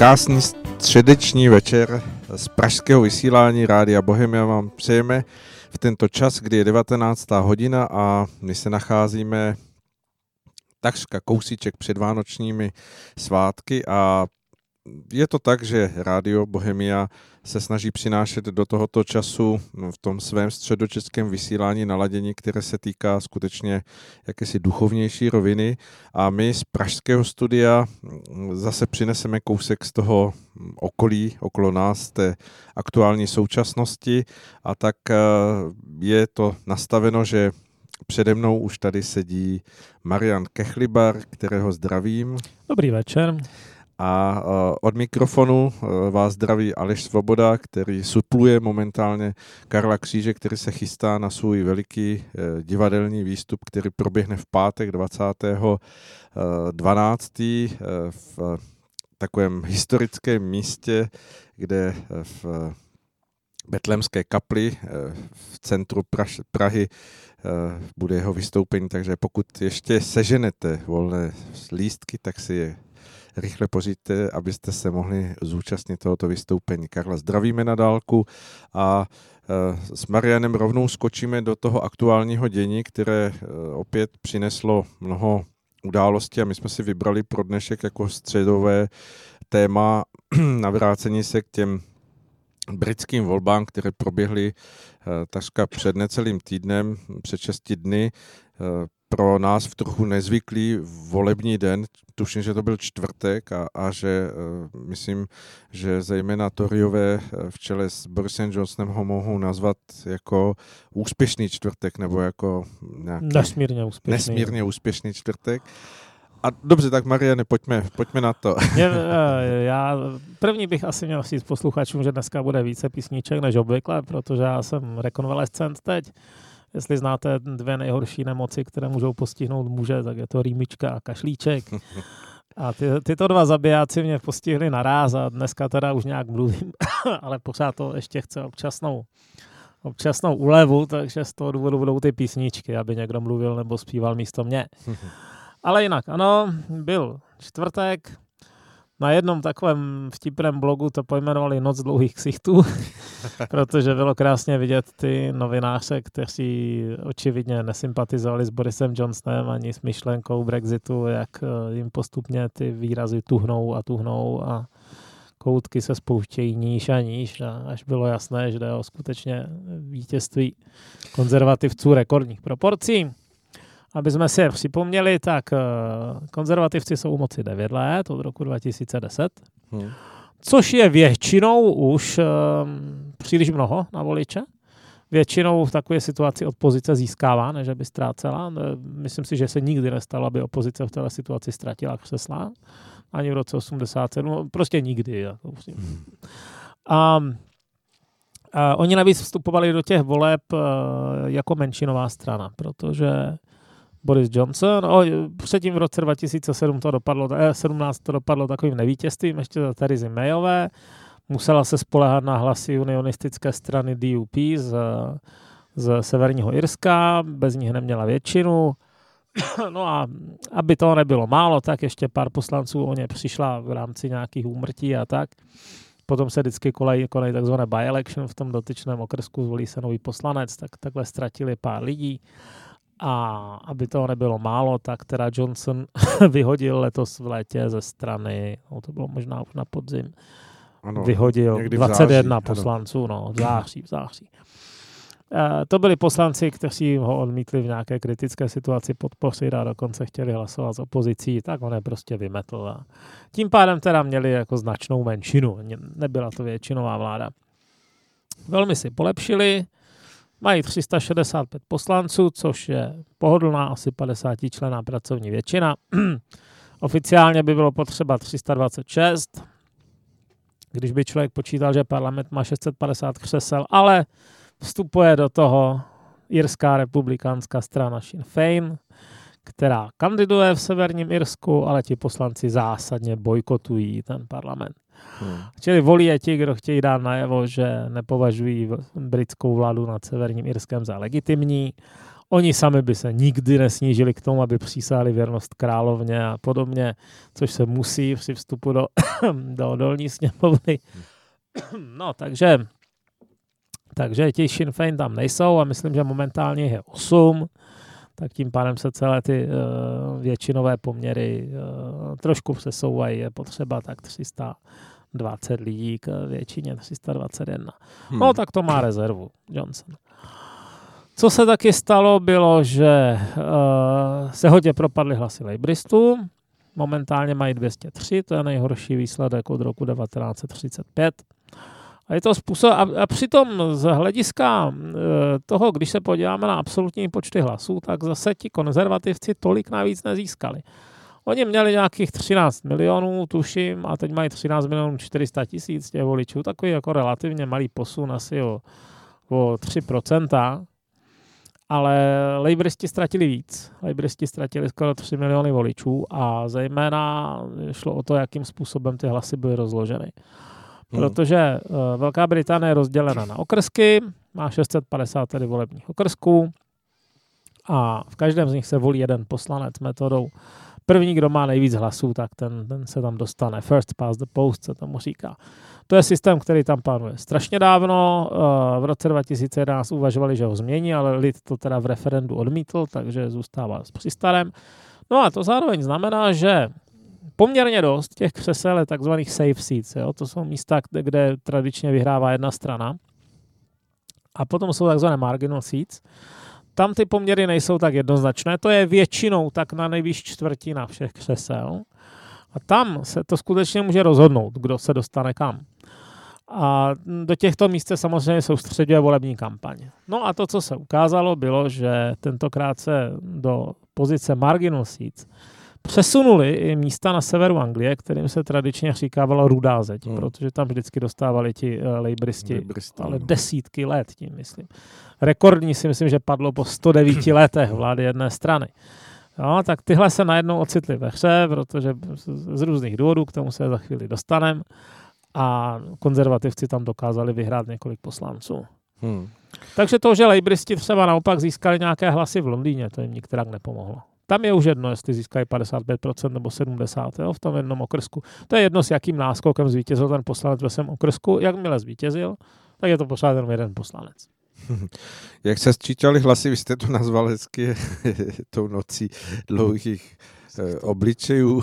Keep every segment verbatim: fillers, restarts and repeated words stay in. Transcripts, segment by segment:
Krásný středeční večer z pražského vysílání Rádia Bohemia vám přejeme v tento čas, kdy je devatenáctá hodina a my se nacházíme takřka kousíček před vánočními svátky a je to tak, že Rádio Bohemia se snaží přinášet do tohoto času v tom svém středočeském vysílání naladění, které se týká skutečně jakési duchovnější roviny a my z pražského studia zase přineseme kousek z toho okolí, okolo nás, té aktuální současnosti a tak je to nastaveno, že přede mnou už tady sedí Marian Kechlibar, kterého zdravím. Dobrý večer. A od mikrofonu vás zdraví Aleš Svoboda, který supluje momentálně Karla Kříže, který se chystá na svůj veliký divadelní výstup, který proběhne v pátek dvacátého dvanáctého v takovém historickém místě, kde v Betlémské kapli v centru Praž, Prahy bude jeho vystoupení, takže pokud ještě seženete volné lístky, tak si je rychle pořiďte, abyste se mohli zúčastnit tohoto vystoupení. Karla zdravíme na dálku a e, s Marianem rovnou skočíme do toho aktuálního dění, které e, opět přineslo mnoho událostí a my jsme si vybrali pro dnešek jako středové téma navrácení se k těm britským volbám, které proběhly e, takřka před necelým týdnem, před šesti dny, e, pro nás v trochu nezvyklý volební den, tuším, že to byl čtvrtek a, a že uh, myslím, že zejména Toryové v čele s Borisem Johnsonem ho mohou nazvat jako úspěšný čtvrtek nebo jako nějaký nesmírně úspěšný. Nesmírně úspěšný čtvrtek. A dobře, tak Mariane, pojďme, pojďme na to. Já, já první bych asi měl říct posluchačům, že dneska bude více písniček než obvykle, protože já jsem rekonvalescent teď. Jestli znáte dvě nejhorší nemoci, které můžou postihnout muže, tak je to rýmička a kašlíček. A ty, tyto dva zabijáci mě postihli naráz a dneska teda už nějak mluvím, ale pořád to ještě chce občasnou, občasnou úlevu, takže z toho důvodu budou ty písničky, aby někdo mluvil nebo zpíval místo mě. Ale jinak, ano, byl čtvrtek. Na jednom takovém vtipném blogu to pojmenovali Noc dlouhých ksichtů, protože bylo krásně vidět ty novináře, kteří očividně nesympatizovali s Borisem Johnsonem ani s myšlenkou Brexitu, jak jim postupně ty výrazy tuhnou a tuhnou a koutky se spouštějí níž a níž, a až bylo jasné, že jde o skutečně vítězství konzervativců rekordních proporcí. Aby jsme si je připomněli, tak konzervativci jsou u moci devět let, od roku dva tisíce deset, hmm. což je většinou už um, příliš mnoho na voliče. Většinou v takové situaci opozice získává, než by ztrácela. Myslím si, že se nikdy nestalo, aby opozice v této situaci ztratila křesla. Ani v roce osmdesát sedm, prostě nikdy. Jako hmm. A a oni navíc vstupovali do těch voleb uh, jako menšinová strana, protože Boris Johnson, o, předtím v roce dva tisíce sedm to dopadlo, sedmnáct to dopadlo takovým nevítězstvím, ještě za Theresa Mayové, musela se spoléhat na hlasy unionistické strany D U P z, z Severního Irska, bez nich neměla většinu. No a aby toho nebylo málo, tak ještě pár poslanců o ně přišla v rámci nějakých úmrtí a tak. Potom se vždycky kolejí, kolejí takzvané by-election, v tom dotyčném okrsku zvolí se nový poslanec, tak takhle ztratili pár lidí. A aby toho nebylo málo, tak teda Johnson vyhodil letos v létě ze strany, no to bylo možná už na podzim, ano, vyhodil dvacet jedna září, poslanců, ano. no, v září, v září. E, to byli poslanci, kteří ho odmítli v nějaké kritické situaci podpořit a dokonce chtěli hlasovat s opozicí, tak on je prostě vymetl. A tím pádem teda měli jako značnou menšinu, nebyla to většinová vláda. Velmi si polepšili, mají tři sta šedesát pět poslanců, což je pohodlná, asi padesátičlenná pracovní většina. Oficiálně by bylo potřeba tři sta dvacet šest, když by člověk počítal, že parlament má šest set padesát křesel, ale vstupuje do toho irská republikánská strana Sinn Féin, která kandiduje v Severním Irsku, ale ti poslanci zásadně bojkotují ten parlament. Hmm. Čili volí je ti, kdo chtějí dát najevo, že nepovažují britskou vládu nad Severním Irskem za legitimní. Oni sami by se nikdy nesnížili k tomu, aby přísáhli věrnost královně a podobně, což se musí při vstupu do, do dolní sněmovny. No, takže, takže ti Sinn Féin tam nejsou a myslím, že momentálně je osm, tak tím pádem se celé ty uh, většinové poměry uh, trošku přesouvají. Je potřeba tak tři sta dvacet lidí k většině tři sta dvacet jedna. Hmm. No, tak to má rezervu Johnson. Co se taky stalo, bylo, že uh, se hodně propadly hlasy Labouristů. Momentálně mají dvě stě tři, to je nejhorší výsledek od roku devatenáct set třicet pět. A je to způsob, a, a přitom z hlediska uh, toho, když se podíváme na absolutní počty hlasů, tak zase ti konzervativci tolik navíc nezískali. Oni měli nějakých třináct milionů, tuším, a teď mají třináct milionů čtyři sta tisíc těch voličů, takový jako relativně malý posun asi o, o tři procenta. Ale Labouristi ztratili víc. Labouristi ztratili skoro tři miliony voličů a zejména šlo o to, jakým způsobem ty hlasy byly rozloženy. Protože uh, Velká Británie je rozdělena na okrsky, má šest set padesát tedy volebních okrsků a v každém z nich se volí jeden poslanec metodou. První, kdo má nejvíc hlasů, tak ten, ten se tam dostane. First past the post se tomu říká. To je systém, který tam panuje strašně dávno. V roce dva tisíce jedenáct uvažovali, že ho změní, ale lid to teda v referendu odmítl, takže zůstává při starém. No a to zároveň znamená, že poměrně dost těch křesel je takzvaných safe seats. Jo? To jsou místa, kde, kde tradičně vyhrává jedna strana. A potom jsou takzvané marginal seats. Tam ty poměry nejsou tak jednoznačné. To je většinou tak na nejvýš čtvrtina všech křesel. A tam se to skutečně může rozhodnout, kdo se dostane kam. A do těchto míst se samozřejmě soustředuje volební kampaň. No a to, co se ukázalo, bylo, že tentokrát se do pozice marginal seats přesunuli i místa na severu Anglie, kterým se tradičně říkávalo rudá zeď, hmm. protože tam vždycky dostávali ti uh, Labouristi, ale desítky let, tím myslím. Rekordní si myslím, že padlo po sto devíti letech vlády jedné strany. No, tak tyhle se najednou ocitly ve hře, protože z různých důvodů, k tomu se za chvíli dostaneme, a konzervativci tam dokázali vyhrát několik poslanců. Hmm. Takže to, že Labouristi třeba naopak získali nějaké hlasy v Londýně, to jim nikterak nepomohlo. Tam je už jedno, jestli získají padesát pět procent nebo sedmdesát procent jo, v tom jednom okrsku. To je jedno, s jakým náskokem zvítězil ten poslanec ve svém okrsku. Jakmile zvítězil, tak je to pořád jenom jeden poslanec. Jak se sčítali hlasy, vy jste to nazval hezky tou nocí dlouhých eh, obličejů.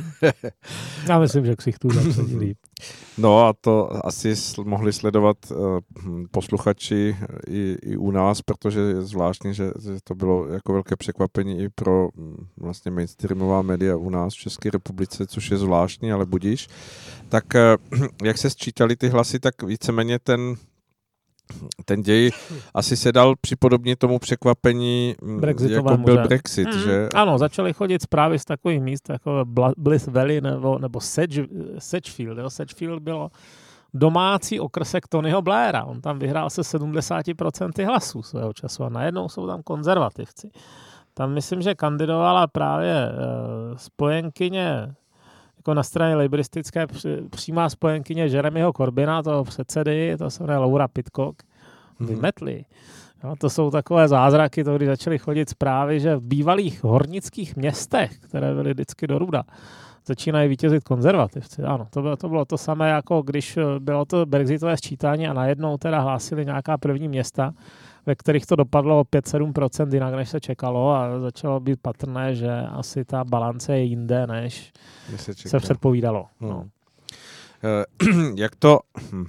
Já myslím, že ksichtů zapsadí líp. No a to asi mohli sledovat uh, posluchači i, i u nás, protože je zvláštní, že, že to bylo jako velké překvapení i pro vlastně mainstreamová média u nás v České republice, což je zvláštní, ale budíš. Tak uh, jak se sčítali ty hlasy, tak víceméně ten ten děj asi se dal připodobnit tomu překvapení, jako byl Brexit, mm, že? Ano, začaly chodit zprávy z takových míst, jako Bliss Valley nebo, nebo Sedge, Sedgefield. Jo? Sedgefield bylo domácí okrsek Tonyho Blaira. On tam vyhrál se sedmdesát procent hlasů svého času a najednou jsou tam konzervativci. Tam myslím, že kandidovala právě uh, spojenkyně jako na straně laboristické přímá spojenkyně Jeremyho Corbyna, toho předsedy, to se jmenuje Laura Pidcock, vymetli. Jo, to jsou takové zázraky, to když začaly chodit zprávy, že v bývalých hornických městech, které byly vždycky do ruda, začínají vítězit konzervativci. Ano, to bylo, to bylo to samé, jako když bylo to brexitové sčítání a najednou teda hlásili nějaká první města, ve kterých to dopadlo o pět až sedm procent jinak, než se čekalo a začalo být patrné, že asi ta balance je jinde, než se, se předpovídalo. Hmm. No. Jak to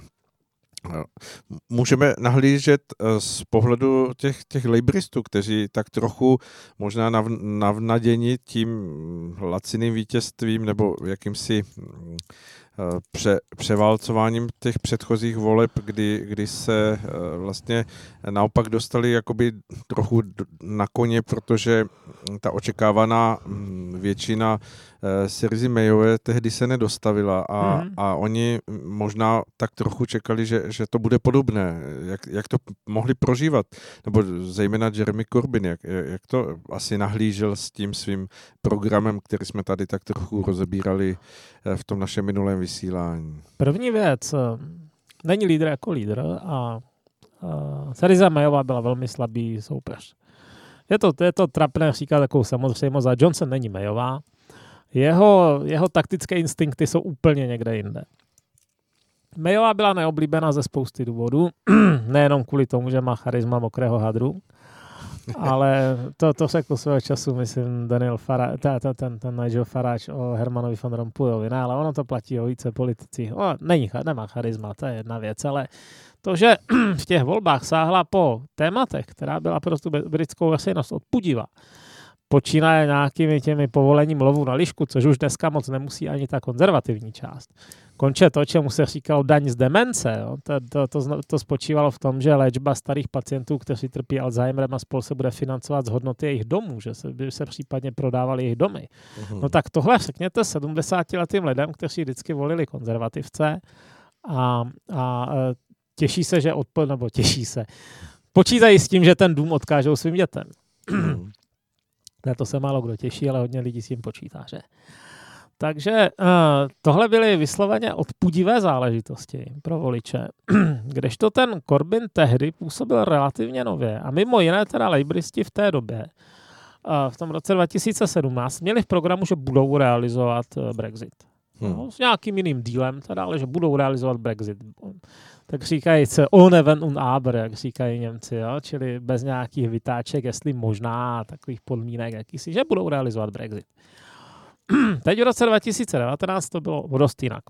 můžeme nahlížet z pohledu těch, těch labouristů, kteří tak trochu možná nav, navnaděni tím laciným vítězstvím nebo jakýmsi Pře, převálcováním těch předchozích voleb, kdy, kdy se vlastně naopak dostali jakoby trochu na koně, protože ta očekávaná většina Syrizy Mayové tehdy se nedostavila a, mm. a oni možná tak trochu čekali, že, že to bude podobné. Jak, jak to mohli prožívat? Nebo zejména Jeremy Corbyn, jak, jak to asi nahlížel s tím svým programem, který jsme tady tak trochu rozebírali v tom našem minulém vysílání? První věc, není lídr jako lídr a Syriza Mayová byla velmi slabý soupeř. Je to, je to trapné říkat takovou samozřejmost, a Johnson není Mayová. Jeho, jeho taktické instinkty jsou úplně někde jinde. Mayová byla neoblíbená ze spousty důvodů, nejenom kvůli tomu, že má charisma mokrého hadru, ale to, to řekl svého času, myslím, Daniel Farage, ten, ten, ten Nigel Farage o Hermanovi van Rompuyovi, ne, ale ono to platí o více politicích. O, není, nemá charisma, to je jedna věc, ale to, že v těch volbách sáhla po tématech, která byla pro tu britskou veřejnost odpudivá, počínaje nějakými těmi povolením lovu na lišku, což už dneska moc nemusí ani ta konzervativní část. Konče to, čemu se říkalo daň z demence. Jo? To, to, to, to spočívalo v tom, že léčba starých pacientů, kteří trpí Alzheimerem a spol se bude financovat z hodnoty jejich domů, že se, by se případně prodávali jejich domy. Uhum. No tak tohle řekněte sedmdesátiletým lidem, kteří vždycky volili konzervativce a, a těší se, že odpo, nebo těší se. Počítají s tím, že ten dům odkážou svým dětem. Na to se málo kdo těší, ale hodně lidí s tím počítá, že? Takže uh, tohle byly vysloveně odpudivé záležitosti pro voliče, kdežto ten Corbyn tehdy působil relativně nově a mimo jiné teda lejbristi v té době, uh, v tom roce dva tisíce sedmnáct, měli v programu, že budou realizovat uh, Brexit. Hmm. No, s nějakým jiným dílem, teda, ale že budou realizovat Brexit. Tak říkají se ohne wenn und aber, jak říkají Němci, jo? Čili bez nějakých vytáček, jestli možná, takových podmínek, jakýsi, že budou realizovat Brexit. Teď v roce dva tisíce devatenáct to bylo dost jinak.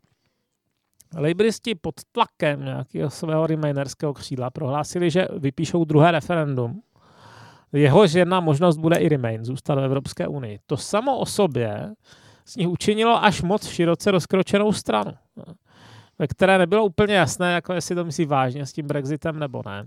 Lejbristi pod tlakem nějakého svého remainerského křídla prohlásili, že vypíšou druhé referendum. Jehož jedna možnost bude i Remain, zůstat v Evropské unii. To samo o sobě z nich učinilo až moc široce rozkročenou stranu, ve které nebylo úplně jasné, jako jestli to myslí vážně s tím Brexitem nebo ne.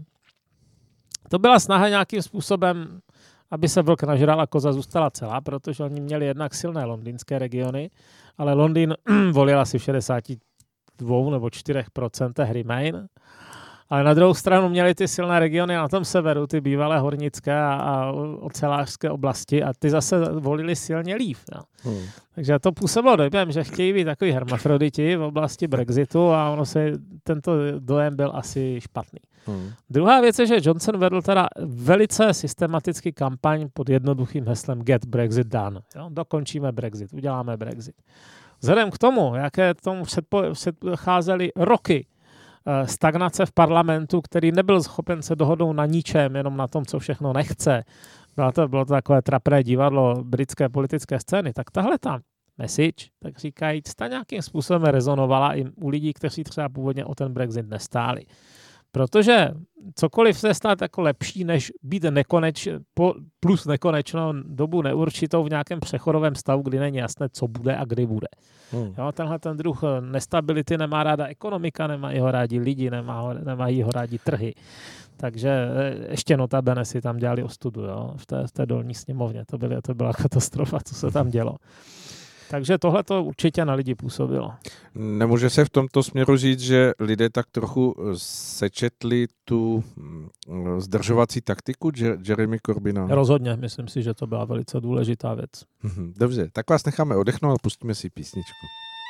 To byla snaha nějakým způsobem, aby se vlk nažral a koza zůstala celá, protože oni měli jednak silné londýnské regiony, ale Londýn volil asi v šedesáti dvou nebo čtyřech procentech Remain. Ale na druhou stranu měli ty silné regiony na tom severu, ty bývalé hornické a, a ocelářské oblasti a ty zase volili silně Leave. No. Hmm. Takže to působilo dojem, že chtějí být takový hermafroditi v oblasti Brexitu a ono se, tento dojem byl asi špatný. Hmm. Druhá věc je, že Johnson vedl teda velice systematický kampaň pod jednoduchým heslem Get Brexit done. Jo? Dokončíme Brexit, uděláme Brexit. Vzhledem k tomu, jaké tomu předcházely roky stagnace v parlamentu, který nebyl schopen se dohodnout na ničem, jenom na tom, co všechno nechce. Bylo to, bylo to takové trapné divadlo britské politické scény. Tak tahle ta message, tak říkajíc, ta nějakým způsobem rezonovala i u lidí, kteří třeba původně o ten Brexit nestáli. Protože cokoliv se stát jako lepší, než být nekoneč, plus nekonečnou dobu neurčitou v nějakém přechodovém stavu, kdy není jasné, co bude a kdy bude. Hmm. Jo, tenhle ten druh nestability nemá ráda ekonomika, nemají ho rádi lidi, nemá ho, nemají ho rádi trhy. Takže ještě notabene si tam dělali ostudu, jo, v té, v té dolní sněmovně. To, byly, to byla katastrofa, co se tam dělo. Takže tohle to určitě na lidi působilo. Nemůže se v tomto směru říct, že lidé tak trochu sečetli tu zdržovací taktiku Jeremy Corbyna? Rozhodně, myslím si, že to byla velice důležitá věc. Dobře, tak vás necháme odechnout a pustíme si písničku.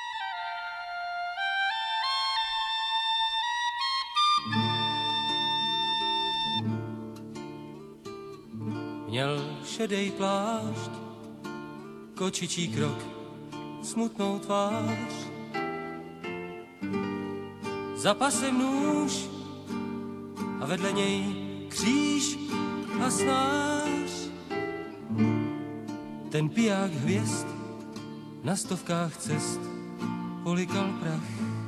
Měl šedej plášť, kočičí krok, smutnou tvář. Za pasem nůž a vedle něj kříž a snář. Ten piják hvězd na stovkách cest polikal prach.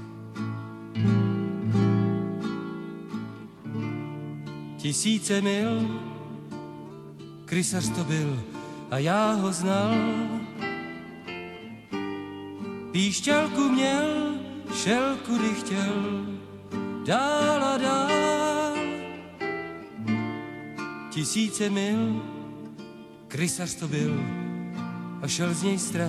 Tisíce mil, krysař to byl a já ho znal. Píšťalku měl, šel kudy chtěl, dál a dál. Tisíce mil, krysař to byl a šel z něj strach.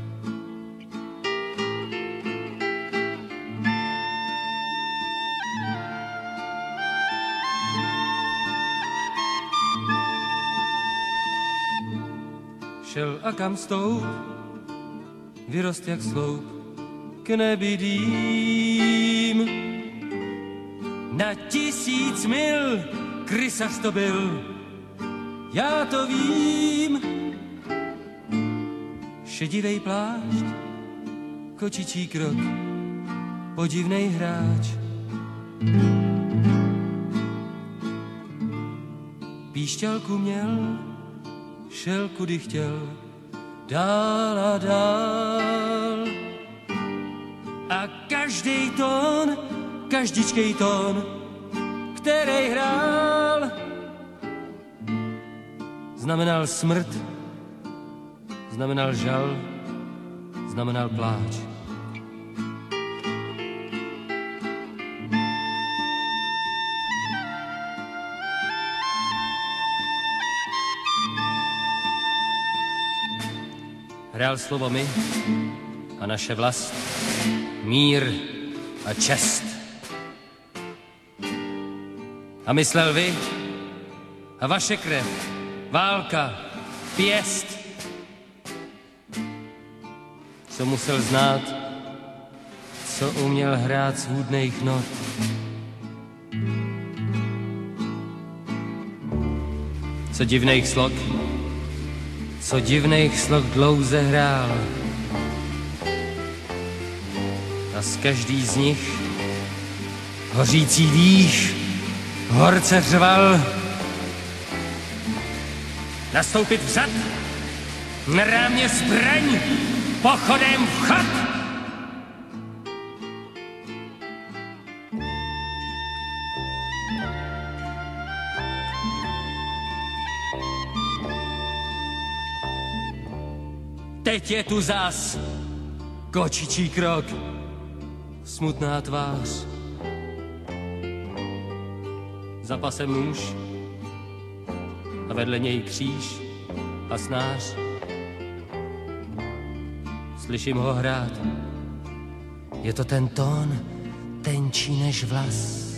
Šel a kam stoup, vyrost jak sloup k nebi dým. Na tisíc mil krysař to byl já to vím. Šedivej plášť, kočičí krok, podivnej hráč. Píšťalku měl, šel kudy chtěl, dál a dál. A každý tón, každičkej tón, který hrál, znamenal smrt, znamenal žal, znamenal pláč. Hrál slovo my a naše vlast, mír a čest. A myslel vy a vaše krev, válka, pěst. Co musel znát, co uměl hrát z hůdných not. Co divných slok, co divných slok dlouze hrál. A z každý z nich hořící dých horce řval. Nastoupit vzad, na rámě zbraň, pochodem vchod. Teď je tu zas kočičí krok, smutná tvář. Za pasem nůž a vedle něj kříž a snář. Slyším ho hrát, je to ten tón, tenčí než vlas.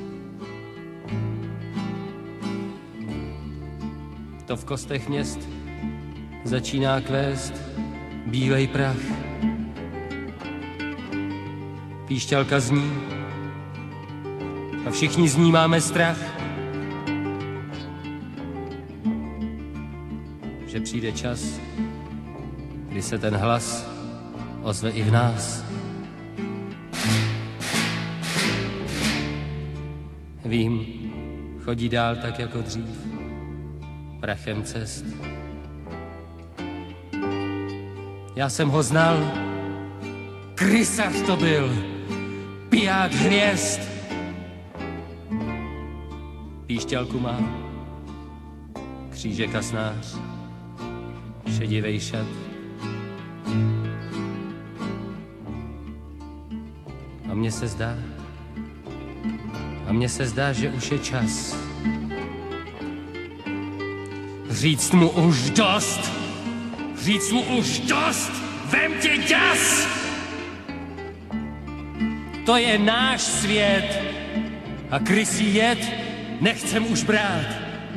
To v kostech měst začíná kvést bílej prach. Píšťalka zní a všichni z ní máme strach, že přijde čas, kdy se ten hlas ozve i v nás. Vím, chodí dál tak jako dřív, prachem cest. Já jsem ho znal, krysař to byl, piják hvězd. Píšťalku má, křížek a snář, šedivej šat. A mně se zdá, a mně se zdá, že už je čas říct mu už dost, říct mu už dost, vem tě děs! To je náš svět a krysí jed nechcem už brát.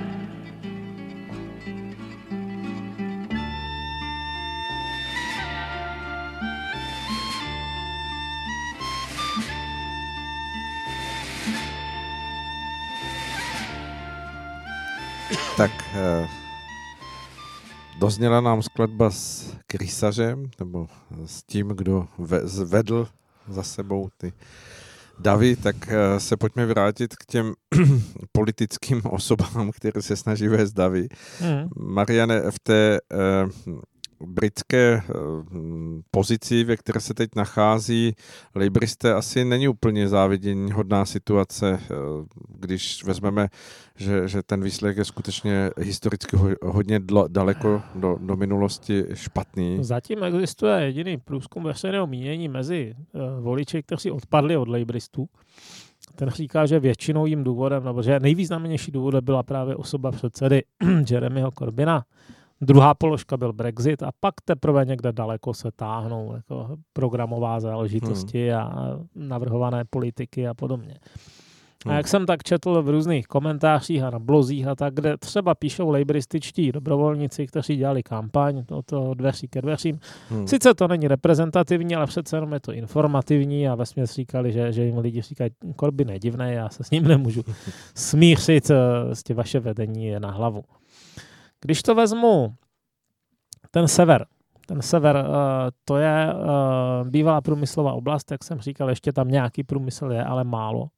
Tak eh, dozněla nám skladba s krysařem, nebo s tím, kdo ve, zvedl za sebou ty davy, tak eh, se pojďme vrátit k těm politickým osobám, které se snaží vést davy. Mm. Mariane, v té eh, britské pozici, ve které se teď nachází Labouristé, asi není úplně závidění hodná situace, když vezmeme, že, že ten výsledek je skutečně historicky hodně daleko do, do minulosti špatný. Zatím existuje jediný průzkum veřejného mínění mezi voliči, kteří odpadli od Labouristů. Ten říká, že většinou jím důvodem, nebo že nejvýznamnější důvodem byla právě osoba předsedy Jeremyho Corbyna. Druhá položka byl Brexit a pak teprve někde daleko se táhnou jako programová záležitosti hmm. a navrhované politiky a podobně. Hmm. A jak jsem tak četl v různých komentářích a na blozích a tak, kde třeba píšou laborističtí dobrovolníci, kteří dělali kampaň od toho dveří ke dveřím. Hmm. Sice to není reprezentativní, ale přece jenom je to informativní a vesměs říkali, že, že jim lidi říkají, Corbyn je divný, já se s ním nemůžu smířit, s tím vaše vedení je na hlavu. Když to vezmu, ten sever, ten sever, to je bývalá průmyslová oblast, jak jsem říkal, ještě tam nějaký průmysl je, ale málo.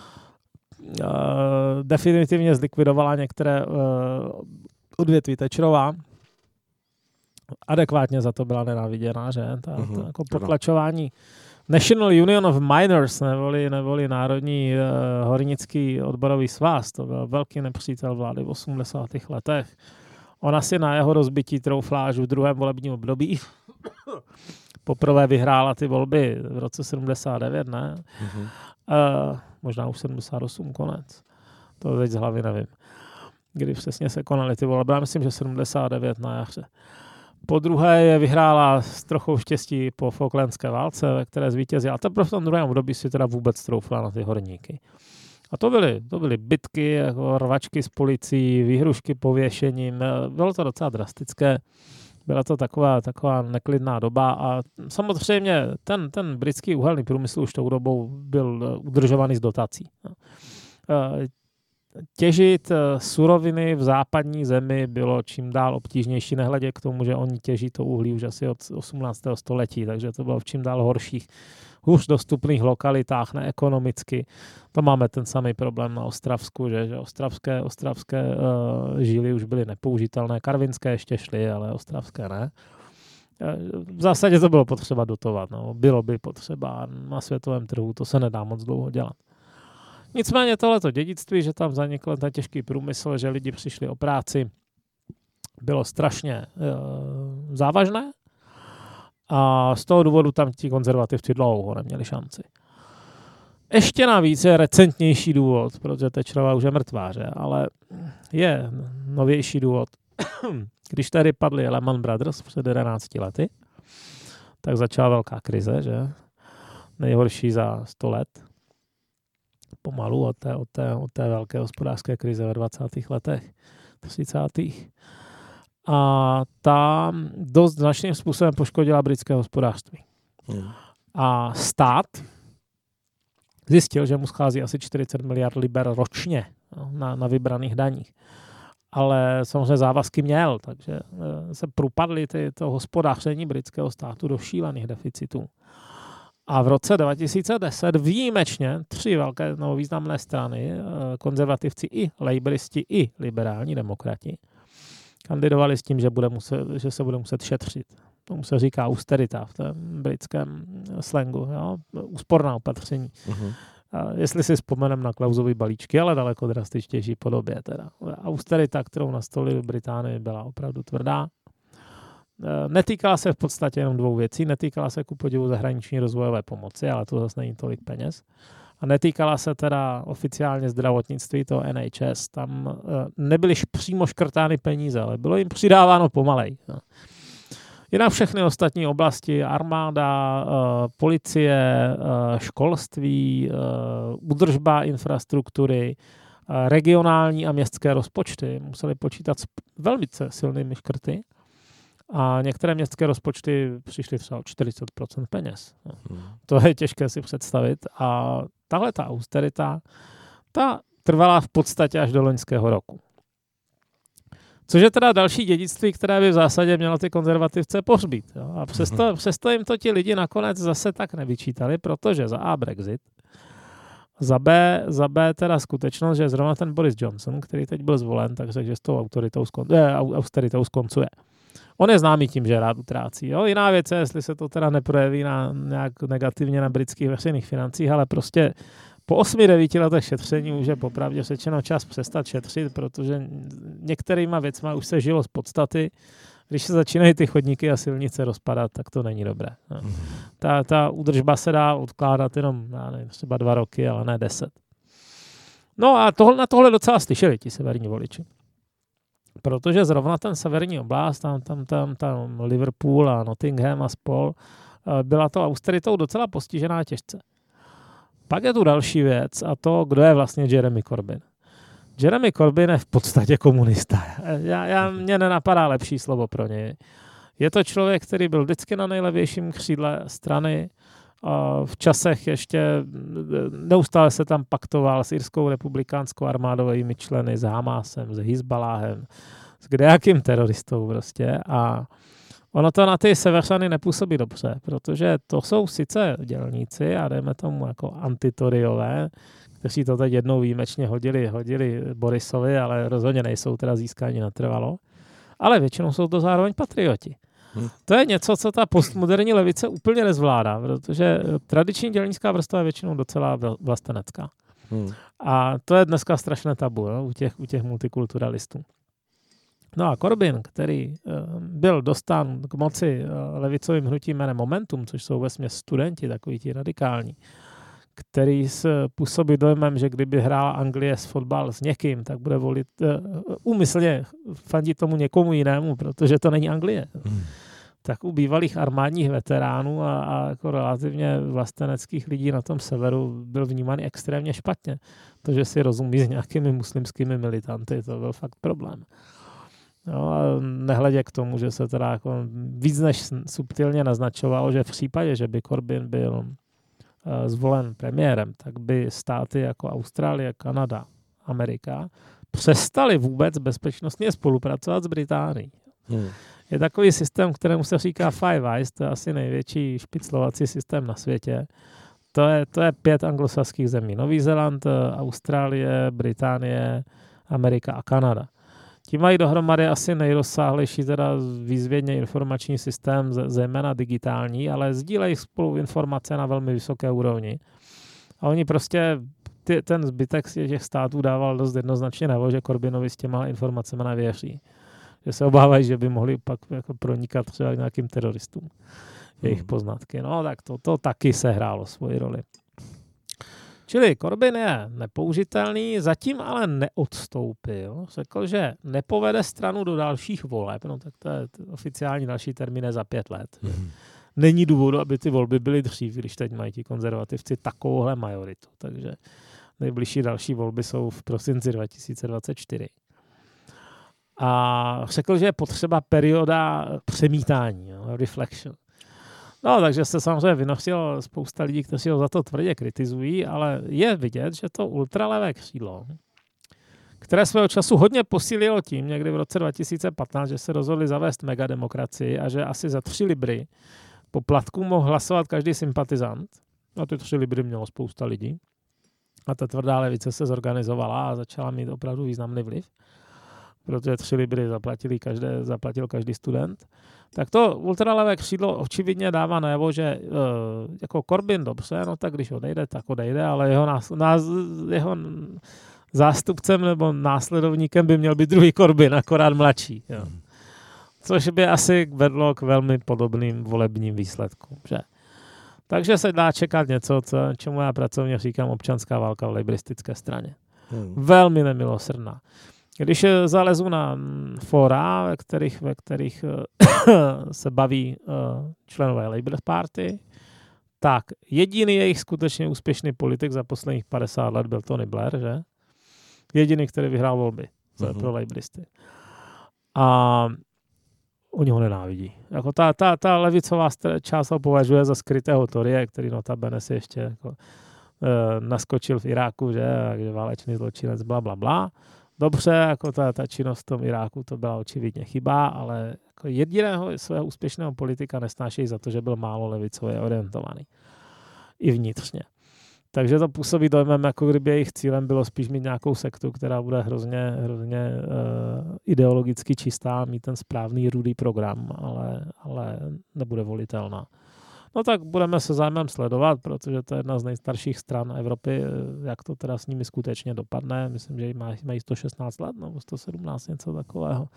Definitivně zlikvidovala některé odvětví Thatcherová. Adekvátně za to byla nenáviděná, že? Ta, mm-hmm. ta jako potlačování National Union of Miners, neboli, neboli Národní uh, hornický odborový svaz, to byl velký nepřítel vlády v osmdesátých letech. Ona si na jeho rozbití troufla až v druhém volebním období. Poprvé vyhrála ty volby v roce sedmdesát devět, ne? Mm-hmm. Uh, možná už sedmdesát osm, konec. To teď z hlavy nevím. Kdy přesně se konaly ty volby. Já myslím, že sedmdesát devět na jaře. Po druhé je vyhrála s trochou štěstí po Falklandské válce, ve které zvítězila. A teprve v tom druhém období si teda vůbec troufla na ty horníky. A to byly, to byly bitky, jako rvačky s policií, výhrušky pověšením. Bylo to docela drastické. Byla to taková, taková neklidná doba a samozřejmě ten, ten britský uhelný průmysl už tou dobou byl udržovaný z dotací. Těžit suroviny v západní zemi bylo čím dál obtížnější, nehledě k tomu, že oni těží to uhlí už asi od osmnáctého století, takže to bylo v čím dál horších, hůř dostupných lokalitách, neekonomicky. To máme ten samý problém na Ostravsku, že, že ostravské, ostravské uh, žíly už byly nepoužitelné, karvinské ještě šly, ale ostravské ne. V zásadě to bylo potřeba dotovat, no. Bylo by potřeba na světovém trhu, to se nedá moc dlouho dělat. Nicméně tohleto dědictví, že tam zanikl ten těžký průmysl, že lidi přišli o práci, bylo strašně e, závažné a z toho důvodu tam ti konzervativci dlouho neměli šanci. Ještě navíc je recentnější důvod, protože Thatcherová už je mrtvá, že? Ale je novější důvod. Když tady padly Lehman Brothers před jedenácti lety, tak začala velká krize, že? Nejhorší za sto let. Pomalu od té, od té, od té velké hospodářské krize ve dvacátých letech, třicátých. A ta dost značným způsobem poškodila britské hospodářství. Hmm. A stát zjistil, že mu schází asi čtyřicet miliard liber ročně na, na vybraných daních. Ale samozřejmě závazky měl, takže se propadly ty, to hospodáření britského státu do šílených deficitů. A v roce dva tisíce deset výjimečně tři velké no, významné strany, konzervativci i laboristi, i liberální demokrati, kandidovali s tím, že, bude muset, že se bude muset šetřit. Tomu se říká austerita v tom britském slangu, jo? Úsporná opatření. Uh-huh. A jestli si vzpomeneme na Klausovy balíčky, ale daleko drastičtější podobě. Teda. Austerita, kterou nastolili v Británii, byla opravdu tvrdá. Netýkala se v podstatě jenom dvou věcí. Netýkala se ku podivu zahraniční rozvojové pomoci, ale to zase není tolik peněz. A netýkala se teda oficiálně zdravotnictví, to N H S. Tam nebyly přímo škrtány peníze, ale bylo jim přidáváno pomalej. Jinak všechny ostatní oblasti, armáda, policie, školství, údržba infrastruktury, regionální a městské rozpočty museli počítat s velmi silnými škrty. A některé městské rozpočty přišly třeba o čtyřicet procent peněz. Hmm. To je těžké si představit. A tahle ta austerita, ta trvala v podstatě až do loňského roku. Což je teda další dědictví, které by v zásadě mělo ty konzervativce pohřbít. Jo? A přesto, hmm. přesto jim to ti lidi nakonec zase tak nevyčítali, protože za A Brexit, za B, za B teda skutečnost, že zrovna ten Boris Johnson, který teď byl zvolen, tak řekl, že s tou autoritou skon, eh, austeritou skoncuje. On je známý tím, že rád utrácí. Jo? Jiná věc je, jestli se to teda neprojeví na, nějak negativně na britských veřejných financích, ale prostě po osmi, devíti letech šetření už je popravdě řečeno čas přestat šetřit, protože některýma věcma už se žilo z podstaty. Když se začínají ty chodníky a silnice rozpadat, tak to není dobré. No. Ta, ta údržba se dá odkládat jenom já nevím, třeba dva roky, ale ne deset. No a tohle, na tohle docela slyšeli ti severní voliči. Protože zrovna ten severní oblast, tam, tam, tam, tam Liverpool a Nottingham a spol, byla to austeritou docela postižená těžce. Pak je tu další věc a to, kdo je vlastně Jeremy Corbyn. Jeremy Corbyn je v podstatě komunista. Já, já, mně nenapadá lepší slovo pro něj. Je to člověk, který byl vždycky na nejlevějším křídle strany. V časech ještě neustále se tam paktoval s irskou republikánskou armádovými členy, s Hamásem, s Hizbaláhem, s kdejakým teroristou prostě a ono to na ty Severany nepůsobí dobře, protože to jsou sice dělníci a dejme tomu jako antitoriové, kteří to teď jednou výjimečně hodili, hodili Borisovi, ale rozhodně nejsou teda získání natrvalo, ale většinou jsou to zároveň patrioti. Hmm. To je něco, co ta postmoderní levice úplně nezvládá, protože tradiční dělnická vrstva je většinou docela vlastenecká. Hmm. A to je dneska strašné tabu, jo, u těch, u těch multikulturalistů. No a Corbyn, který uh, byl dostán k moci uh, levicovým hnutím jménem Momentum, což jsou vesměs studenti, takový ti radikální, který se působí dojmem, že kdyby hrála Anglie s fotbal s někým, tak bude volit uh, úmyslně fandit tomu někomu jinému, protože to není Anglie. Hmm. Tak u bývalých armádních veteránů a, a jako relativně vlasteneckých lidí na tom severu byl vnímaný extrémně špatně. To, že si rozumí s nějakými muslimskými militanty, to byl fakt problém. No a nehledě k tomu, že se teda jako víc než subtilně naznačovalo, že v případě, že by Corbyn byl uh, zvolen premiérem, tak by státy jako Austrálie, Kanada, Amerika přestaly vůbec bezpečnostně spolupracovat s Británií. Hmm. Je takový systém, kterému se říká Five Eyes, to je asi největší špiclovací systém na světě. To je, to je pět anglosaských zemí. Nový Zéland, Austrálie, Británie, Amerika a Kanada. Ti mají dohromady asi nejrozsáhlejší teda výzvědně informační systém, zejména digitální, ale sdílejí spolu informace na velmi vysoké úrovni. A oni prostě, ty, ten zbytek těch států dával dost jednoznačně najevo, že Corbynovi s těma informacemi nevěří. Že se obávají, že by mohli pak jako pronikat třeba k nějakým teroristům jejich hmm. poznatky. No tak to, to taky sehrálo svoji roli. Čili Corbyn je nepoužitelný, zatím ale neodstoupil. Řekl, že nepovede stranu do dalších voleb, no tak to je oficiální další termín je za pět let. Hmm. Není důvodu, aby ty volby byly dřív, když teď mají ti konzervativci takovouhle majoritu. Takže nejbližší další volby jsou v prosinci dva tisíce dvacet čtyři. A řekl, že je potřeba perioda přemítání, jo, reflection. No, takže se samozřejmě vynořilo spousta lidí, kteří ho za to tvrdě kritizují, ale je vidět, že to ultralevé křídlo, které svého času hodně posílilo tím, někdy v roce dva tisíce patnáct, že se rozhodli zavést megademokracii a že asi za tři libry poplatku mohl hlasovat každý sympatizant. A ty tři libry mělo spousta lidí. A ta tvrdá levice se zorganizovala a začala mít opravdu významný vliv, protože tři libry zaplatili každé, zaplatil každý student. Tak to ultralevé křídlo očividně dává najevo, že uh, jako Corbyn dobře, no tak když odejde, tak odejde, ale jeho, nás, nás, jeho zástupcem nebo následovníkem by měl být druhý Corbyn, akorát mladší. Jo. Což by asi vedlo k velmi podobným volebním výsledkům. Že? Takže se dá čekat něco, co, čemu já pracovně říkám občanská válka v lejbristické straně. Hmm. Velmi nemilosrdná. Když zalezu na fora, ve kterých, ve kterých se baví členové Labour Party, tak jediný jejich skutečně úspěšný politik za posledních padesát let byl Tony Blair, že? Jediný, který vyhrál volby mm-hmm. pro Labouristy. A oni ho nenávidí. Jako ta, ta, ta levicová část ho považuje za skrytého Toryje, který notabene si ještě jako, e, naskočil v Iráku, že? Takže válečný zločinec, bla, bla, bla. Dobře, jako ta, ta činnost v tom Iráku, to byla očividně chyba, ale jako jediného svého úspěšného politika nesnášejí za to, že byl málo levicově orientovaný. I vnitřně. Takže to působí dojmem, jako kdyby jejich cílem bylo spíš mít nějakou sektu, která bude hrozně, hrozně uh, ideologicky čistá, mít ten správný rudý program, ale, ale nebude volitelná. No tak budeme se zájmem sledovat, protože to je jedna z nejstarších stran Evropy, jak to teda s nimi skutečně dopadne. Myslím, že mají, mají sto šestnáct let nebo sto sedmnáct, něco takového.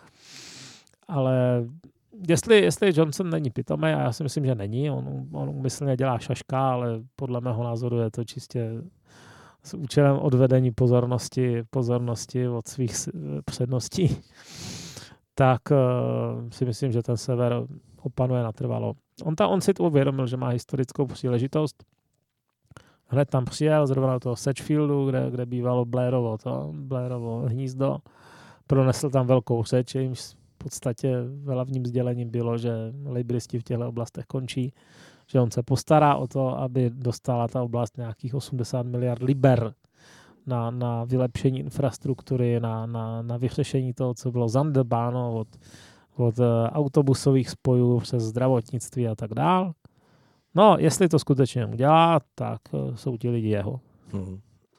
Ale jestli, jestli Johnson není pitomý, a já si myslím, že není, on, on umyslně dělá šaška, ale podle mého názoru je to čistě s účelem odvedení pozornosti, pozornosti od svých předností, tak uh, si myslím, že ten sever opanuje natrvalo. On, ta, on si to uvědomil, že má historickou příležitost. Hned tam přijel, zrovna do toho Sedgefieldu, kde, kde bývalo Blairovo, to, Blairovo hnízdo. Pronesl tam velkou řeč, jejímž v podstatě hlavním sdělením bylo, že laboristi v těchto oblastech končí, že on se postará o to, aby dostala ta oblast nějakých osmdesát miliard liber na, na vylepšení infrastruktury, na, na, na vyřešení toho, co bylo zanedbáno od, od autobusových spojů přes zdravotnictví a tak dál. No, jestli to skutečně udělá, tak jsou ti lidi jeho. Hmm.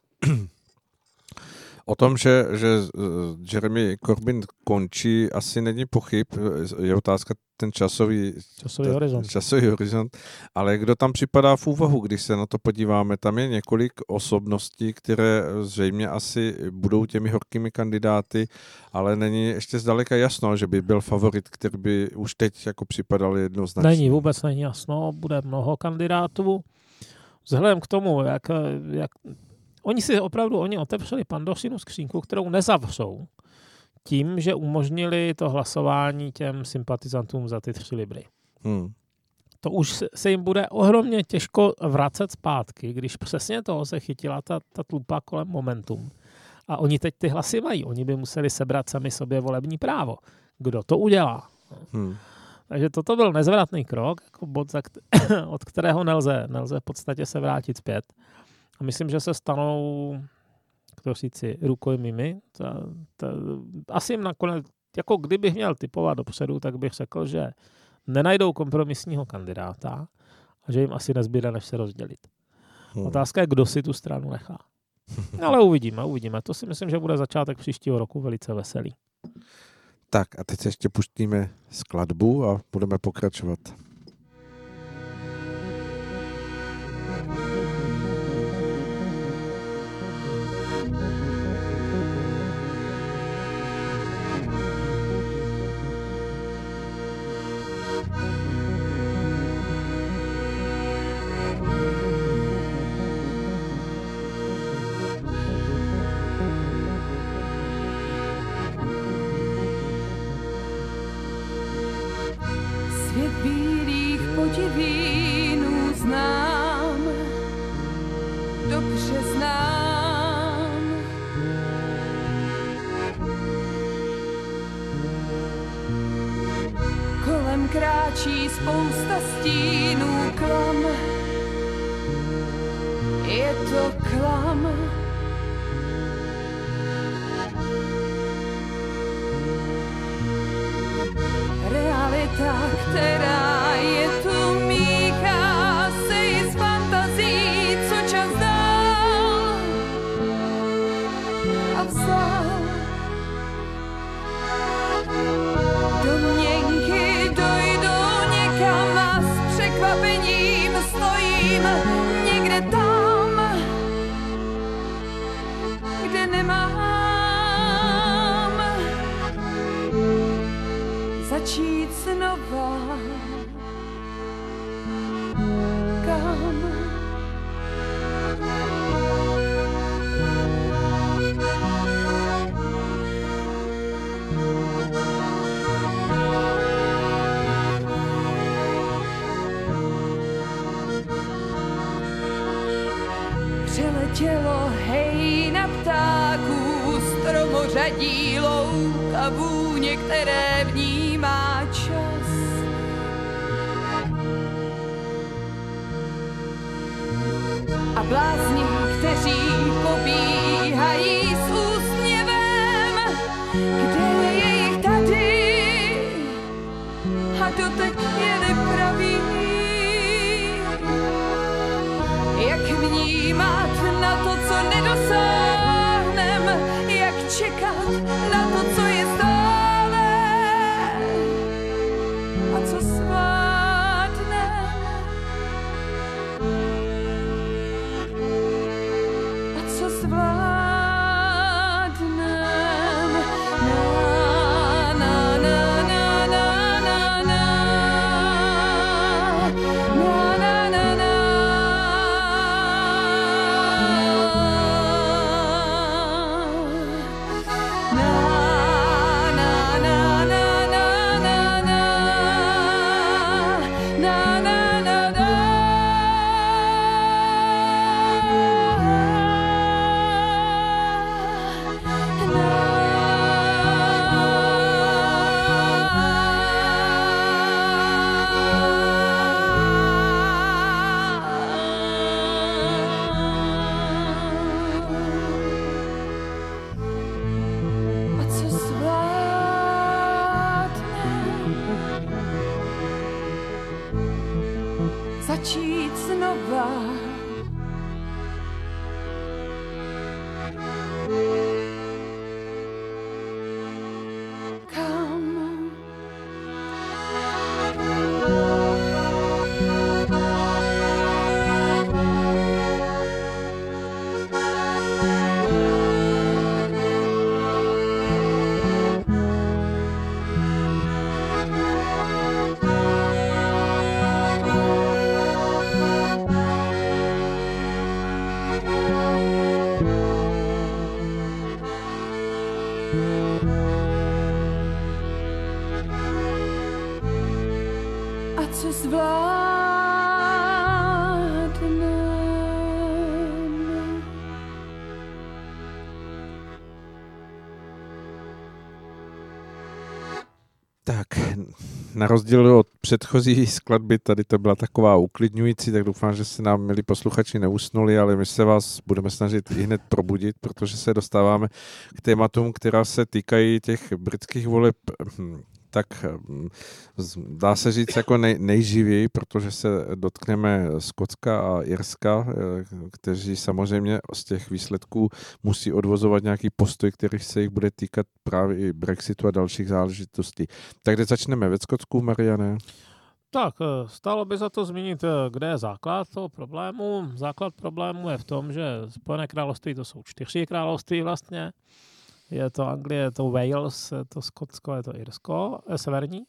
O tom, že, že Jeremy Corbyn končí, asi není pochyb. Je otázka ten časový, časový, ta, horizont. časový horizont. Ale kdo tam připadá v úvahu, když se na to podíváme? Tam je několik osobností, které zřejmě asi budou těmi horkými kandidáty, ale není ještě zdaleka jasno, že by byl favorit, který by už teď jako připadal jednoznačně. Není, vůbec není jasno. Bude mnoho kandidátů. Vzhledem k tomu, jak... jak Oni si opravdu, oni otevřeli Pandořinu skřínku, kterou nezavřou tím, že umožnili to hlasování těm sympatizantům za ty tři libry. Hmm. To už se jim bude ohromně těžko vracet zpátky, když přesně toho se chytila ta, ta tlupa kolem Momentum. A oni teď ty hlasy mají. Oni by museli sebrat sami sobě volební právo. Kdo to udělá? Hmm. Takže toto byl nezvratný krok, jako bod, od kterého nelze, nelze v podstatě se vrátit zpět. A myslím, že se stanou, kdo říci, rukojmími. Ta, ta, asi jim nakonec, jako kdybych měl typovat dopředu, tak bych řekl, že nenajdou kompromisního kandidáta a že jim asi nezbyde, než se rozdělit. Hmm. Otázka je, kdo si tu stranu nechá. Ale uvidíme, uvidíme. To si myslím, že bude začátek příštího roku velice veselý. Tak a teď se ještě pustíme skladbu a budeme pokračovat. Svět bílých podivínů znám, dobře znám. Kolem kráčí spousta stínů, klam, je to klam. Realita, která je tu, míchá se i s fantazí, co čas dal a vzal. Domněnky dojdou někam a s překvapením stojím někde tam, kde nemám začít znova. Kam? Přeletělo hejna ptáků, stromořadí, louk a vůně, které vnímá čas. A blázni, kteří pobíhají s úsměvem, kde je jich tady a dotek je nepraví. Jak vnímat na to, co nedosáhnem, jak čekat na to, co je stále a co svátnem a co zvládnem. začít znova. Na rozdíl od předchozí skladby, tady to byla taková uklidňující, tak doufám, že se nám, milí posluchači, neusnuli, ale my se vás budeme snažit i hned probudit, protože se dostáváme k tématům, která se týkají těch britských voleb, tak dá se říct jako nej, nejživěji, protože se dotkneme Skotska a Irska, kteří samozřejmě z těch výsledků musí odvozovat nějaký postoj, který se jich bude týkat právě i Brexitu a dalších záležitostí. Tak kde začneme? Ve Skotsku, Mariane? Tak, stálo by za to zmínit, kde je základ toho problému. Základ problému je v tom, že Spojené království to jsou čtyři království vlastně. Je to Anglie, je to Wales, je to Skotsko, je to Irsko, je severní.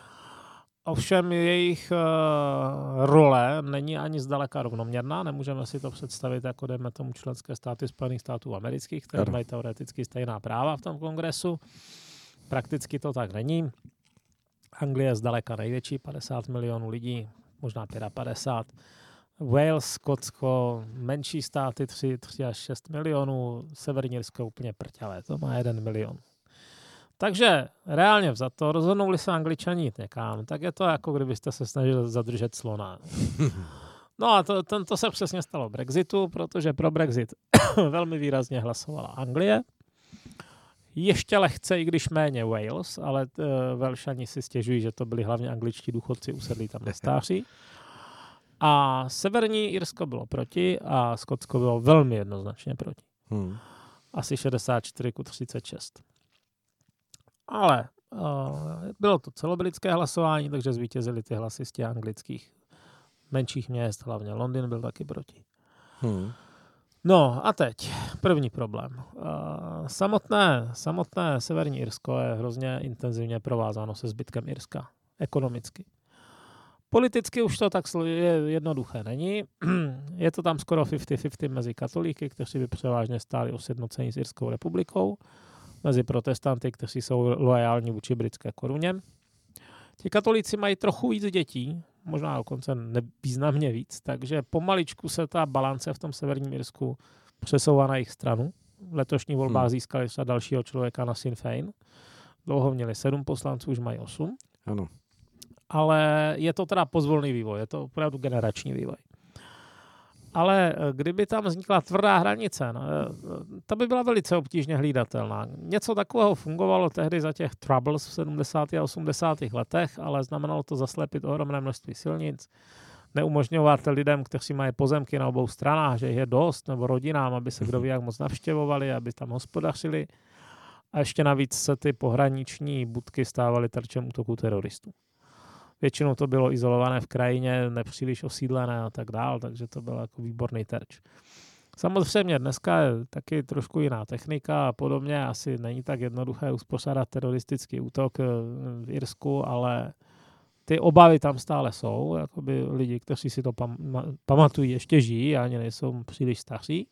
Ovšem jejich uh, role není ani zdaleka rovnoměrná. Nemůžeme si to představit jako, dejme tomu, členské státy Spojených států amerických, které mají teoreticky stejná práva v tom kongresu. Prakticky to tak není. Anglie je zdaleka největší, padesát milionů lidí, možná padesát pět. Wales, Skotsko, menší státy tři, tři až šest milionů, Severní Irsko je úplně prťavé, to má jeden milion. Takže reálně vzato, rozhodnou-li se Angličani jít někam, tak je to jako kdybyste se snažili zadržet slona. No a to, to, to se přesně stalo Brexitu, protože pro Brexit velmi výrazně hlasovala Anglie. Ještě lehce, i když méně Wales, ale uh, Velšani si stěžují, že to byli hlavně angličtí důchodci usedlí tam na stáří. A Severní Irsko bylo proti a Skotsko bylo velmi jednoznačně proti. Hmm. Asi šedesát čtyři ku třicet šest. Ale uh, bylo to celobritské hlasování, takže zvítězili ty hlasy z těch anglických menších měst, hlavně Londýn byl taky proti. Hmm. No a teď první problém. Uh, samotné, samotné Severní Irsko je hrozně intenzivně provázáno se zbytkem Irska. Ekonomicky. Politicky už to tak jednoduché není. Je to tam skoro padesát padesát mezi katolíky, kteří by převážně stáli o sjednocení s Irskou republikou, mezi protestanty, kteří jsou loajální vůči britské koruně. Ti katolíci mají trochu víc dětí, možná dokonce nevýznamně víc, takže pomaličku se ta balance v tom Severním Irsku přesouvá na jejich stranu. V letošní volbách hmm. získali třeba dalšího člověka na Sinn Féin. Dlouho měli sedm poslanců, už mají osm. Ano. Ale je to teda pozvolný vývoj, je to opravdu generační vývoj. Ale kdyby tam vznikla tvrdá hranice, no, ta by byla velice obtížně hlídatelná. Něco takového fungovalo tehdy za těch troubles v sedmdesátých a osmdesátých letech, ale znamenalo to zaslepit ohromné množství silnic, neumožňovat lidem, kteří mají pozemky na obou stranách, že jich je dost, nebo rodinám, aby se kdo ví jak moc navštěvovali, aby tam hospodařili. A ještě navíc se ty pohraniční budky stávaly terčem útoku teroristů. Většinou to bylo izolované v krajině, nepříliš osídlené a tak dál, takže to byl jako výborný terč. Samozřejmě dneska je taky trošku jiná technika a podobně. Asi není tak jednoduché uspořádat teroristický útok v Irsku, ale ty obavy tam stále jsou. Jakoby lidi, kteří si to pam- pamatují, ještě žijí a ani nejsou příliš staří.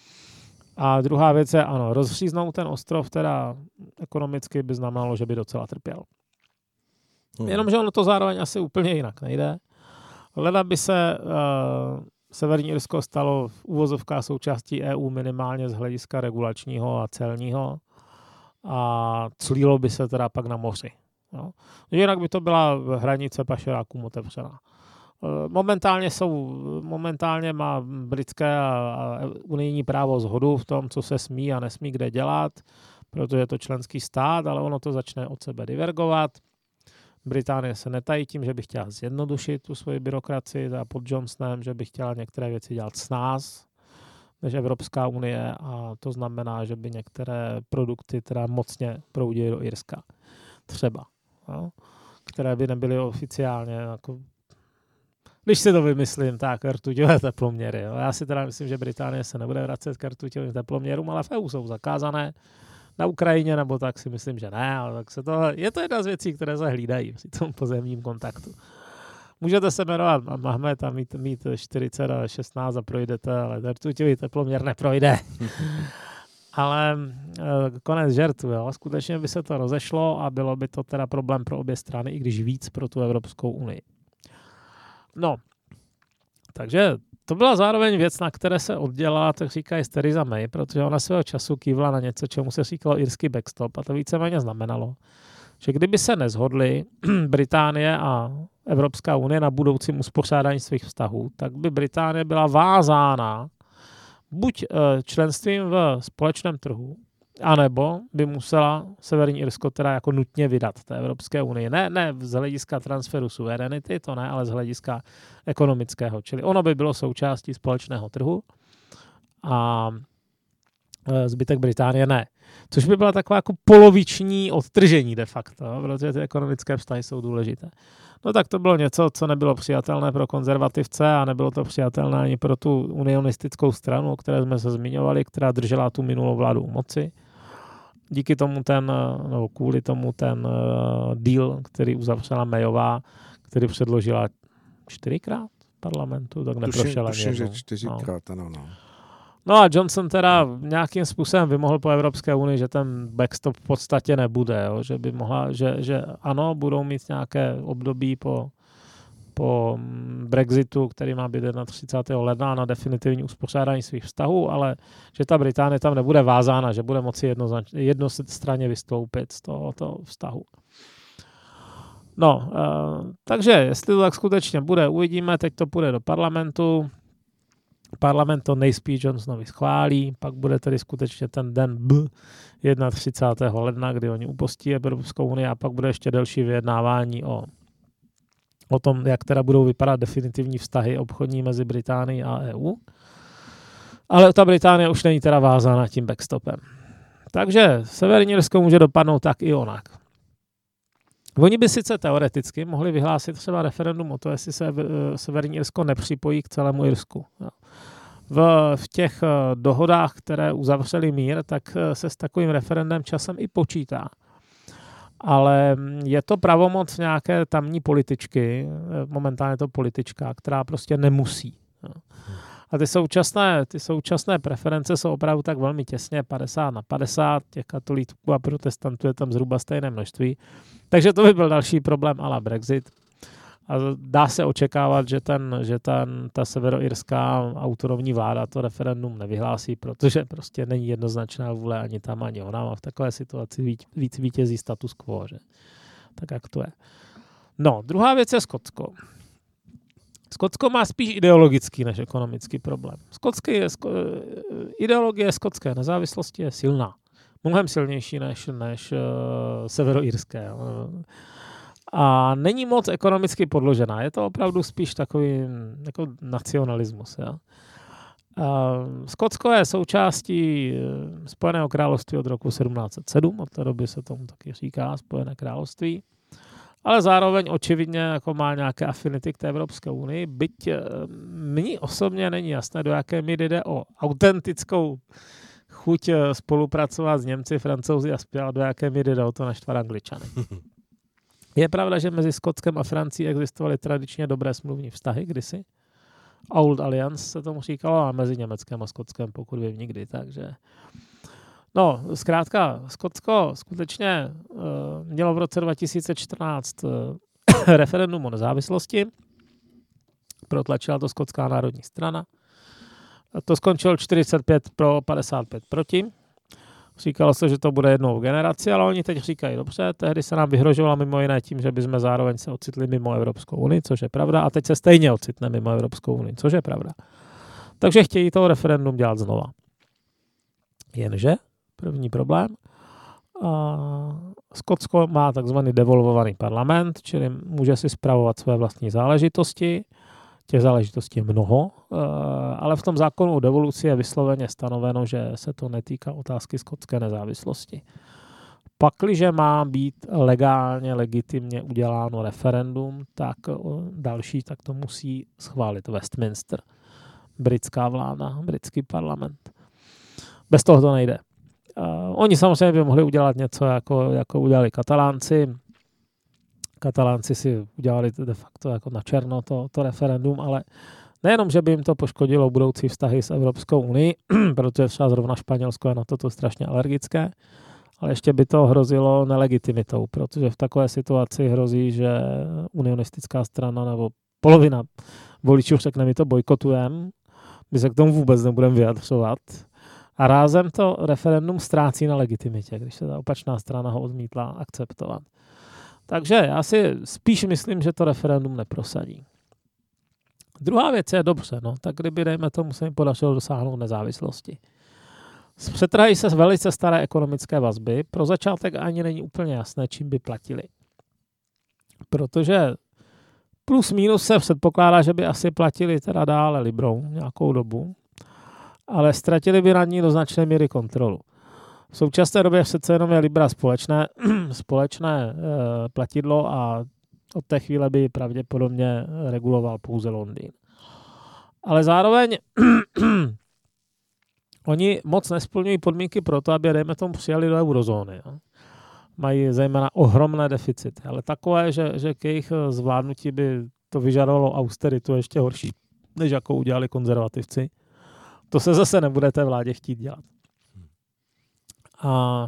A druhá věc je, ano, rozříznout ten ostrov teda ekonomicky by znamenalo, že by docela trpěl. Hmm. Jenomže ono to zároveň asi úplně jinak nejde. Leda by se uh, Severní Irsko stalo v uvozovkách součástí E U minimálně z hlediska regulačního a celního a clílo by se teda pak na moři. No. Jinak by to byla hranice pašerákům otevřená. Momentálně jsou, momentálně má britské a, a unijní právo shodu v tom, co se smí a nesmí kde dělat, protože je to členský stát, ale ono to začne od sebe divergovat. Británie se netají tím, že by chtěla zjednodušit tu svoji byrokracii a pod Johnsonem, že by chtěla některé věci dělat snáz než Evropská unie a to znamená, že by některé produkty teda mocně proudily do Irska. Třeba. No, které by nebyly oficiálně jako když si to vymyslím, tak rtuťové teploměry. Jo. Já si teda myslím, že Británie se nebude vracet k rtuťovým teploměrům, ale v E U jsou zakázané. Na Ukrajině nebo tak si myslím, že ne, ale tak se to, je to jedna z věcí, které se hlídají při tom pozemním kontaktu. Můžete se jmenovat Mahmed a mít, mít čtyřicet a šestnáct a projdete, ale rtuťový teploměr neprojde. Ale konec žertu, jo. Skutečně by se to rozešlo a bylo by to teda problém pro obě strany, i když víc pro tu Evropskou unii. No, takže to byla zároveň věc, na které se oddělala, tak říkají Theresa May, protože ona svého času kývla na něco, čemu se říkalo irský backstop a to víceméně znamenalo, že kdyby se neshodly Británie a Evropská unie na budoucím uspořádání svých vztahů, tak by Británie byla vázána buď členstvím v společném trhu, anebo by musela Severní Irsko teda jako nutně vydat té Evropské unii. Ne, ne z hlediska transferu suverenity, to ne, ale z hlediska ekonomického. Čili ono by bylo součástí společného trhu a zbytek Británie ne. Což by byla taková jako poloviční odtržení de facto, protože ty ekonomické vztahy jsou důležité. No tak to bylo něco, co nebylo přijatelné pro konzervativce a nebylo to přijatelné ani pro tu unionistickou stranu, o které jsme se zmiňovali, která držela tu minulou vládu u moci. Díky tomu ten, no kvůli tomu ten uh, deal, který uzavřela Mayová, který předložila čtyřikrát parlamentu, tak neprošel ani jednou. Tuším, že čtyřikrát, ano, no. No a Johnson teda nějakým způsobem vymohl po Evropské unii, že ten backstop v podstatě nebude, jo? Že by mohla, že, že ano, budou mít nějaké období po, po Brexitu, který má být třicátého prvního ledna na definitivní uspořádání svých vztahů, ale že ta Británie tam nebude vázána, že bude moci jednostranně vystoupit z tohoto vztahu. No, uh, takže jestli to tak skutečně bude, uvidíme, teď to půjde do parlamentu. Parlament to nejspíš Johnsonovi schválí, pak bude tedy skutečně ten den B třicátého prvního ledna, kdy oni upustí Evropskou unii a pak bude ještě delší vyjednávání o, o tom, jak teda budou vypadat definitivní vztahy obchodní mezi Británií a E U. Ale ta Británie už není teda vázána tím backstopem. Takže Severní Irsko může dopadnout tak i onak. Oni by sice teoreticky mohli vyhlásit třeba referendum o to, jestli se Severní Irsko nepřipojí k celému Irsku. V, v těch dohodách, které uzavřeli mír, tak se s takovým referendem časem i počítá. Ale je to pravomoc nějaké tamní političky, momentálně to politička, která prostě nemusí. A ty současné, ty současné preference jsou opravdu tak velmi těsně padesát na padesát, těch katolíků a protestantů je tam zhruba stejné množství. Takže to by byl další problém a la Brexit. A dá se očekávat, že, ten, že ten, ta severoirská autonomní vláda to referendum nevyhlásí, protože prostě není jednoznačná vůle ani tam, ani ona. A v takové situaci víc, víc vítězí status quo. Že? Tak jak to je. No, druhá věc je Skotsko. Skotsko má spíš ideologický než ekonomický problém. Skotský je, sko, ideologie skotské nezávislosti je silná. Mnohem silnější než, než uh, severoirské. A není moc ekonomicky podložená. Je to opravdu spíš takový jako nacionalismus. Ja? Uh, Skotsko je součástí Spojeného království od roku sedmnáct set sedm. Od té doby se tomu taky říká Spojené království. Ale zároveň očividně jako má nějaké afinity k té Evropské unii, byť mně osobně není jasné, do jaké míry jde o autentickou chuť spolupracovat s Němci, Francouzi a zpěl, do jaké míry jde o to naštvat Angličany. Je pravda, že mezi Skotskem a Francií existovaly tradičně dobré smluvní vztahy kdysi. Old Alliance se tomu říkalo a mezi Německem a Skotskem pokud vím nikdy, takže... No, zkrátka, Skotsko skutečně uh, mělo v roce dva tisíce čtrnáct uh, referendum o nezávislosti. Protlačila to Skotská národní strana. To skončilo čtyřicet pět pro, padesát pět proti. Říkalo se, že to bude jednou v generaci, ale oni teď říkají, dobře, tehdy se nám vyhrožovalo mimo jiné tím, že bychom zároveň se ocitli mimo Evropskou unii, což je pravda, a teď se stejně ocitne mimo Evropskou unii, což je pravda. Takže chtějí toho referendum dělat znova. Jenže první problém. Skotsko má takzvaný devolvovaný parlament, čili může si spravovat své vlastní záležitosti. Těch záležitostí je mnoho, ale v tom zákonu o devoluci je vysloveně stanoveno, že se to netýká otázky skotské nezávislosti. Pakliže má být legálně, legitimně uděláno referendum, tak další, tak to musí schválit Westminster, britská vláda, britský parlament. Bez toho to nejde. Uh, oni samozřejmě by mohli udělat něco, jako, jako udělali Katalánci. Katalánci si udělali de facto jako na černo to, to referendum, ale nejenom, že by jim to poškodilo budoucí vztahy s Evropskou unii, protože třeba zrovna Španělsko je na toto strašně alergické, ale ještě by to hrozilo nelegitimitou, protože v takové situaci hrozí, že unionistická strana nebo polovina voličů řekne, my to bojkotujeme, my se k tomu vůbec nebudeme vyjadřovat. A rázem to referendum ztrácí na legitimitě, když se ta opačná strana ho odmítla akceptovat. Takže já si spíš myslím, že to referendum neprosadí. Druhá věc je dobře, no, tak kdyby, dejme tomu, se jim podařilo dosáhnout nezávislosti. Přetrhají se velice staré ekonomické vazby, pro začátek ani není úplně jasné, čím by platili. Protože plus minus se předpokládá, že by asi platili teda dále librou nějakou dobu, ale ztratili by na ní do značné míry kontrolu. V současné době přece jenom je libra společné, společné e, platidlo a od té chvíle by pravděpodobně reguloval pouze Londýn. Ale zároveň oni moc nesplňují podmínky pro to, aby, dejme tomu, přijali do eurozóny. Jo. Mají zejména ohromné deficity, ale takové, že, že k jejich zvládnutí by to vyžadovalo austeritu ještě horší, než jakou udělali konzervativci. To se zase nebude té vládě chtít dělat. A, a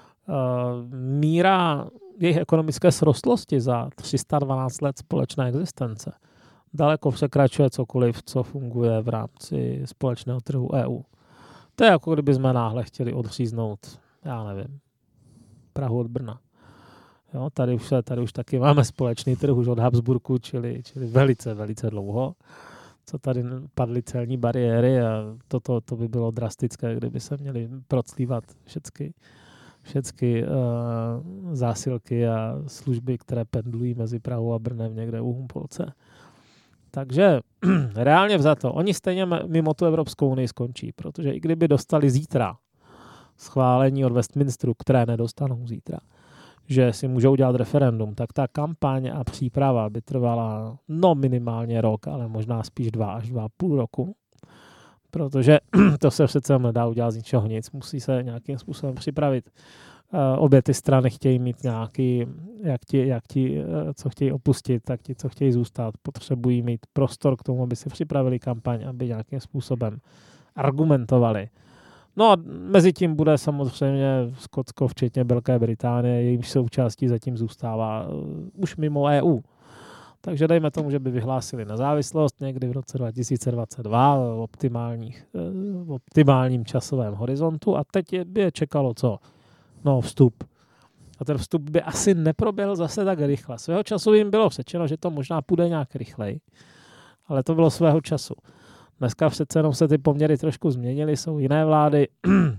míra jejich ekonomické srostlosti za tři sta dvanáct let společné existence daleko překračuje cokoliv, co funguje v rámci společného trhu E U. To je jako kdyby jsme náhle chtěli odříznout, já nevím, Prahu od Brna. Jo, tady, už, tady už taky máme společný trh už od Habsburku, čili, čili velice, velice dlouho. Co tady padly celní bariéry a toto to by bylo drastické, kdyby se měly proclívat všechny, všechny uh, zásilky a služby, které pendlují mezi Prahou a Brnem někde u Humpolce. Takže reálně vzato, oni stejně mimo tu Evropskou unii skončí, protože i kdyby dostali zítra schválení od Westminsteru, které nedostanou zítra, že si můžou dělat referendum, tak ta kampaň a příprava by trvala no minimálně rok, ale možná spíš dva až dva a půl roku, protože to se přece nedá udělat z ničeho nic, musí se nějakým způsobem připravit. Uh, obě ty strany chtějí mít nějaký, jak ti, jak ti, uh, co chtějí opustit, tak ti, co chtějí zůstat, potřebují mít prostor k tomu, aby si připravili kampaň, aby nějakým způsobem argumentovali. No a mezi tím bude samozřejmě Skotsko, včetně Velké Británie, jejímž součástí zatím zůstává uh, už mimo E U. Takže dejme tomu, že by vyhlásili nezávislost někdy v roce dva tisíce dvacet dva v, optimálních, uh, v optimálním časovém horizontu a teď je, by je čekalo co? No, vstup. A ten vstup by asi neproběhl zase tak rychle. Svého času jim bylo řečeno, že to možná půjde nějak rychleji, ale to bylo svého času. Dneska přece jenom se ty poměry trošku změnily, jsou jiné vlády.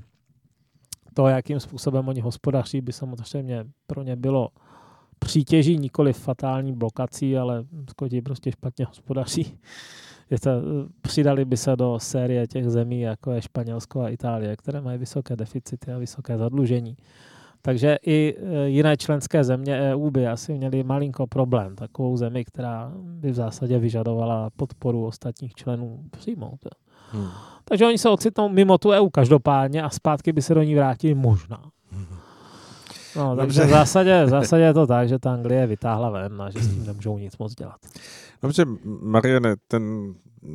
To, jakým způsobem oni hospodaří, by samozřejmě pro ně bylo přítěží, nikoli fatální blokací, ale Skoti prostě špatně hospodaří. To, přidali by se do série těch zemí, jako je Španělsko a Itálie, které mají vysoké deficity a vysoké zadlužení. Takže i jiné členské země E U by asi měly malinko problém. Takovou zemi, která by v zásadě vyžadovala podporu ostatních členů přijmout. Hmm. Takže oni se ocitnou mimo tu E U každopádně a zpátky by se do ní vrátili možná. No, takže v zásadě, v zásadě je to tak, že ta Anglie vytáhla ven a že s tím nemůžou nic moc dělat. Dobře, Mariane, ten,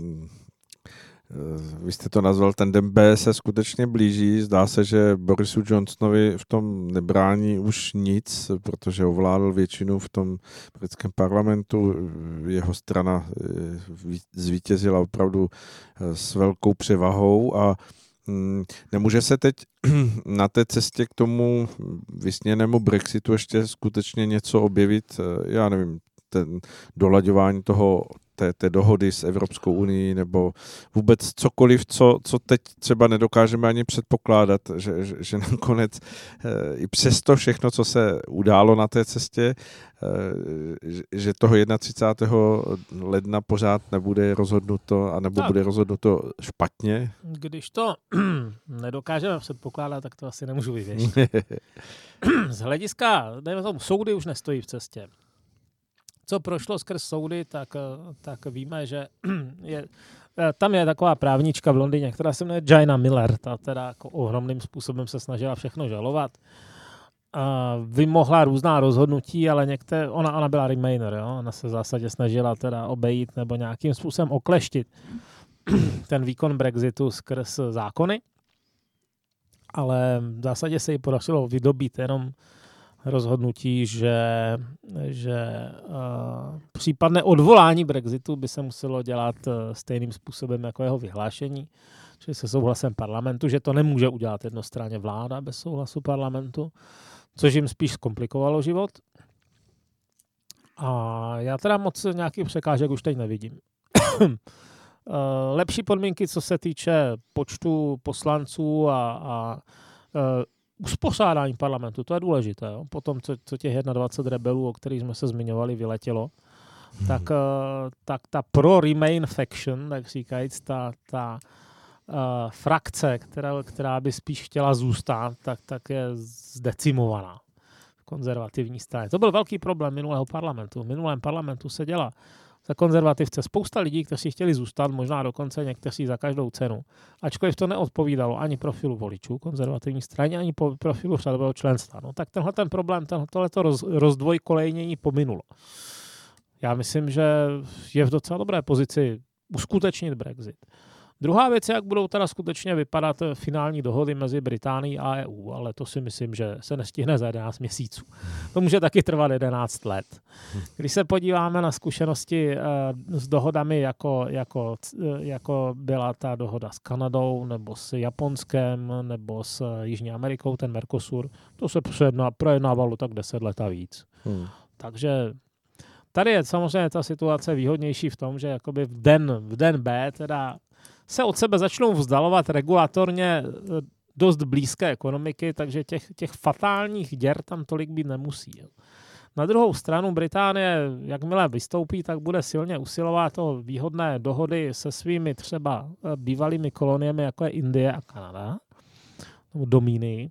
vy jste to nazval, ten den B se skutečně blíží. Zdá se, že Borisu Johnsonovi v tom nebrání už nic, protože ovládl většinu v tom britském parlamentu. Jeho strana zvítězila opravdu s velkou převahou a nemůže se teď na té cestě k tomu vysněnému Brexitu ještě skutečně něco objevit, já nevím, ten dolaďování toho té, té dohody s Evropskou unií nebo vůbec cokoliv, co, co teď třeba nedokážeme ani předpokládat, že, že, že nakonec e, i přesto všechno, co se událo na té cestě, e, že toho třicátého prvního ledna pořád nebude rozhodnuto a nebo tak. bude rozhodnuto špatně. Když to nedokážeme předpokládat, tak to asi nemůžu vyvěšit. Z hlediska, dejme tomu, soudy už nestojí v cestě. Co prošlo skrz soudy, tak, tak víme, že je, tam je taková právnička v Londýně, která se jmenuje Jaina Miller, ta teda jako ohromným způsobem se snažila všechno žalovat. A vymohla různá rozhodnutí, ale některé, ona, ona byla Remainer, jo? Ona se v zásadě snažila teda obejít nebo nějakým způsobem okleštit ten výkon Brexitu skrz zákony, ale v zásadě se jí podařilo vydobít jenom rozhodnutí, že, že uh, případné odvolání Brexitu by se muselo dělat uh, stejným způsobem jako jeho vyhlášení, čili se souhlasem parlamentu, že to nemůže udělat jednostranně vláda bez souhlasu parlamentu, což jim spíš zkomplikovalo život. A já teda moc nějakých překážek už teď nevidím. Lepší podmínky, co se týče počtu poslanců a, a uspořádání parlamentu, to je důležité. Jo? Potom, co, co těch dvacet jedna rebelů, o kterých jsme se zmiňovali, vyletělo, hmm. tak, tak ta pro-Remain faction, tak říkajíc, ta, ta uh, frakce, která, která by spíš chtěla zůstat, tak, tak je zdecimovaná v konzervativní straně. To byl velký problém minulého parlamentu. V minulém parlamentu se dělá za konzervativce spousta lidí, kteří chtěli zůstat, možná dokonce někteří za každou cenu. Ačkoliv to neodpovídalo ani profilu voličů konzervativní straně, ani po profilu řadového členstva. No, tak tenhle ten problém, tohleto roz, rozdvojkolejnění pominulo. Já myslím, že je v docela dobré pozici uskutečnit Brexit. Druhá věc je, jak budou teda skutečně vypadat finální dohody mezi Británií a E U, ale to si myslím, že se nestihne za jedenáct měsíců. To může taky trvat jedenáct let. Když se podíváme na zkušenosti s dohodami, jako, jako, jako byla ta dohoda s Kanadou, nebo s Japonskem, nebo s Jižní Amerikou, ten Mercosur, to se projednávalo tak deset let a víc. Hmm. Takže tady je samozřejmě ta situace výhodnější v tom, že jakoby v den, v den B teda se od sebe začnou vzdalovat regulatorně dost blízké ekonomiky, takže těch, těch fatálních děr tam tolik být nemusí. Na druhou stranu Británie, jakmile vystoupí, tak bude silně usilovat o výhodné dohody se svými třeba bývalými koloniemi, jako je Indie a Kanada, nebo domíny.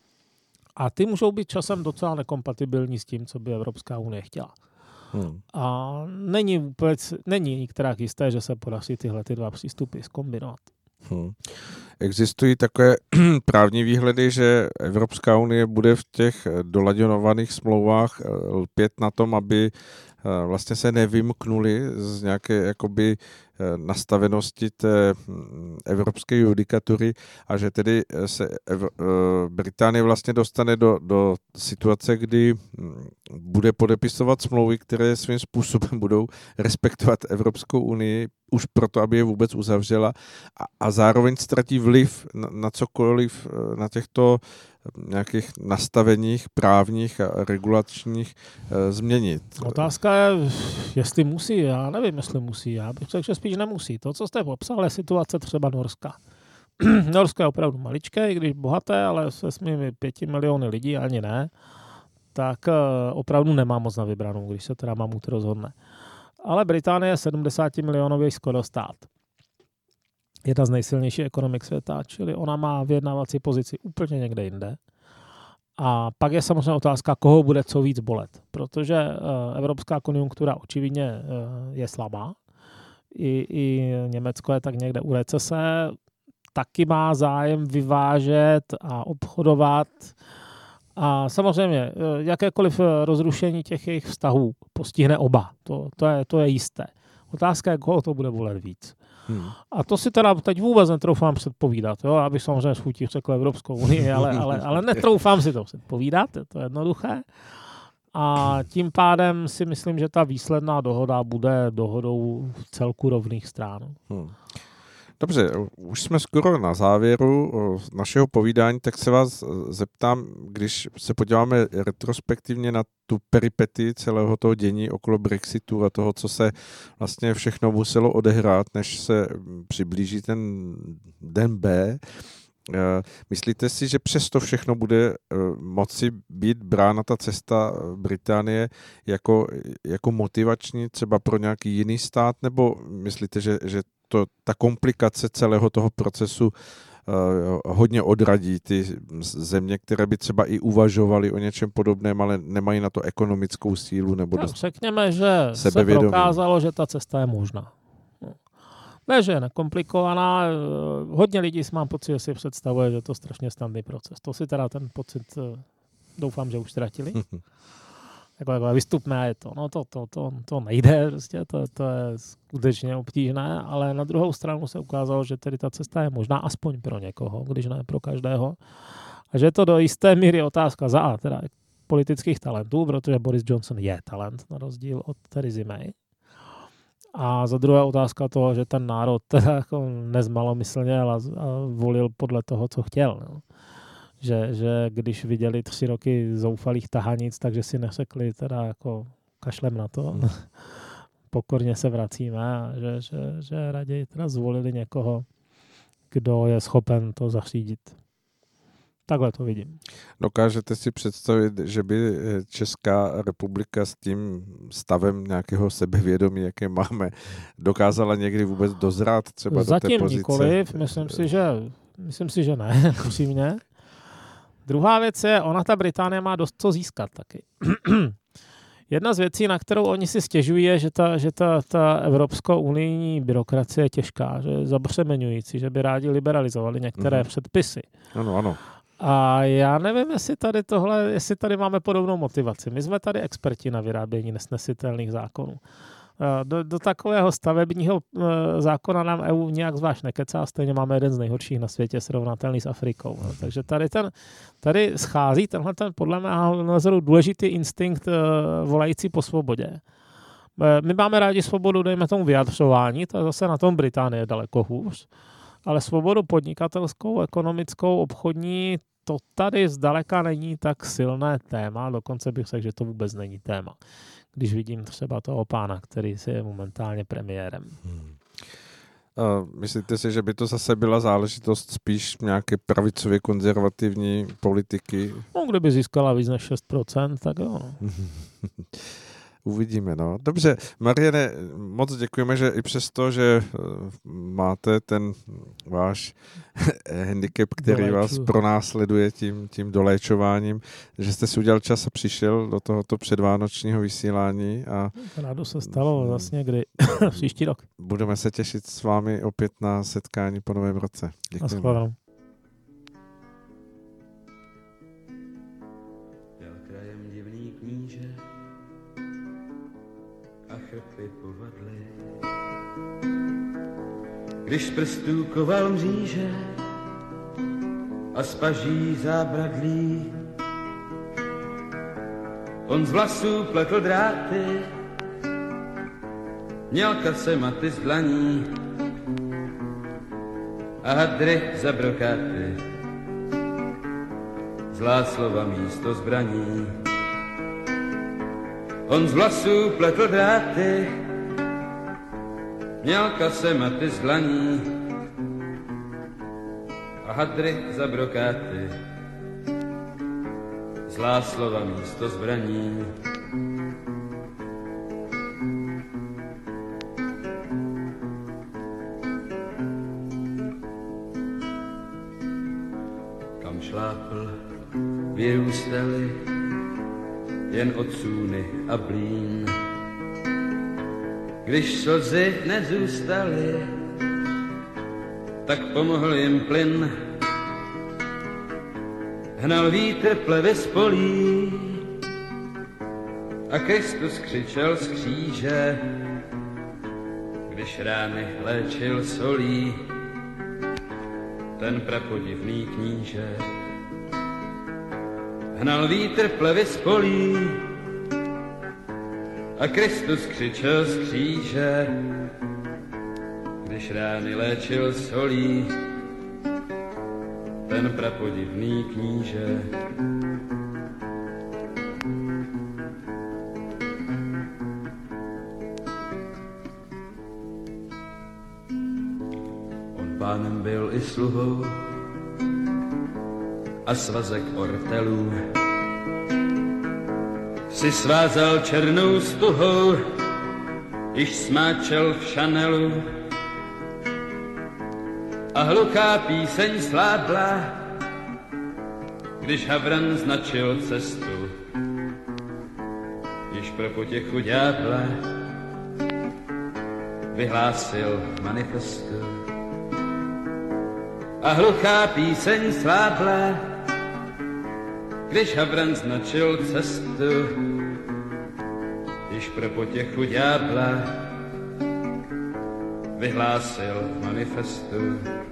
A ty můžou být časem docela nekompatibilní s tím, co by Evropská unie chtěla. Hmm. A není vůbec, není nikterak jisté, že se podaří tyhle ty dva přístupy zkombinovat. Hmm. Existují takové právní výhledy, že Evropská unie bude v těch dolaďovaných smlouvách lpět na tom, aby vlastně se nevymknuli z nějaké jakoby nastavenosti té evropské judikatury a že tedy se Británie vlastně dostane do, do situace, kdy bude podepisovat smlouvy, které svým způsobem budou respektovat Evropskou unii už proto, aby je vůbec uzavřela a, a zároveň ztratí vliv na, na cokoliv na těchto nějakých nastaveních právních a regulačních e, změnit. Otázka je, jestli musí. Já nevím, jestli musí. Já bych řekl, že spíš nemusí. To, co jste popsal, je situace třeba Norska. Norsko je opravdu maličké, i když bohaté, ale se svými pěti miliony lidí ani ne, tak e, opravdu nemá moc na vybranou, když se teda mamut rozhodne. Ale Británie je sedmdesát milionový skoro stát. Jedna z nejsilnějších ekonomik světa, čili ona má vyjednávací pozici úplně někde jinde. A pak je samozřejmě otázka, koho bude co víc bolet, protože uh, evropská konjunktura očividně uh, je slabá. I, I Německo je tak někde u recese, taky má zájem vyvážet a obchodovat. A samozřejmě jakékoliv rozrušení těch jejich vztahů postihne oba. To, to, je, to je jisté. Otázka je, koho to bude bolet víc. Hmm. A to si teda teď vůbec netroufám předpovídat. Jo? Abych samozřejmě s chutí řekl Evropskou unii, ale, ale, ale netroufám si to předpovídat, je to jednoduché. A tím pádem si myslím, že ta výsledná dohoda bude dohodou v celku rovných stran. Hmm. Dobře, už jsme skoro na závěru našeho povídání, tak se vás zeptám, když se podíváme retrospektivně na tu peripety celého toho dění okolo Brexitu a toho, co se vlastně všechno muselo odehrát, než se přiblíží ten den B. Myslíte si, že přesto všechno bude moci být brána ta cesta Británie jako, jako motivační třeba pro nějaký jiný stát, nebo myslíte, že, že to, ta komplikace celého toho procesu uh, hodně odradí ty země, které by třeba i uvažovaly o něčem podobném, ale nemají na to ekonomickou sílu nebo no, dost řekněme, že sebevědomí. Se prokázalo, že ta cesta je možná. Ne, že je nekomplikovaná. Hodně lidí si mám pocit, že si představuje, že to je strašně snadný proces. To si teda ten pocit doufám, že už ztratili. Jako, jako vystupné je to. No to, to, to, to nejde, prostě, to, to je skutečně obtížné, ale na druhou stranu se ukázalo, že tedy ta cesta je možná aspoň pro někoho, když ne pro každého. A že je to do jisté míry otázka za A, teda politických talentů, protože Boris Johnson je talent, na rozdíl od Theresa May. A za druhé otázka toho, že ten národ teda jako nezmalomyslně ale volil podle toho, co chtěl. No. Že, že když viděli tři roky zoufalých tahanic, takže si neřekli teda jako kašlem na to. Hmm. Pokorně se vracíme a že, že, že raději teda zvolili někoho, kdo je schopen to zařídit. Takhle to vidím. Dokážete si představit, že by Česká republika s tím stavem nějakého sebevědomí, jaké máme, dokázala někdy vůbec dozrát třeba zatím do té pozice? Nikoliv, myslím si, že, myslím si, že ne, upřímně. Druhá věc je, ona ta Británie má dost co získat taky. Jedna z věcí, na kterou oni si stěžují, je, že ta, že ta, ta evropsko-unijní byrokracie je těžká, že je zabřemeňující, že by rádi liberalizovali některé mm-hmm. předpisy. Ano, ano. A já nevím, jestli tady tohle, jestli tady máme podobnou motivaci. My jsme tady experti na vyrábění nesnesitelných zákonů. Do, do takového stavebního zákona nám E U nějak zvlášť nekecá, stejně máme jeden z nejhorších na světě, srovnatelný s Afrikou. No. Takže tady, ten, tady schází tenhle ten podle mého názoru důležitý instinkt volající po svobodě. My máme rádi svobodu, dejme tomu vyjadřování, to je zase na tom Británie daleko hůř, ale svobodu podnikatelskou, ekonomickou, obchodní, to tady zdaleka není tak silné téma, dokonce bych řekl, že to vůbec není téma. Když vidím třeba toho pána, který si je momentálně premiérem. Hmm. Uh, myslíte si, že by to zase byla záležitost spíš nějaké pravicově konzervativní politiky? No, kdyby získala víc než šest procent, tak jo. Uvidíme, no. Dobře, Mariane, moc děkujeme, že i přesto, že máte ten váš handicap, který Doléču. vás pronásleduje tím, tím doléčováním, že jste si udělal čas a přišel do tohoto předvánočního vysílání. A rádo se stalo vlastně kdy příští rok. Budeme se těšit s vámi opět na setkání po novém roce. Děkujeme. Chrpy povadly. Když z prstů koval mříže a z paží zábradlí, on z vlasů pletl dráty, měl kasematy z dlaní a hadry za brokáty, zlá slova místo zbraní. On z vlasů pletl dráty, měl kasematy z dlaní a hadry za brokáty, zlá slova místo zbraní. Kam šlápl, vyrůstali jen odsůny a blín. Když slzy nezůstaly, tak pomohl jim plyn. Hnal vítr plevy z polí a Kristus křičel z kříže, když rány léčil solí ten prapodivný kníže. Hnal vítr plevy z polí a Kristus křičel z kříže, když když rány léčil solí, ten prapodivný kníže. On pánem byl i sluhou a svazek ortelů si svázal černou stuhou, již smáčel v šanelu a hluchá píseň slábla, když Havran značil cestu, již pro potěchu ďábla vyhlásil manifestu. A hluchá píseň slábla, když Havran značil cestu, již pro potěchu ďábla vyhlásil manifestu.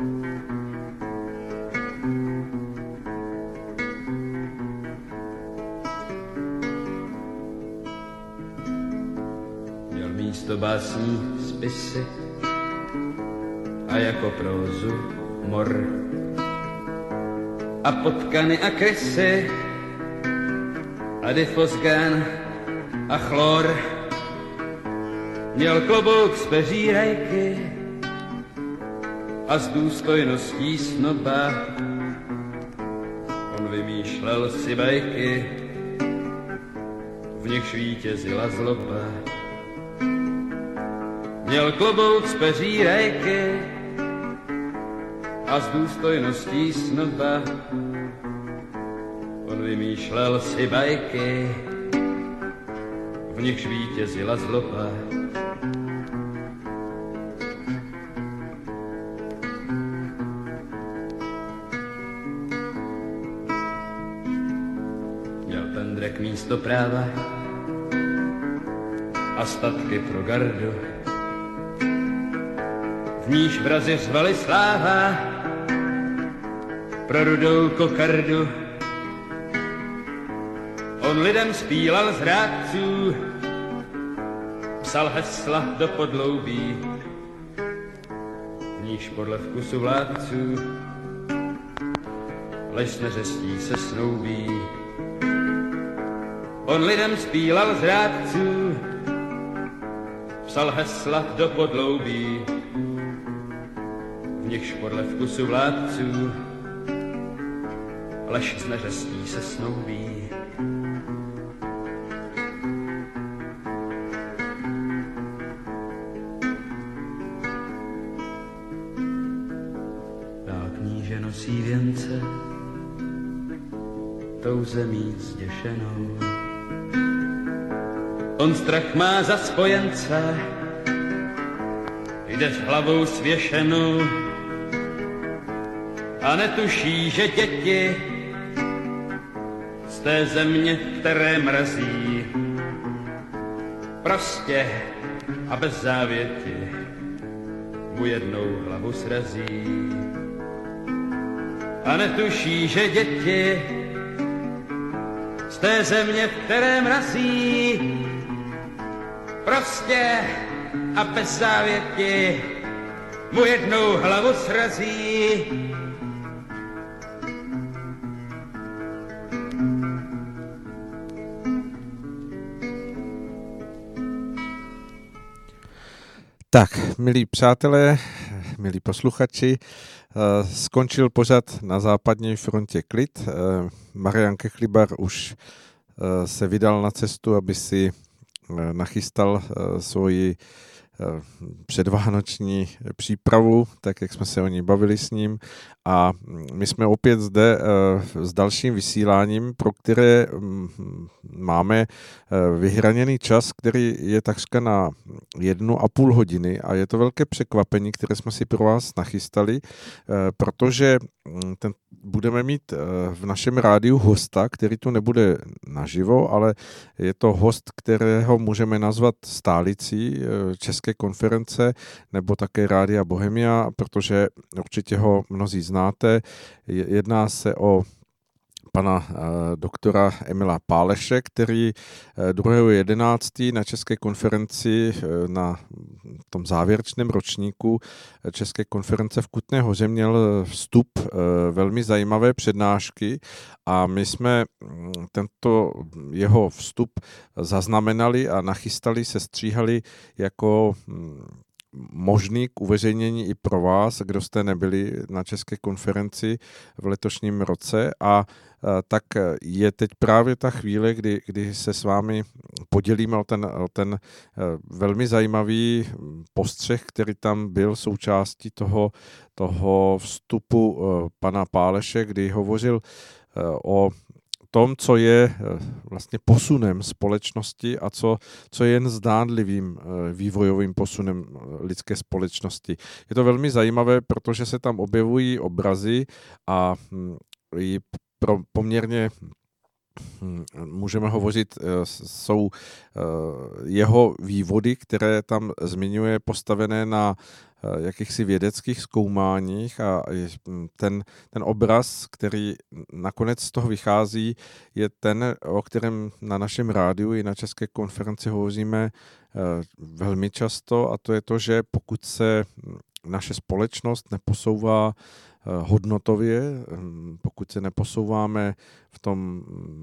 Měl místo básní spisy a jako prózu mor a potkany a krysy a difosgén a chlor. Měl klobouk z peří rajky a s důstojností snoba on vymýšlel si bajky, v nich vítězila zloba. Měl klobouk z peří rajky a s důstojností snoba on vymýšlel si bajky, v nichž vítězila zloba. Měl pendrek místo práva a statky pro gardu, v níž vrazi řvali sláva pro rudou kokardu. On lidem zpíval z rádců, psal hesla do podloubí, v níž podle vkusu vládců lež s neřestí se snoubí. On lidem zpíval z rádců, psal hesla do podloubí, v nichž podle vkusu vládců lež s neřestí se snoubí. Dál kníže nosí věnce tou zemí zděšenou. On strach má za spojence, jde s hlavou svěšenou a netuší, že děti z té země, které mrazí, prostě a bez závěti mu jednou hlavu srazí. A netuší, že děti z té země, v které mrazí, prostě a bez závěti mu jednou hlavu srazí. Tak, milí přátelé, milí posluchači, skončil pořad Na západní frontě klid. Marian Kechlibar už se vydal na cestu, aby si nachystal svoji předvánoční přípravu, tak jak jsme se o ní bavili s ním. A my jsme opět zde s dalším vysíláním, pro které máme vyhraněný čas, který je takřka na jednu a půl hodiny a je to velké překvapení, které jsme si pro vás nachystali, protože ten, budeme mít v našem rádiu hosta, který tu nebude naživo, ale je to host, kterého můžeme nazvat stálicí České konference nebo také Rádia Bohemia, protože určitě ho mnozí znáte. Jedná se o pana doktora Emila Páleše, který druhého jedenáctého na České konferenci na tom závěrečném ročníku České konference v Kutné Hoře měl vstup velmi zajímavé přednášky a my jsme tento jeho vstup zaznamenali a nachystali, sestříhali jako možný k uveřejnění i pro vás, kdo jste nebyli na České konferenci v letošním roce a tak je teď právě ta chvíle, kdy, kdy se s vámi podělíme o ten, o ten velmi zajímavý postřeh, který tam byl součástí toho, toho vstupu pana Páleše, kdy hovořil o tom, co je vlastně posunem společnosti a co, co je jen zdánlivým vývojovým posunem lidské společnosti. Je to velmi zajímavé, protože se tam objevují obrazy a i pro poměrně můžeme hovořit, jsou jeho vývody, které tam zmiňuje, postavené na jakýchsi vědeckých zkoumáních a ten, ten obraz, který nakonec z toho vychází, je ten, o kterém na našem rádiu i na České konferenci hovoříme velmi často, a to je to, že pokud se naše společnost neposouvá hodnotově, pokud se neposouváme v tom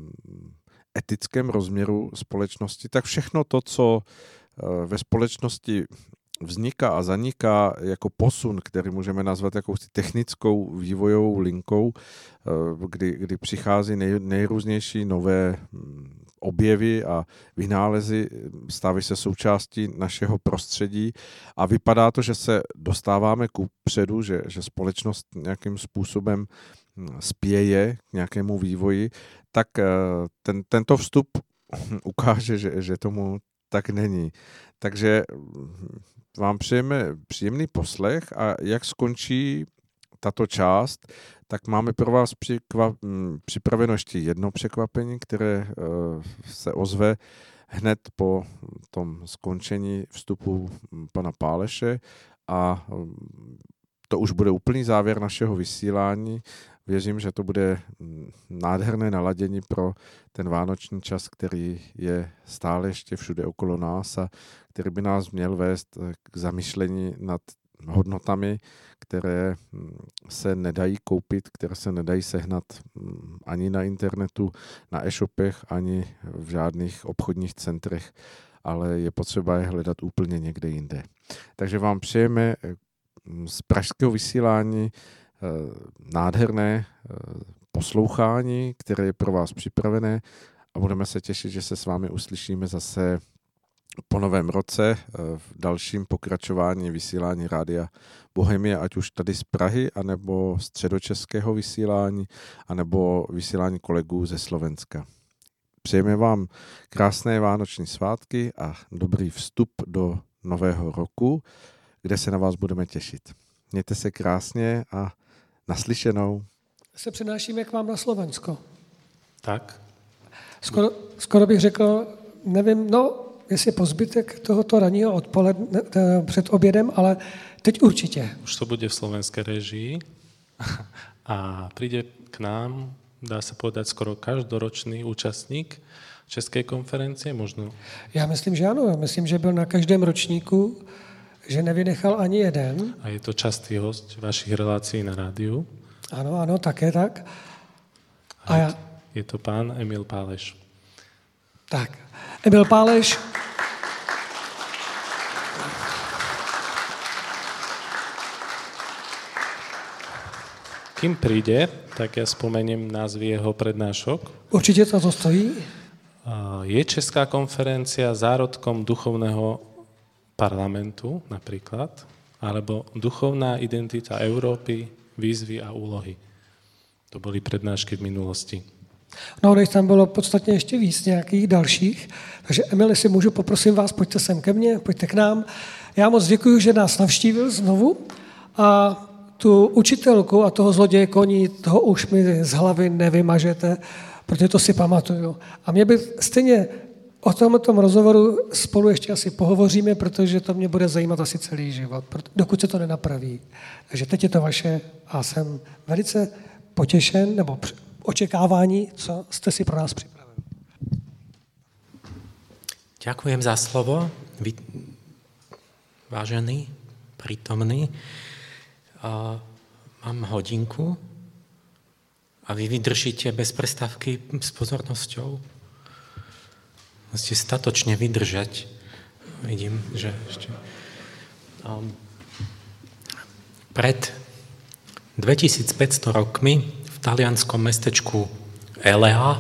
etickém rozměru společnosti, tak všechno to, co ve společnosti vzniká a zaniká jako posun, který můžeme nazvat jakousi technickou vývojovou linkou, kdy, kdy přichází nej, nejrůznější nové objevy a vynálezy, stávají se součástí našeho prostředí a vypadá to, že se dostáváme ku předu, že, že společnost nějakým způsobem spěje k nějakému vývoji, tak ten, tento vstup ukáže, že, že tomu tak není. Takže vám přejeme příjemný poslech a jak skončí tato část, tak máme pro vás přikva- připraveno ještě jedno překvapení, které se ozve hned po tom skončení vstupu pana Páleše a to už bude úplný závěr našeho vysílání. Věřím, že to bude nádherné naladění pro ten vánoční čas, který je stále ještě všude okolo nás a který by nás měl vést k zamyšlení nad hodnotami, které se nedají koupit, které se nedají sehnat ani na internetu, na e-shopech, ani v žádných obchodních centrech, ale je potřeba je hledat úplně někde jinde. Takže vám přejeme z pražského vysílání nádherné poslouchání, které je pro vás připravené a budeme se těšit, že se s vámi uslyšíme zase po novém roce v dalším pokračování vysílání Rádia Bohemia, ať už tady z Prahy, anebo středočeského vysílání, anebo vysílání kolegů ze Slovenska. Přejeme vám krásné vánoční svátky a dobrý vstup do nového roku, kde se na vás budeme těšit. Mějte se krásně a naslyšenou. Se přenášíme k vám na Slovensko. Tak. Skoro, skoro bych řekl, nevím, no, jestli po zbytek tohoto ranního odpoledne před obědem, ale teď určitě. Už to bude v slovenské režii a príde k nám, dá se povedať, skoro každoročný účastník České konferencie, možno? Já myslím, že ano. Myslím, že byl na každém ročníku, že nevynechal ani jeden. A je to častý host vašich relácií na rádiu. Ano, ano, také tak. A, A je, já... je to pán Emil Páleš. Tak, Emil Páleš. Kým príde, tak ja spomeniem názvy jeho prednášok. Určitě to stojí. Je Česká konferencia zárodkom duchovného parlamentu napríklad, alebo duchovná identita Európy, výzvy a úlohy. To byly přednášky v minulosti. No, než tam bylo podstatně ještě víc nějakých dalších. Takže Emil, jestli můžu, poprosím vás, pojďte sem ke mně, pojďte k nám. Já moc děkuji, že nás navštívil znovu a tu učitelku a toho zloděje koní, toho už mi z hlavy nevymažete, protože to si pamatuju. A mě by stejně o tomto rozhovoru spolu ještě asi pohovoříme, protože to mě bude zajímat asi celý život, dokud se to nenapraví. Takže teď je to vaše a jsem velice potěšen, nebo očekávání, co jste si pro nás připravili. Ďakujem za slovo, vy, vážený, prítomný. Uh, mám hodinku a vy vydržíte bez prestávky s pozornosťou. Musíte statočne vydržať. Vidím, že ešte... Um, pred dvetisícpäťsto rokmi v talianskom mestečku Elea uh,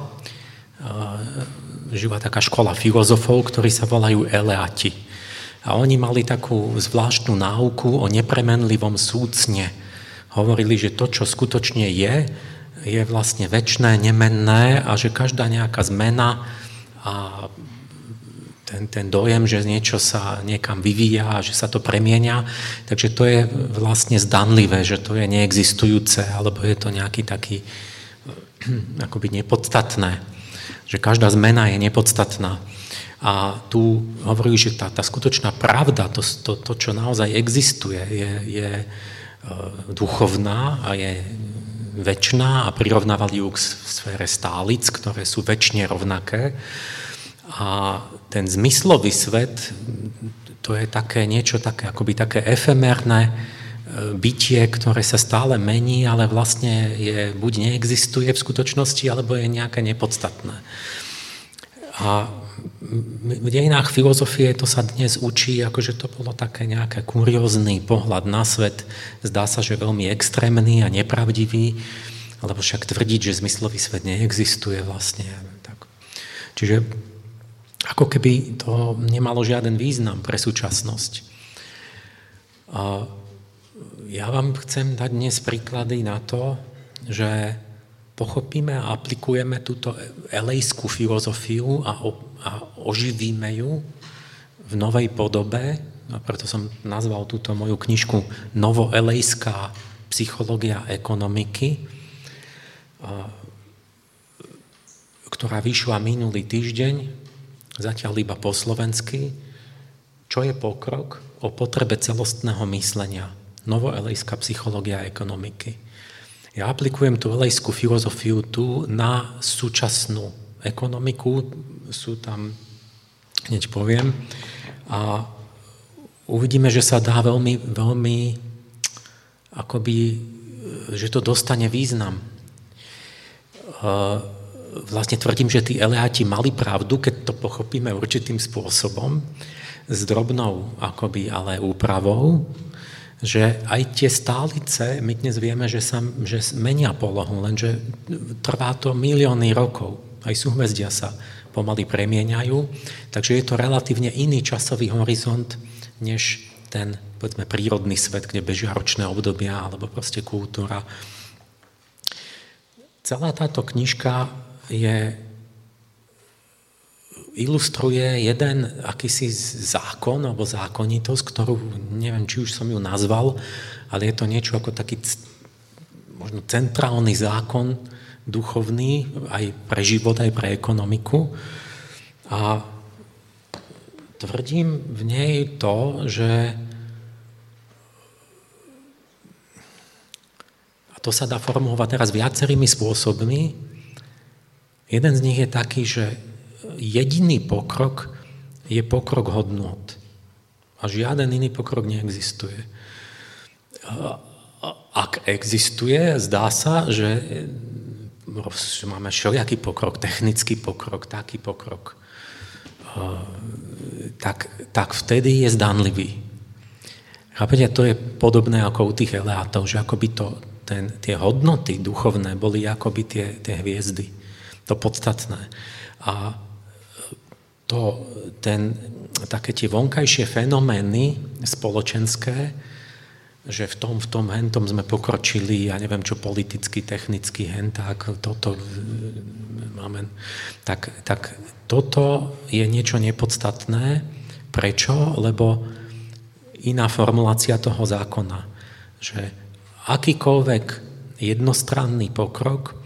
žila taká škola filozofov, ktorí sa volajú Eleati. A oni mali takú zvláštnu náuku o nepremenlivom súcne. Hovorili, že to, čo skutočne je, je vlastne večné, nemenné a že každá nejaká zmena a ten, ten dojem, že niečo sa niekam vyvíja a že sa to premieňa, takže to je vlastne zdanlivé, že to je neexistujúce, alebo je to nejaký taký akoby nepodstatné, že každá zmena je nepodstatná. A tu hovorí, že tá, tá skutočná pravda, to, to, to čo naozaj existuje, je, je duchovná a je večná a prirovnávali ju k sfére stálic, ktoré sú večne rovnaké. A ten zmyslový svet, to je také niečo také, akoby také efemérne bytie, ktoré sa stále mení, ale vlastne je, buď neexistuje v skutočnosti, alebo je nejaké nepodstatné. A v dejinách filozofie to sa dnes učí, akože to bolo také nejaké kuriózny pohľad na svet. Zdá sa, že veľmi extrémny a nepravdivý, alebo však tvrdiť, že zmyslový svet neexistuje vlastne. Tak. Čiže ako keby to nemalo žiaden význam pre súčasnosť. A ja vám chcem dať dnes príklady na to, že pochopíme a aplikujeme túto elejskú filozofiu a, o, a oživíme ju v novej podobe. A preto som nazval túto moju knižku Novoelejská psychológia ekonomiky, a, ktorá vyšla minulý týždeň, zatiaľ iba po slovensky. Čo je pokrok? O potrebe celostného myslenia. Novoelejská psychológia ekonomiky. Ja aplikujem tú elejskú filozofiu tu na súčasnú ekonomiku, sú tam, hneď poviem, a uvidíme, že sa dá veľmi, veľmi, akoby, že to dostane význam. Vlastne tvrdím, že tí eleáti mali pravdu, keď to pochopíme určitým spôsobom, s drobnou, akoby, ale úpravou, že aj tie stálice, my dnes vieme, že sa že menia polohu, lenže trvá to milióny rokov. Aj súhvezdia sa pomaly premieňajú, takže je to relatívne iný časový horizont, než ten, povedzme, prírodný svet, kde bežia ročné obdobia, alebo proste kultúra. Celá táto knižka je, ilustruje jeden akýsi zákon alebo zákonitosť, ktorú neviem, či už som ju nazval, ale je to niečo ako taký možno centrálny zákon duchovný aj pre život, aj pre ekonomiku. A tvrdím v nej to, že a to sa dá formulovať teraz viacerými spôsobmi. Jeden z nich je taký, že jediný pokrok je pokrok hodnôt. A žiaden iný pokrok neexistuje. Ak existuje, zdá sa, že máme všelijaký pokrok, technický pokrok, taký pokrok, tak, tak vtedy je zdanlivý. Chápete, to je podobné ako u tých eleátov, že akoby to, ten, tie hodnoty duchovné boli akoby tie, tie hviezdy, to podstatné. A to, ten, také tie vonkajšie fenomény spoločenské, že v tom, v tom, hentom sme pokročili, ja neviem čo, politicky, technicky, henták, toto máme, tak, tak toto je niečo nepodstatné. Prečo? Lebo iná formulácia toho zákona, že akýkoľvek jednostranný pokrok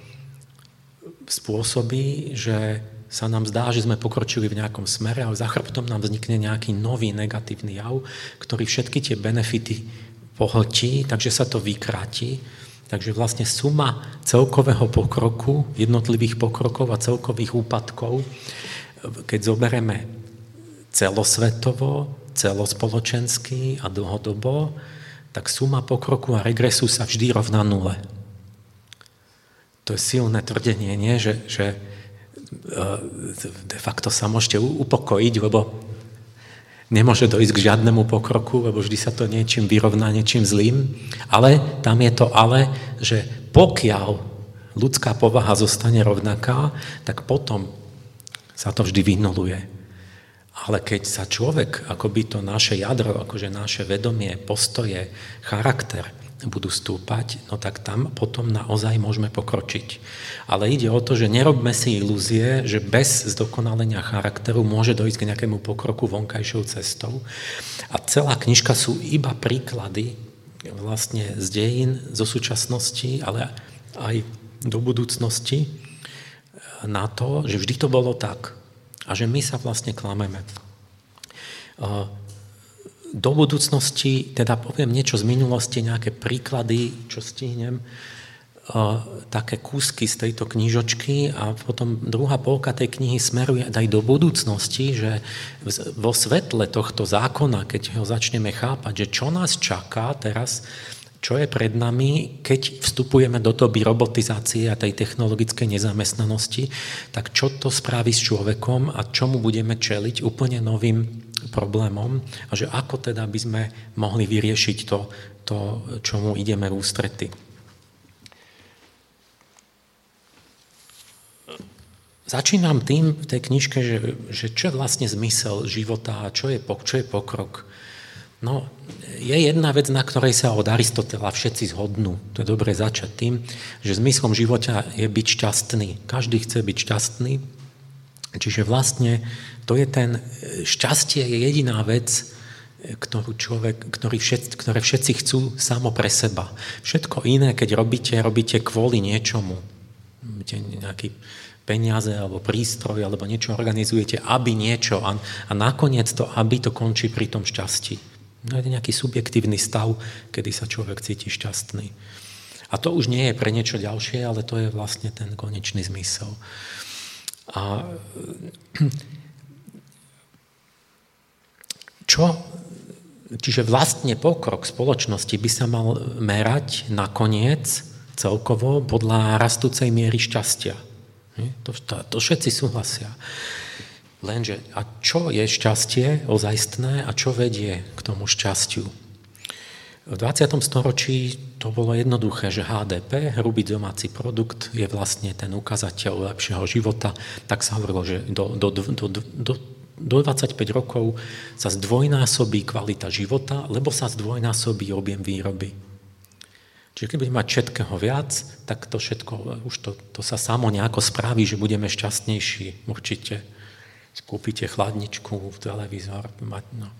spôsobí, že sa nám zdá, že sme pokročili v nejakom smere, ale za chrbtom nám vznikne nejaký nový negatívny jav, ktorý všetky tie benefity pohltí, takže sa to vykráti. Takže vlastne suma celkového pokroku, jednotlivých pokrokov a celkových úpadkov, keď zoberieme celosvetovo, celospoločensky a dlhodobo, tak suma pokroku a regresu sa vždy rovná nule. To je silné tvrdenie, nie? Že, že de facto sa môžete upokojiť, lebo nemôže dojsť k žiadnemu pokroku, lebo vždy sa to niečím vyrovná, niečím zlým. Ale tam je to ale, že pokiaľ ľudská povaha zostane rovnaká, tak potom sa to vždy vynuluje. Ale keď sa človek, akoby to naše jadro, akože naše vedomie, postoje, charakter budú stúpať, no tak tam potom naozaj môžeme pokročiť. Ale ide o to, že nerobme si ilúzie, že bez zdokonalenia charakteru môže dojsť k nejakému pokroku vonkajšou cestou. A celá knižka sú iba príklady vlastne z dejín, zo súčasnosti, ale aj do budúcnosti na to, že vždy to bolo tak. A že my sa vlastne klameme. Do budúcnosti, teda poviem niečo z minulosti, nejaké príklady, čo stihnem, také kúsky z tejto knižočky a potom druhá polka tej knihy smeruje aj do budúcnosti, že vo svetle tohto zákona, keď ho začneme chápať, že čo nás čaká teraz, čo je pred nami, keď vstupujeme do doby robotizácie a tej technologickej nezamestnanosti, tak čo to spraví s človekom a čomu budeme čeliť úplne novým problémom a že ako teda by sme mohli vyriešiť to, to čomu ideme v ústrety. Začínam tým v tej knižke, že, že čo je vlastne zmysel života a čo je, čo je pokrok. No, je jedna vec, na ktorej sa od Aristotela všetci zhodnú. To je dobre začať tým, že zmyslom života je byť šťastný. Každý chce byť šťastný. Čiže vlastne to je ten, šťastie je jediná vec, ktorú človek, ktorý všetci, ktoré všetci chcú samo pre seba. Všetko iné, keď robíte, robíte kvôli niečomu. Nejaký peniaze alebo prístroj alebo niečo organizujete, aby niečo a, a nakoniec to, aby to končí pri tom šťastí. No je nejaký subjektívny stav, kedy sa človek cíti šťastný. A to už nie je pre niečo ďalšie, ale to je vlastne ten konečný zmysel. A čo? Čiže vlastne pokrok spoločnosti by sa mal merať nakoniec celkovo podľa rastúcej miery šťastia. To, to, to všetci súhlasia. Lenže, a čo je šťastie ozajstné a čo vedie k tomu šťastiu? V dvadsiatom storočí to bolo jednoduché, že há dé pé, hrubý domáci produkt, je vlastne ten ukazateľ lepšieho života. Tak sa hovorilo, že do, do, do, do, do, do dvadsaťpäť rokov sa zdvojnásobí kvalita života, lebo sa zdvojnásobí objem výroby. Čiže keď budeme mať všetkého viac, tak to všetko, už to, to sa samo nejako spraví, že budeme šťastnejší. Určite skúpite chladničku, televízor. No.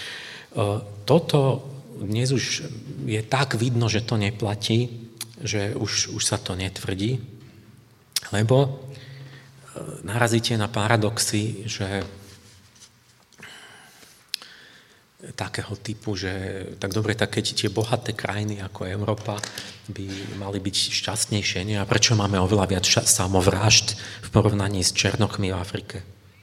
Toto dnes už je tak vidno, že to neplatí, že už, už sa to netvrdí, lebo narazíte na paradoxy, že takého typu, že tak dobre, tak keď tie bohaté krajiny ako Európa by mali byť šťastnejšie, nie? A prečo máme oveľa viac samovrážd v porovnaní s černochmi v Afrike?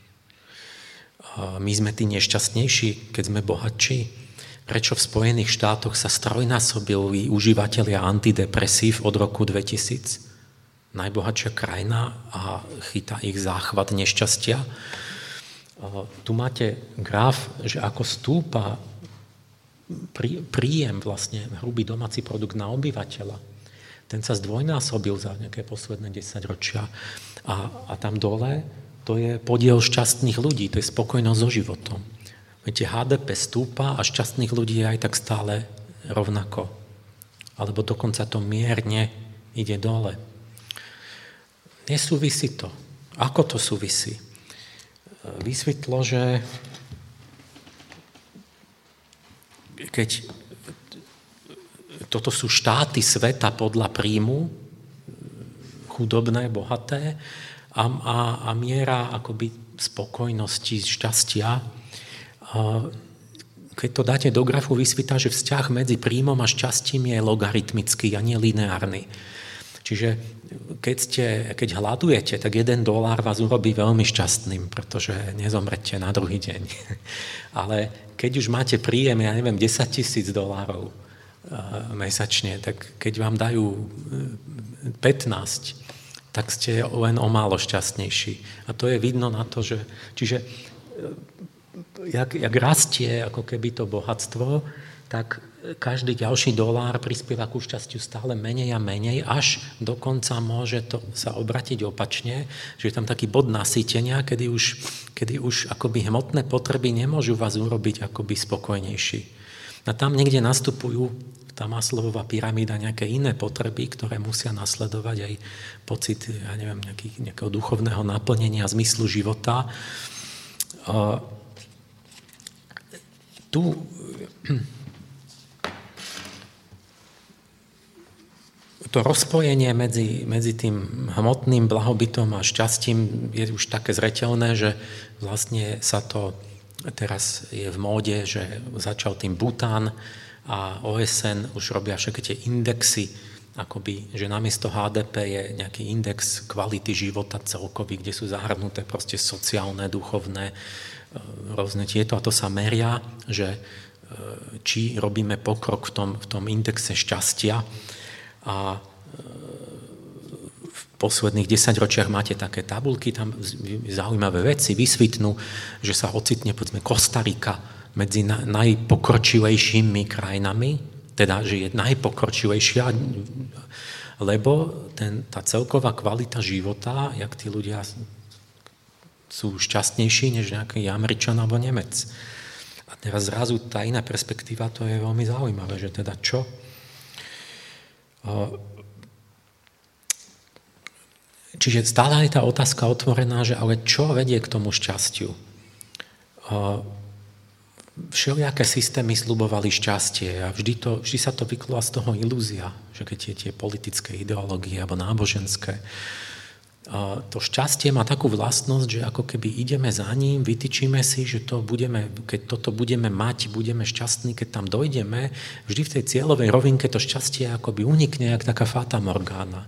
My sme tí nešťastnejší, keď sme bohatší? Prečo v Spojených štátoch sa strojnásobili užívateľia antidepresív od roku dvetisíc? Najbohatšia krajina a chytá ich záchvat nešťastia. Tu máte graf, že ako stúpa príjem vlastne hrubý domáci produkt na obyvateľa. Ten sa zdvojnásobil za nejaké posledné desaťročia. A, a tam dole to je podiel šťastných ľudí, to je spokojnosť so životom. Viete, há dé pé stúpa a šťastných ľudí je aj tak stále rovnako. Alebo dokonca to mierne ide dole. Nesúvisí to. Ako to súvisí? Vysvetlo, že keď toto sú štáty sveta podľa príjmu, chudobné, bohaté, a, a, a miera akoby spokojnosti, šťastia, a keď to dáte do grafu, vysvítá, že vzťah medzi príjmom a šťastím je logaritmický a nie lineárny. Čiže keď, ste, keď hľadujete, tak jeden dolár vás urobí veľmi šťastným, pretože nezomrete na druhý deň. Ale keď už máte príjem, ja neviem, desaťtisíc dolárov mesačne, tak keď vám dajú pätnásť, tak ste len o málo šťastnejší. A to je vidno na to, že... Čiže jak, jak rastie ako keby to bohatstvo, tak každý ďalší dolár prispieva ku šťastiu stále menej a menej, až dokonca môže to sa obratiť opačne, že je tam taký bod nasýtenia, kedy už, kedy už akoby hmotné potreby nemôžu vás urobiť akoby spokojnejší. A tam niekde nastupujú tá Maslowová pyramída, nejaké iné potreby, ktoré musia nasledovať aj pocit, ja neviem, nejaký, nejakého duchovného naplnenia, zmyslu života. Uh, tu to rozpojenie medzi, medzi tým hmotným blahobytom a šťastím je už také zreteľné, že vlastne sa to teraz je v móde, že začal tým Bután a ó es en už robia všetky tie indexy, akoby, že namiesto há dé pé je nejaký index kvality života celkový, kde sú zahrnuté proste sociálne, duchovné, rôzne tieto, a to sa meria, že či robíme pokrok v tom, v tom indexe šťastia. A v posledných desaťročiach máte také tabulky, tam zaujímavé veci vysvitnú, že sa ocitne, povedzme, Kostarika medzi najpokročilejšími krajinami, teda, že je najpokročilejšia, lebo ten, tá celková kvalita života, jak tí ľudia sú šťastnejší než nejaký Američan alebo Nemec. A teraz zrazu tá iná perspektíva, to je veľmi zaujímavé, že teda čo? Čiže stále je tá otázka otvorená, že ale čo vedie k tomu šťastiu? Všelijaké systémy sľubovali šťastie a vždy, to, vždy sa to vyklúva z toho ilúzia, že keď je tie politické ideológie alebo náboženské. To šťastie má takú vlastnosť, že ako keby ideme za ním, vytýčime si, že to budeme, keď toto budeme mať, budeme šťastní, keď tam dojdeme, vždy v tej cieľovej rovinke to šťastie akoby unikne, jak taká fata morgana.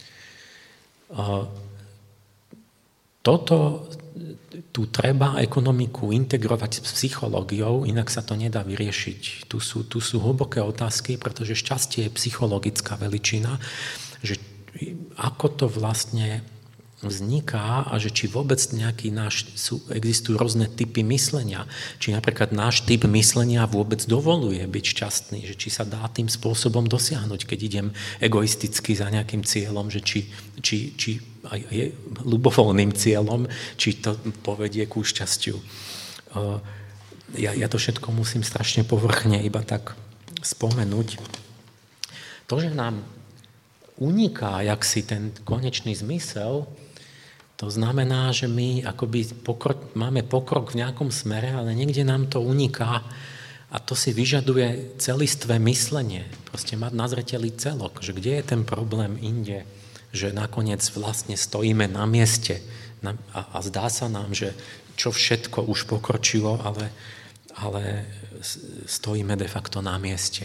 Toto, tu treba ekonomiku integrovať s psychológiou, inak sa to nedá vyriešiť. Tu sú, tu sú hlboké otázky, pretože šťastie je psychologická veličina, že ako to vlastne vzniká a že či vôbec nejaký náš, sú, existujú rôzne typy myslenia. Či napríklad náš typ myslenia vôbec dovoluje byť šťastný, že či sa dá tým spôsobom dosiahnuť, keď idem egoisticky za nejakým cieľom, že či, či, či aj je ľubovoľným cieľom, či to povedie ku šťastiu. Ja, ja to všetko musím strašne povrchne iba tak spomenúť. To, že nám uniká jaksi ten konečný zmysel, to znamená, že my akoby pokrok, máme pokrok v nejakom smere, ale niekde nám to uniká a to si vyžaduje celistvé myslenie. Proste mať na zreteli celok, že kde je ten problém inde, že nakoniec vlastne stojíme na mieste a, a zdá sa nám, že čo všetko už pokročilo, ale, ale stojíme de facto na mieste.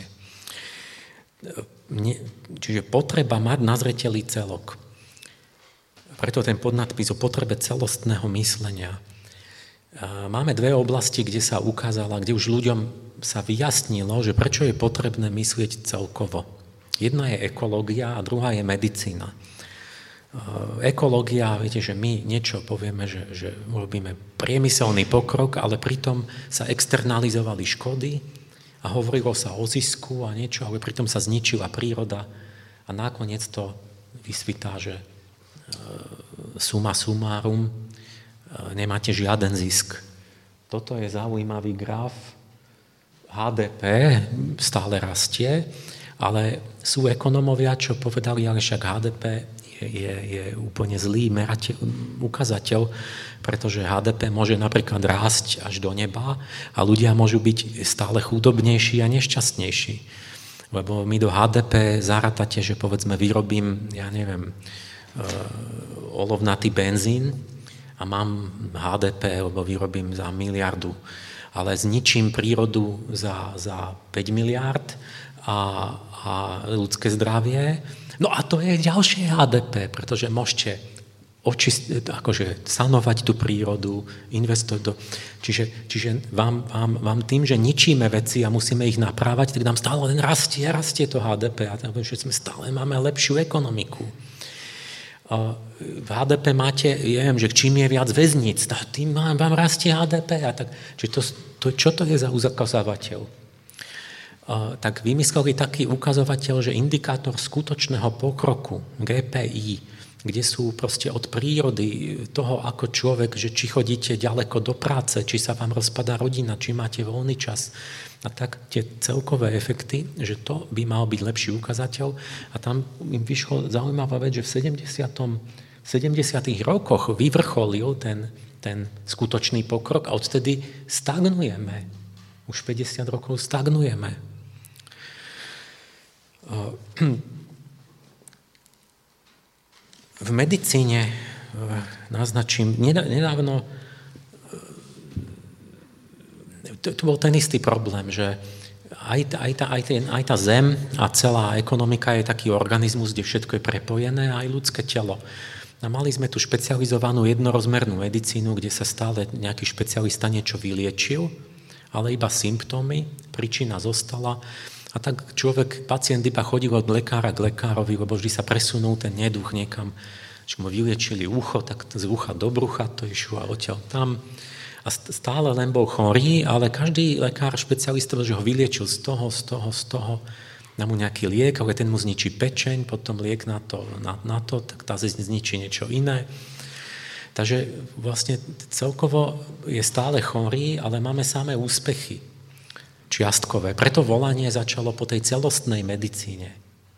Čiže potreba mať na zreteli celok. Preto ten podnadpis o potrebe celostného myslenia. Máme dve oblasti, kde sa ukázala, kde už ľuďom sa vyjasnilo, že prečo je potrebné myslieť celkovo. Jedna je ekológia a druhá je medicína. Ekológia, viete, že my niečo povieme, že, že robíme priemyselný pokrok, ale pritom sa externalizovali škody a hovorilo sa o zisku a niečo, ale pritom sa zničila príroda a nakoniec to vysvitá, že suma sumárum, nemáte žiaden zisk. Toto je zaujímavý graf. há dé pé stále rastie, ale sú ekonomovia, čo povedali, ale však há dé pé je, je, je úplne zlý merateľ, ukazateľ, pretože há dé pé môže napríklad rásť až do neba a ľudia môžu byť stále chudobnejší a nešťastnejší. Lebo my do há dé pé zarátate, že povedzme vyrobím, ja neviem, olovnatý benzín a mám há dé pé, lebo vyrobím za miliardu. ale zničím prírodu za, za päť miliárd a, a ľudské zdravie. No a to je ďalšie há dé pé, pretože môžete očist, akože sanovať tú prírodu, investovať do... Čiže, čiže vám, vám, vám tým, že ničíme veci a musíme ich naprávať, tak nám stále len rastie, rastie to há dé pé a tak, že sme stále máme lepšiu ekonomiku. V há dé pé máte, ja viem, že čím je viac väzníc, tým vám rastie há dé pé. A tak, čiže to, to, čo to je za ukazovateľ? Tak vymysleli taký ukazovateľ, že indikátor skutočného pokroku, gé pé í, kde sú proste od prírody toho, ako človek, že či chodíte ďaleko do práce, či sa vám rozpadá rodina, či máte voľný čas. A tak tie celkové efekty, že to by mal byť lepší ukazateľ. A tam im vyšlo zaujímavá vec, že v sedemdesiatych rokoch vyvrcholil ten, ten skutočný pokrok a odtedy stagnujeme. Už päťdesiat rokov stagnujeme. V medicíne naznačím, nedávno tu bol ten istý problém, že aj, aj, tá, aj, ten, aj tá zem a celá ekonomika je taký organizmus, kde všetko je prepojené, aj ľudské telo. A mali sme tu špecializovanú jednorozmernú medicínu, kde sa stále nejaký špecialista niečo vyliečil, ale iba symptómy, príčina zostala. A tak človek, pacient iba chodil od lekára k lekárovi, lebo vždy sa presunul ten neduch niekam, že mu vyliečili ucho, tak z ucha do brucha to išlo a odtiaľ tam. A stále len bol chorý, ale každý lekár špecialista, že ho vyliečil z toho, z toho, z toho, dá mu nejaký liek, ale ten mu zničí pečeň, potom liek na to, na, na to, tak tá zničí niečo iné. Takže vlastne celkovo je stále chorý, ale máme samé úspechy čiastkové. Preto volanie začalo po tej celostnej medicíne.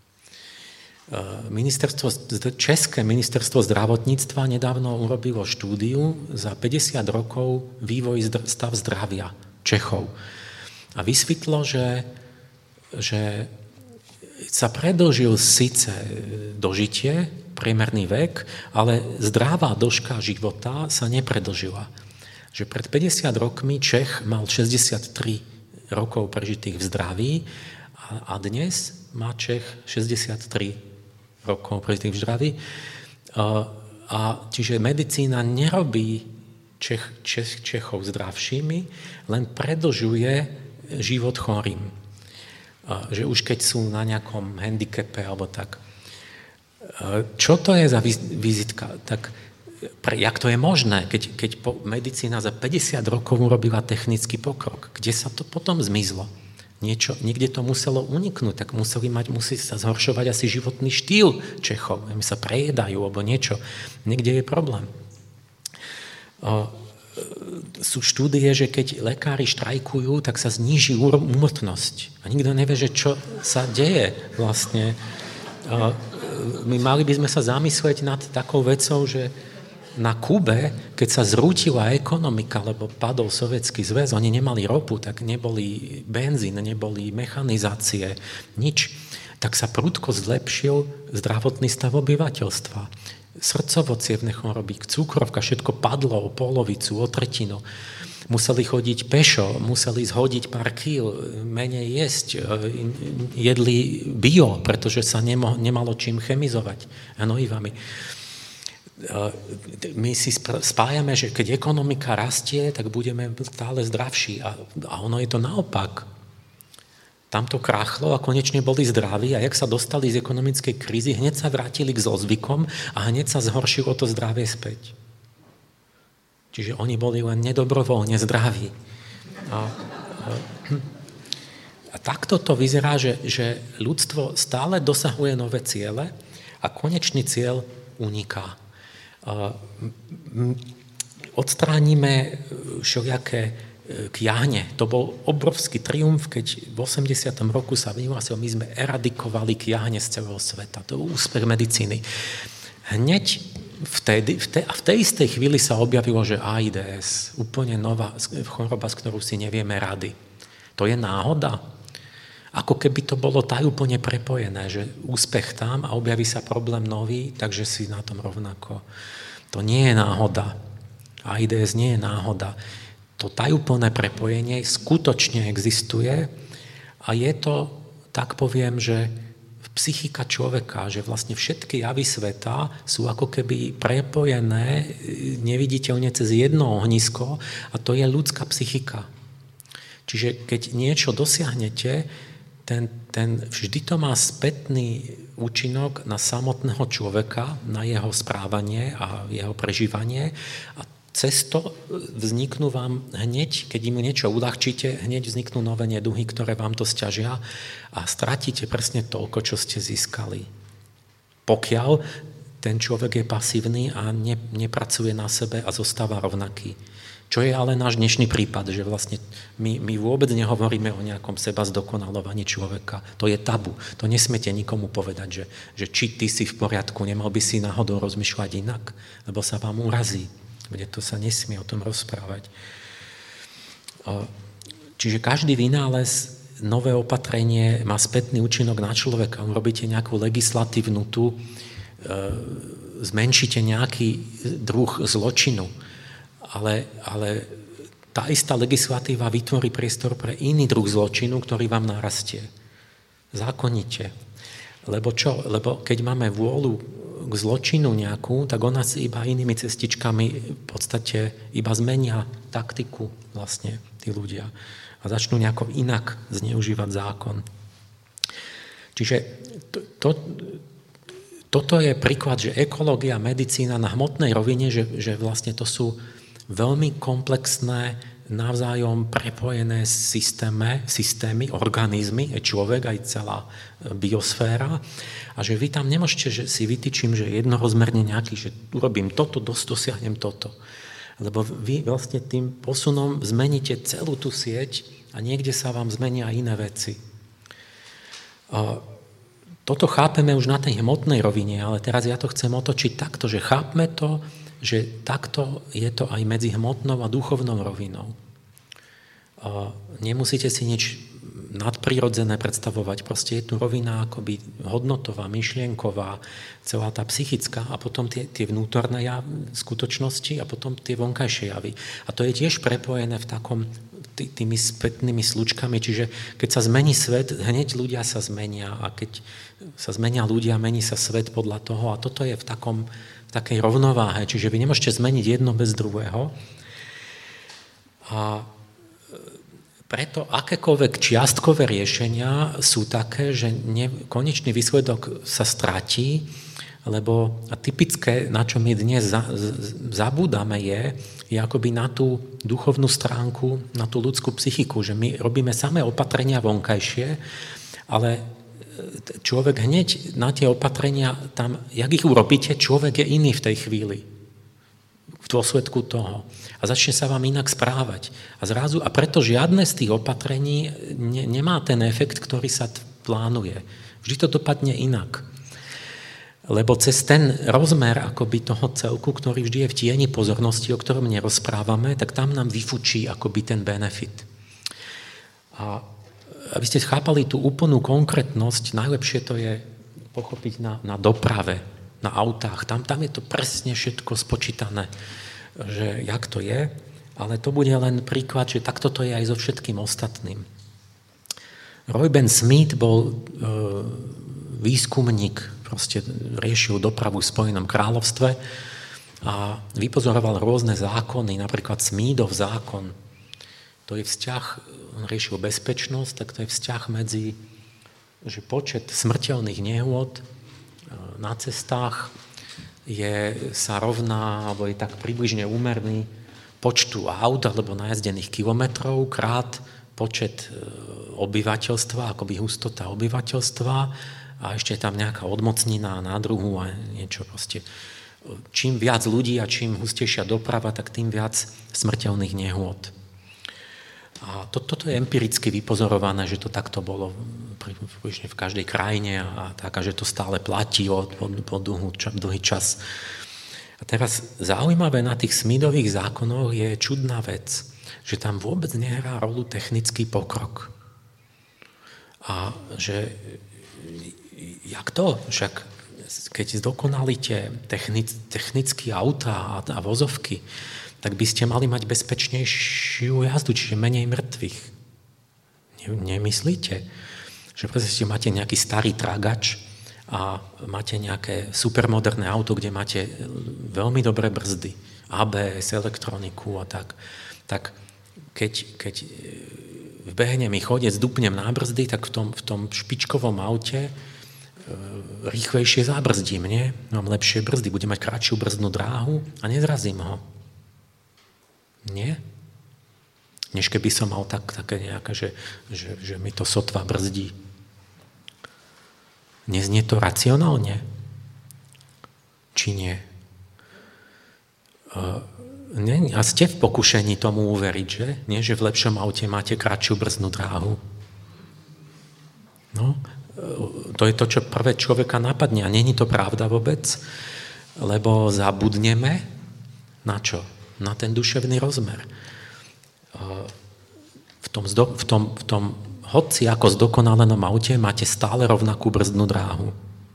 Ministerstvo, České ministerstvo zdravotníctva nedávno urobilo štúdiu za päťdesiat rokov vývoj stav zdravia Čechov. A vysvetlo, že, že sa predĺžil síce dožitie, priemerný vek, ale zdravá dĺžka života sa nepredĺžila. Že pred päťdesiat rokmi Čech mal šesťdesiattri rokov prežitých v zdraví a, a dnes má Čech šesťdesiattri rokov prežitých v zdraví. A, a čiže medicína nerobí Čech, Čech, Čechov zdravšími, len predlžuje život chorým. A, že už keď sú na nejakom handicape alebo tak. A, čo to je za vizitka? Tak Pre, jak to je možné, keď, keď po, medicína za päťdesiat rokov urobila technický pokrok? Kde sa to potom zmizlo? Niečo, niekde to muselo uniknúť, tak museli mať, musí sa zhoršovať asi životný štýl Čechov. My sa prejedajú, alebo niečo. Niekde je problém. O, sú štúdie, že keď lekári štrajkujú, tak sa zníži úmrtnosť. A nikto nevie, že čo sa deje vlastne. O, my mali by sme sa zamyslieť nad takou vecou, že na Kube, keď sa zrútila ekonomika, lebo padol Sovietsky zväz, oni nemali ropu, tak neboli benzín, neboli mechanizácie, nič. Tak sa prudko zlepšil zdravotný stav obyvateľstva. Srdcovo-cievne choroby, cukrovka, všetko padlo o polovicu, o tretinu. Museli chodiť pešo, museli zhodiť pár kíl, menej jesť, jedli bio, pretože sa nemo, nemalo čím chemizovať hnojivami. My si spájame, že keď ekonomika rastie, tak budeme stále zdravší. A, a ono je to naopak. Tam to krachlo a konečne boli zdraví a jak sa dostali z ekonomickej krízy, hneď sa vrátili k zlozvykom a hneď sa zhoršilo to zdravie späť. Čiže oni boli len nedobrovoľne zdraví. A, a, a takto to vyzerá, že, že ľudstvo stále dosahuje nové ciele a konečný cieľ uniká. Odstránime všelijaké kiahne. To bol obrovský triumf, keď v osemdesiatom roku sa vyhlásil, my sme eradikovali kiahne z celého sveta. To bol úspech medicíny. Hneď vtedy, v tej, a v tej istej chvíli sa objavilo, že AIDS, úplne nová choroba, s ktorou si nevieme rady. To je náhoda? Ako keby to bolo tajúplne prepojené, že úspech tam a objaví sa problém nový, takže si na tom rovnako. To nie je náhoda. AIDS nie je náhoda. to tajúplné prepojenie skutočne existuje a je to, tak poviem, že psychika človeka, že vlastne všetky javy sveta sú ako keby prepojené neviditeľne cez jedno ohnisko a to je ľudská psychika. Čiže keď niečo dosiahnete, ten, ten, vždy to má spätný účinok na samotného človeka, na jeho správanie a jeho prežívanie a cez to vzniknú vám hneď, keď im niečo uľahčíte, hneď vzniknú nové neduhy, ktoré vám to sťažia a stratíte presne toľko, čo ste získali. Pokiaľ ten človek je pasívny a ne, nepracuje na sebe a zostáva rovnaký. Čo je ale náš dnešný prípad, že vlastne my, my vôbec nehovoríme o nejakom seba zdokonalovaní človeka. To je tabu. To nesmiete nikomu povedať, že, že či ty si v poriadku, nemal by si náhodou rozmýšľať inak, lebo sa vám urazí. Kde to sa nesmie o tom rozprávať. Čiže každý vynález, nové opatrenie má spätný účinok na človeka. Robíte nejakú legislatívnu tu, zmenšíte nejaký druh zločinu, ale, ale tá istá legislatíva vytvorí priestor pre iný druh zločinu, ktorý vám narastie. Zákonite. Lebo čo? Lebo keď máme vôľu k zločinu nejakú, tak ona si iba inými cestičkami v podstate iba zmenia taktiku vlastne tí ľudia a začnú nejako inak zneužívať zákon. Čiže to, to, toto je príklad, že ekológia, medicína na hmotnej rovine, že, že vlastne to sú veľmi komplexné, navzájom prepojené systémy, systémy, organizmy, aj človek, aj celá biosféra. A že vy tam nemôžete, že si vytýčim, že jednorozmerne nejaký, že urobím toto, dosiahnem toto. Lebo vy vlastne tým posunom zmeníte celú tú sieť a niekde sa vám zmenia iné veci. A toto chápeme už na tej hmotnej rovine, ale teraz ja to chcem otočiť takto, že chápme to, že takto je to aj medzi hmotnou a duchovnou rovinou. A nemusíte si nič nadprirodzené predstavovať. Proste je tu rovina akoby hodnotová, myšlienková, celá tá psychická a potom tie, tie vnútorné javy, skutočnosti a potom tie vonkajšie javy. A to je tiež prepojené v takom tý, tými spätnými slučkami, čiže keď sa zmení svet, hneď ľudia sa zmenia a keď sa zmenia ľudia, mení sa svet podľa toho a toto je v takom v takej rovnováhe, čiže vy nemôžete zmeniť jedno bez druhého. A preto akékoľvek čiastkové riešenia sú také, že ne, konečný výsledok sa stratí, lebo a typické, na čo my dnes za, z, zabúdame je, je akoby na tú duchovnú stránku, na tú ľudskú psychiku, že my robíme samé opatrenia vonkajšie, ale človek hneď na tie opatrenia, tam, jak ich urobíte, človek je iný v tej chvíli. V dôsledku toho. A začne sa vám inak správať. A zrazu, a preto žiadne z tých opatrení ne, nemá ten efekt, ktorý sa plánuje. Vždy to dopadne inak. Lebo cez ten rozmer akoby toho celku, ktorý vždy je v tieni pozornosti, o ktorom nerozprávame, tak tam nám vyfučí akoby ten benefit. A aby ste chápali tú úplnú konkrétnosť, najlepšie to je pochopiť na, na doprave, na autách. Tam, tam je to presne všetko spočítané, že jak to je, ale to bude len príklad, že takto to je aj so všetkým ostatným. Roy Ben Smith bol e, výskumník, proste riešil dopravu v Spojenom kráľovstve a vypozoroval rôzne zákony, napríklad Smithov zákon. To je vzťah, on riešil bezpečnosť, tak to je vzťah medzi, že počet smrteľných nehôd na cestách je, sa rovná, alebo je tak približne úmerný počtu aut alebo najazdených kilometrov krát počet obyvateľstva, akoby hustota obyvateľstva a ešte je tam nejaká odmocnina na druhu a niečo proste. Čím viac ľudí a čím hustejšia doprava, tak tým viac smrteľných nehôd. A to, toto je empiricky vypozorované, že to takto bolo v každej krajine a tak, a že to stále platí po, po dlhý čas. A teraz zaujímavé na tých Smithových zákonoch je čudná vec, že tam vôbec nehrá rolu technický pokrok. A že jak to? Však keď zdokonalíte technic, technické autá a, a vozovky, tak by ste mali mať bezpečnejšiu jazdu, čiže menej mŕtvych. Nemyslíte? Že proste máte nejaký starý tragač a máte nejaké supermoderné auto, kde máte veľmi dobré brzdy, á bé es, elektroniku a tak, tak keď, keď vbehne mi chodec, dupnem na brzdy, tak v tom, v tom špičkovom aute rýchlejšie zabrzdím, nie? Mám lepšie brzdy, budem mať kratšiu brzdnú dráhu a nezrazím ho. Nie? Než keby som mal tak, také nejaké, že, že, že mi to sotva brzdí. Neznie to racionálne? Či nie? Uh, nie? A ste v pokušení tomu uveriť, že? Nie, že v lepšom aute máte kratšiu brzdnú dráhu. No, to je to, čo prvé človeka napadne. A není to pravda vôbec, lebo zabudneme na čo? Na ten duševný rozmer. V tom, v tom, v tom hoci ako zdokonalenom aute máte stále rovnakú brzdnú dráhu.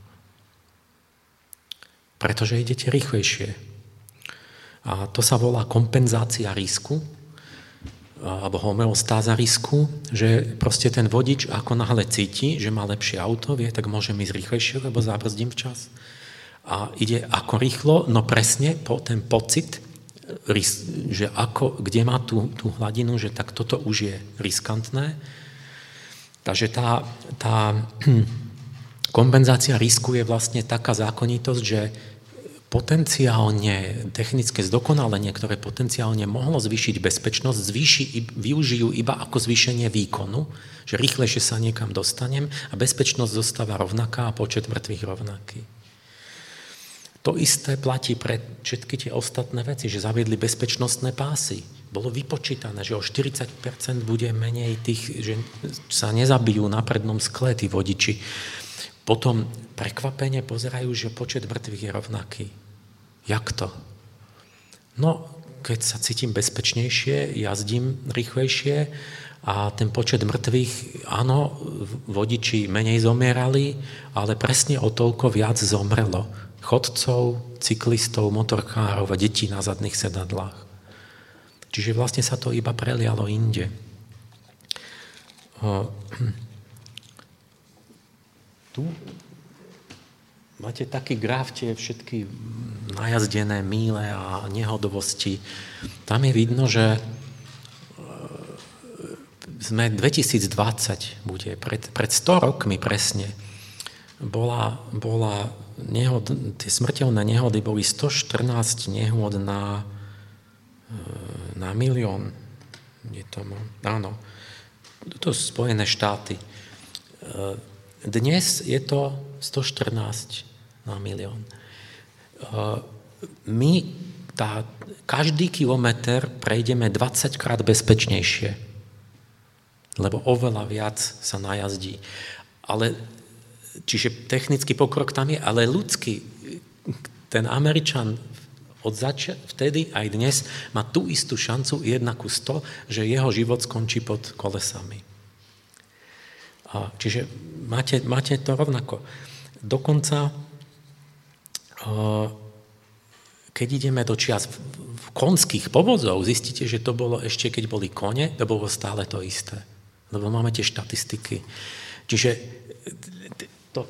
Pretože idete rýchlejšie. A to sa volá kompenzácia risku, alebo homeostáza risku, že proste ten vodič ako náhle cíti, že má lepšie auto, vie, tak môže ísť rýchlejšie, lebo zabrzdím včas. A ide ako rýchlo, no presne po ten pocit, že ako, kde má tú, tú hladinu, že tak toto už je riskantné. Takže tá, tá kompenzácia risku je vlastne taká zákonitosť, že potenciálne technické zdokonalenie, ktoré potenciálne mohlo zvýšiť bezpečnosť, zvýši, využijú iba ako zvýšenie výkonu, že rýchlejšie sa niekam dostanem a bezpečnosť zostáva rovnaká a počet mŕtvych rovnaký. To isté platí pre všetky tie ostatné veci, že zaviedli bezpečnostné pásy. Bolo vypočítané, že o štyridsať percent bude menej tých, že sa nezabijú na prednom skle tí vodiči. Potom prekvapene pozerajú, že počet mŕtvych je rovnaký. Jak to? No, keď sa cítim bezpečnejšie, jazdím rýchlejšie a ten počet mŕtvych, áno, vodiči menej zomierali, ale presne o toľko viac zomrelo chodcov, cyklistov, motorkárov a detí na zadných sedadlách. Čiže vlastne sa to iba prelialo inde. Tu máte taký graf, tie všetky najazdené míle a nehodovosti. Tam je vidno, že sme dvetisícdvadsať bude, pred, pred sto rokmi presne, bola, bola nehod, tie smrteľné nehody boli sto štrnásť nehôd na, na milión. Je to, áno, to sú Spojené štáty. Dnes je to sto štrnásť na milión. My tá, každý kilometr prejdeme dvadsaťkrát bezpečnejšie, lebo oveľa viac sa najazdí. Ale, čiže technický pokrok tam je, ale ľudský, ten Američan od zač- vtedy aj dnes má tú istú šancu jedna ku sto, že jeho život skončí pod kolesami. A čiže máte, máte to rovnako. Dokonca keď ideme do čias konských povozov, zistíte, že to bolo ešte, keď boli kone, to bolo stále to isté. Lebo máme tie štatistiky. Čiže to,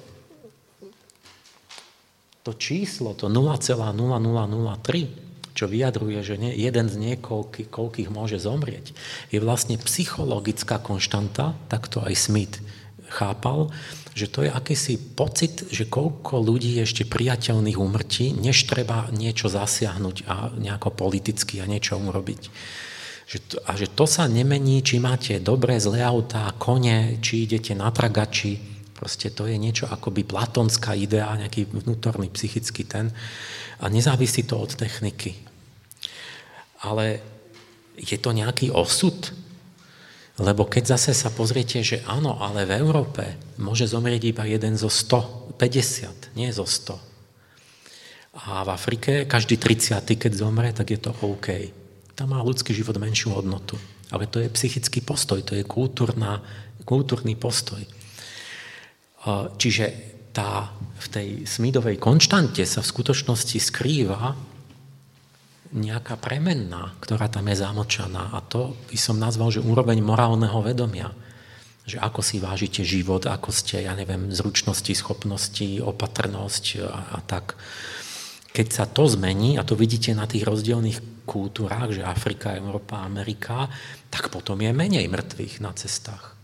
to číslo, to nula celá nula nula nula tri, čo vyjadruje, že nie, jeden z niekoľkých, koľkých môže zomrieť, je vlastne psychologická konštanta, tak to aj Smith chápal, že to je akýsi pocit, že koľko ľudí je ešte priateľných úmrtí, než treba niečo zasiahnuť a nejako politicky a niečo urobiť. Že to, a že to sa nemení, či máte dobré, zlé autá, kone, či idete na tragači. Proste to je niečo akoby platonská idea, nejaký vnútorný psychický ten. A nezávisí to od techniky. Ale je to nejaký osud? Lebo keď zase sa pozriete, že áno, ale v Európe môže zomrieť iba jeden zo sto päťdesiat, nie zo sto. A v Afrike každý tridsiaty, keď zomre, tak je to OK. Tam má ľudský život menšiu hodnotu. Ale to je psychický postoj, to je kultúrna, kultúrny postoj. Čiže tá, v tej Smithovej konštante sa v skutočnosti skrýva nejaká premenná, ktorá tam je zamočaná. A to by som nazval, že úroveň morálneho vedomia. Že ako si vážite život, ako ste, ja neviem, zručnosti, schopnosti, opatrnosť a, a tak. Keď sa to zmení, a to vidíte na tých rozdielných kultúrách, že Afrika, Európa, Amerika, tak potom je menej mŕtvych na cestách.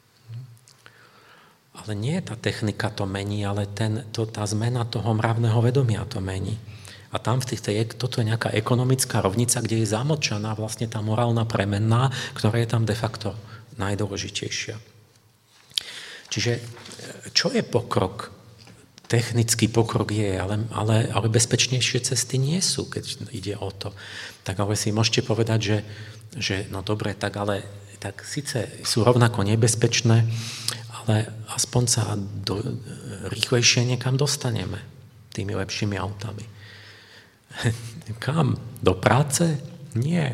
Ale nie tá technika to mení, ale ten, to, tá zmena toho mravného vedomia to mení. A tam v tých, toto je nejaká ekonomická rovnica, kde je zamočaná vlastne tá morálna premenná, ktorá je tam de facto najdôležitejšia. Čiže čo je pokrok? Technický pokrok je, ale, ale, ale bezpečnejšie cesty nie sú, keď ide o to. Tak ale si môžete povedať, že, že no dobre, tak ale tak síce sú rovnako nebezpečné, ale aspoň sa do, rýchlejšie niekam dostaneme tými lepšími autami. Kam? Do práce? Nie.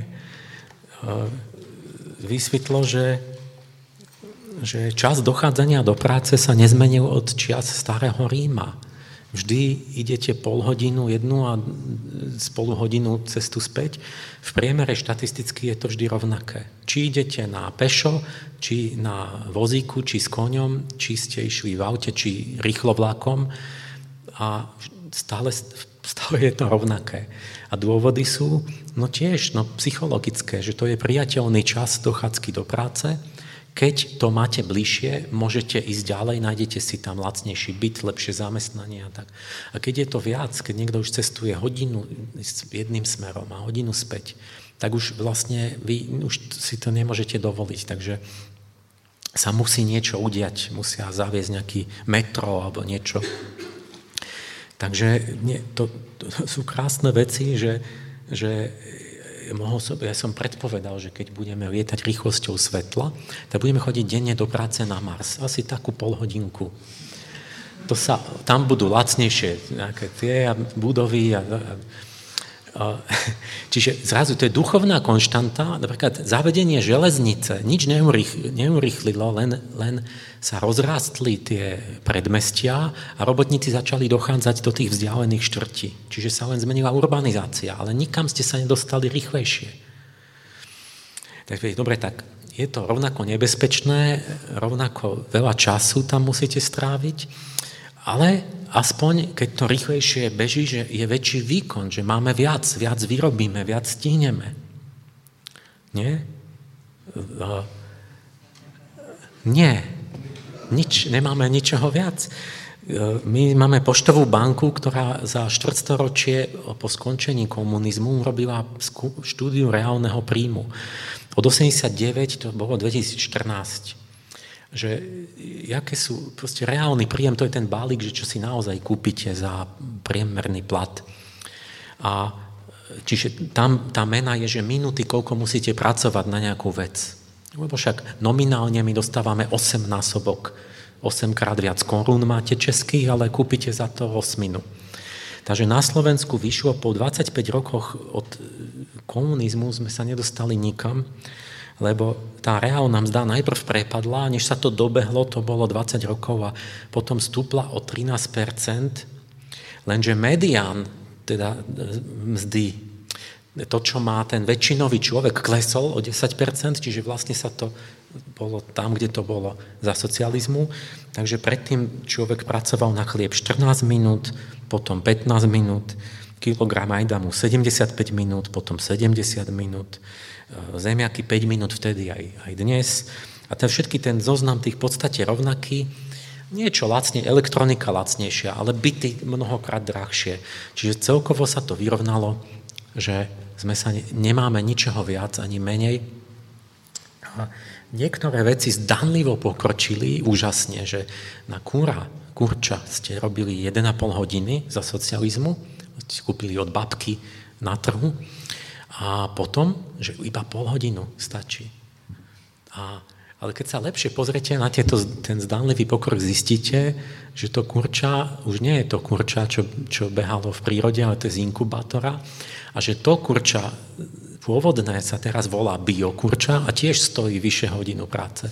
Vysvetlo, že, že čas dochádzania do práce sa nezmenil od čias starého Ríma. Vždy idete pol hodinu jednu a spolu hodinu cestu späť. V priemere štatisticky je to vždy rovnaké. Či idete na pešo, či na vozíku, či s koňom, či ste išli v aute, či rýchlo vlakom a stále, stále je to rovnaké. A dôvody sú no tiež no, psychologické, že to je priateľný čas dochádzky do práce. Keď to máte bližšie, môžete ísť ďalej, nájdete si tam lacnejší byt, lepšie zamestnanie a tak. A keď je to viac, keď niekto už cestuje hodinu jedným smerom a hodinu späť, tak už vlastne vy už si to nemôžete dovoliť. Takže sa musí niečo udiať, musia zaviesť nejaký metro alebo niečo. Takže nie, to, to sú krásne veci, že, že mohol som, ja som predpovedal, že keď budeme lietať rýchlosťou svetla, tak budeme chodiť denne do práce na Mars. Asi takú polhodinku. To sa, tam budú lacnejšie nejaké tie budovy. A, a, a, čiže zrazu to je duchovná konštanta. Napríklad zavedenie železnice nič neurýchlilo, len, len sa rozrástli tie predmestia a robotníci začali dochádzať do tých vzdialených štvrtí. Čiže sa len zmenila urbanizácia, ale nikam ste sa nedostali rýchlejšie. Takže dobre, tak je to rovnako nebezpečné, rovnako veľa času tam musíte stráviť, ale aspoň, keď to rýchlejšie beží, že je väčší výkon, že máme viac, viac vyrobíme, viac stihneme. Nie? Nie. Nič, nemáme ničoho viac. My máme poštovú banku, ktorá za štvrtstoročie po skončení komunizmu robila štúdiu reálneho príjmu. Od osemdesiatdeväť to bolo dvetisícštrnásť. Že jaké sú, proste reálny príjem, to je ten balík, že čo si naozaj kúpite za priemerný plat. A čiže tam tá mena je, že minúty, koľko musíte pracovať na nejakú vec. Lebo však nominálne my dostávame osem násobok, osemkrát viac korún máte českých, ale kúpite za to osminu. Takže na Slovensku vyšlo po dvadsaťpäť rokoch od komunizmu sme sa nedostali nikam, lebo tá reálna mzda najprv prepadla, než sa to dobehlo, to bolo dvadsať rokov a potom stúpla o trinásť percent, lenže medián, teda mzdy, to, čo má ten väčšinový človek, klesol o desať percent, čiže vlastne sa to bolo tam, kde to bolo za socializmu. Takže predtým človek pracoval na chlieb štrnásť minút, potom pätnásť minút, kilogram ajdamu sedemdesiatpäť minút, potom sedemdesiat minút, zemiaky päť minút vtedy aj, aj dnes. A ten všetky ten zoznam tých v podstate rovnaký, niečo lacne, elektronika lacnejšia, ale byty mnohokrát drahšie. Čiže celkovo sa to vyrovnalo, že sme sa ne, nemáme ničoho viac ani menej. A niektoré veci zdanlivo pokročili úžasne, že na kúra, kurča ste robili jeden a pol hodiny za socializmu, ste kúpili od babky na trhu a potom, že iba pol hodinu stačí. A, ale keď sa lepšie pozriete na tieto, ten zdanlivý pokrok, zistíte, že to kurča už nie je to kurča, čo, čo behalo v prírode, ale to je z inkubátora. A že to kurča pôvodné sa teraz volá biokurča a tiež stojí vyššie hodinu práce.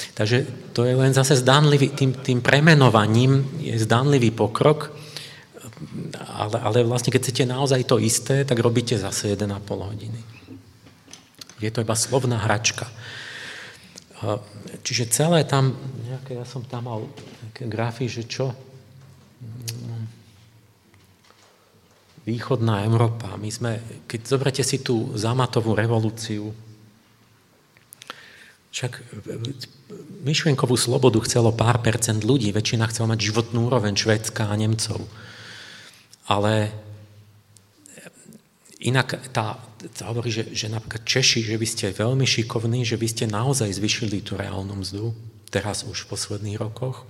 Takže to je len zase zdanlivý, tým, tým premenovaním je zdanlivý pokrok. ale, ale vlastne keď chcete naozaj to isté, tak robíte zase jeden a pol hodiny. Je to iba slovná hračka. Čiže celé tam, nejaké, ja som tam mal nejaké grafy, že čo? Východná Európa. My sme, keď zoberete si tú zámatovú revolúciu, však myšlienkovú slobodu chcelo pár percent ľudí, väčšina chcela mať životnú úroveň Švédska a Nemcov. Ale inak tá, tá hovorí, že, že napríklad Češi, že vy ste veľmi šikovní, že vy ste naozaj zvyšili tú reálnu mzdu, teraz už v posledných rokoch.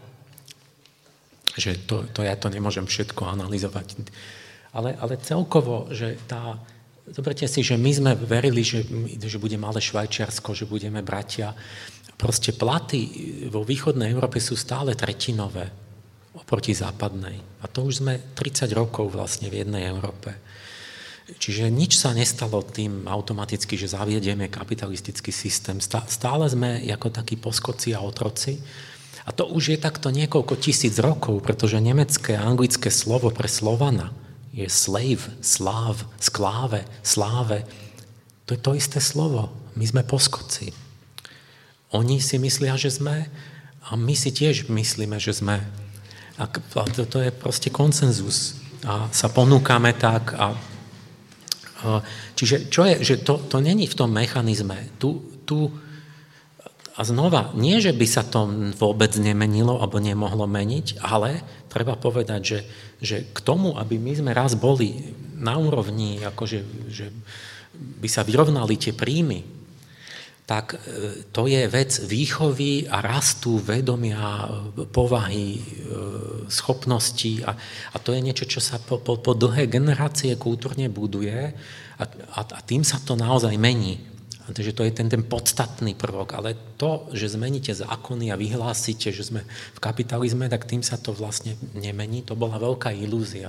Že to, to ja to nemôžem všetko analyzovať. Ale, ale celkovo, že tá, zoberte si, že my sme verili, že, že bude malé Švajčiarsko, že budeme bratia. Proste platy vo východnej Európe sú stále tretinové oproti západnej. A to už sme tridsať rokov vlastne v jednej Európe. Čiže nič sa nestalo tým automaticky, že zaviedieme kapitalistický systém. Stále sme ako takí poskoci a otroci. A to už je takto niekoľko tisíc rokov, pretože nemecké a anglické slovo pre Slovana je slave, sláv, skláve, sláve. To je to isté slovo. My sme poskoci. Oni si myslia, že sme, a my si tiež myslíme, že sme. A to, to je proste konsenzus. A sa ponúkame tak. A, a, čiže čo je, že to, to není v tom mechanizme. Tu, tu, a znova, nie, že by sa to vôbec nemenilo, alebo nemohlo meniť, ale treba povedať, že, že k tomu, aby my sme raz boli na úrovni, akože, že by sa vyrovnali tie príjmy, tak to je vec výchovy a rastu vedomia, povahy, schopností a, a to je niečo, čo sa po, po, po dlhé generácie kultúrne buduje a, a, a tým sa to naozaj mení. Takže to je ten, ten podstatný prvok, ale to, že zmeníte zákony a vyhlásite, že sme v kapitalizme, tak tým sa to vlastne nemení. To bola veľká ilúzia.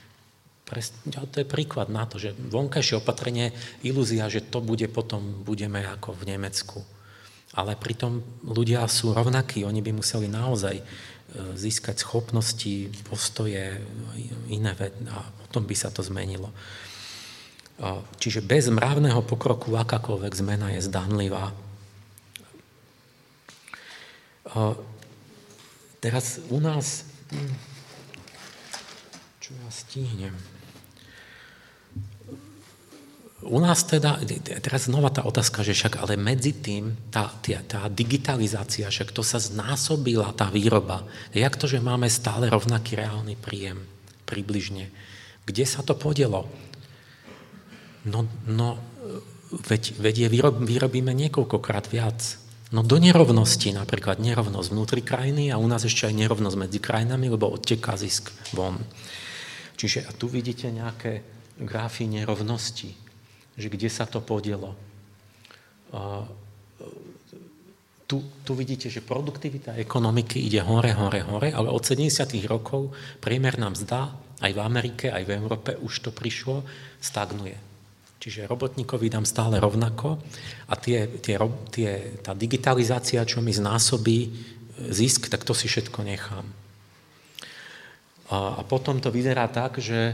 To je príklad na to, že vonkajšie opatrenie, ilúzia, že to bude potom, budeme ako v Nemecku. Ale pritom ľudia sú rovnakí, oni by museli naozaj získať schopnosti, postoje, iné veci a potom by sa to zmenilo. Čiže bez mravného pokroku akákoľvek zmena je zdanlivá. Teraz u nás... Čo ja stihnem? U nás teda, teraz znova tá otázka, že však, ale medzi tým tá, tá, tá digitalizácia, však to sa znásobila, tá výroba. Jak to, že máme stále rovnaký reálny príjem? Približne. Kde sa to podielo? No, no veď, veď je výrob, vyrobíme niekoľkokrát viac. No do nerovnosti, napríklad nerovnosť vnútri krajiny a u nás ešte aj nerovnosť medzi krajinami, lebo odteká zisk von. Čiže a tu vidíte nejaké grafy nerovnosti, že kde sa to podielo. Uh, tu, tu vidíte, že produktivita ekonomiky ide hore, hore, hore, ale od sedemdesiatych rokov priemerná mzda aj v Amerike, aj v Európe už to prišlo, stagnuje. Čiže robotníkovi dám stále rovnako a tie, tie, tie, tá digitalizácia, čo mi znásobí zisk, tak to si všetko nechám. A, a potom to vyzerá tak, že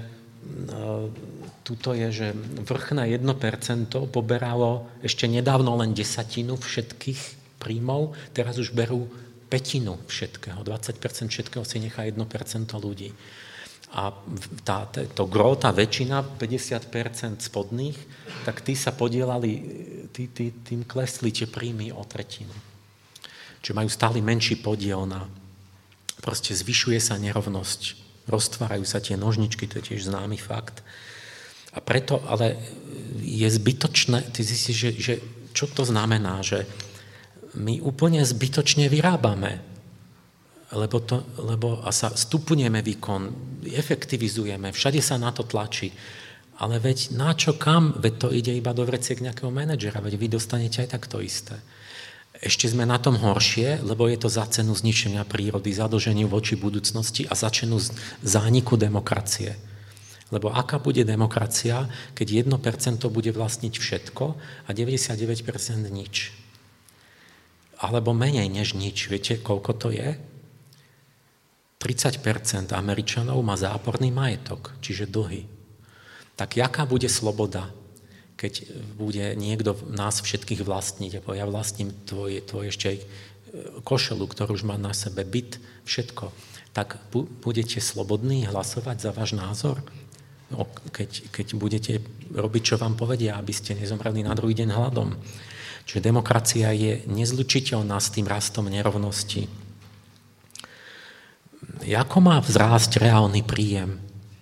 tuto je, že vrchné jedno percento poberalo ešte nedávno len desatinu všetkých príjmov, teraz už berú pätinu všetkého, dvadsať percent všetkého si nechá jedno percento ľudí. A tá, to gro, tá väčšina, päťdesiat percent spodných, tak tí sa podielali, tí, tí, tým klesli tie príjmy o tretinu. Čiže majú stále menší podiel na, proste zvyšuje sa nerovnosť, roztvárajú sa tie nožničky, to je tiež známy fakt. A preto, ale je zbytočné, ty zistíš, že, že čo to znamená, že my úplne zbytočne vyrábame, lebo, to, lebo a sa stupňujeme výkon, efektivizujeme, všade sa na to tlačí. Ale veď na čo kam? Veď to ide iba do vreciek nejakého manažera, veď vy dostanete aj tak to isté. Ešte sme na tom horšie, lebo je to za cenu zničenia prírody, zadlženiu voči budúcnosti a za cenu zániku demokracie. Lebo aká bude demokracia, keď jedno percento bude vlastniť všetko a deväťdesiatdeväť percent nič? Alebo menej než nič. Viete, koľko to je? tridsať percent Američanov má záporný majetok, čiže dlhy. Tak jaká bude sloboda, keď bude niekto nás všetkých vlastniť, ako ja vlastním tvoj, tvoj ešte košelu, ktorú už má na sebe, byt, všetko, tak budete slobodní hlasovať za váš názor? Keď, keď budete robiť, čo vám povedia, aby ste nezomreli na druhý deň hladom. Čiže demokracia je nezlučiteľná s tým rastom nerovnosti. Ako má vzrásť reálny príjem?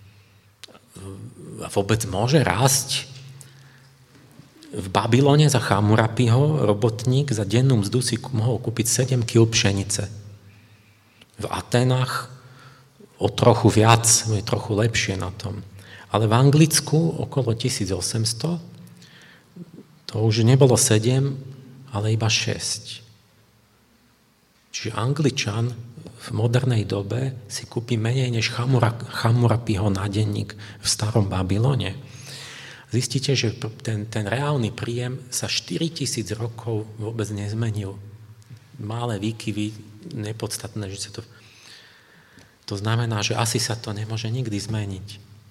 Vôbec môže rásť? V Babylone za Chamurapiho robotník za dennú mzdu si mohol kúpiť sedem kíl pšenice. V Atenách o trochu viac, je trochu lepšie na tom. Ale v Anglicku okolo tisíc osemsto, to už nebolo sedem, ale iba šesť. Čiže Angličan v modernej dobe si kúpi menej než Chamurapiho nádenník v starom Babylone. Zistíte, že ten, ten reálny príjem sa štyritisíc rokov vôbec nezmenil. Malé výkyvy, nepodstatné, že sa to... To znamená, že asi sa to nemôže nikdy zmeniť.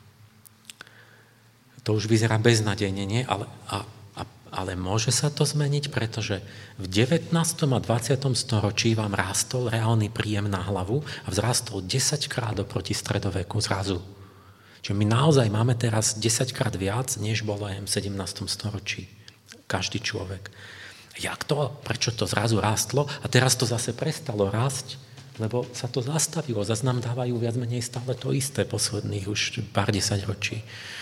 To už vyzerá beznadejne, nie? Ale, a, a, ale môže sa to zmeniť, pretože v devätnástom a dvadsiatom storočí vám rástol reálny príjem na hlavu a vzrástol desaťkrát oproti stredoveku zrazu. Čiže my naozaj máme teraz desaťkrát viac, než bolo aj v sedemnástom storočí. Každý človek. Jak to? Prečo to zrazu rástlo? A teraz to zase prestalo rásť, lebo sa to zastavilo. Zas nám dávajú viac menej stále to isté posledných už pár desaťročí.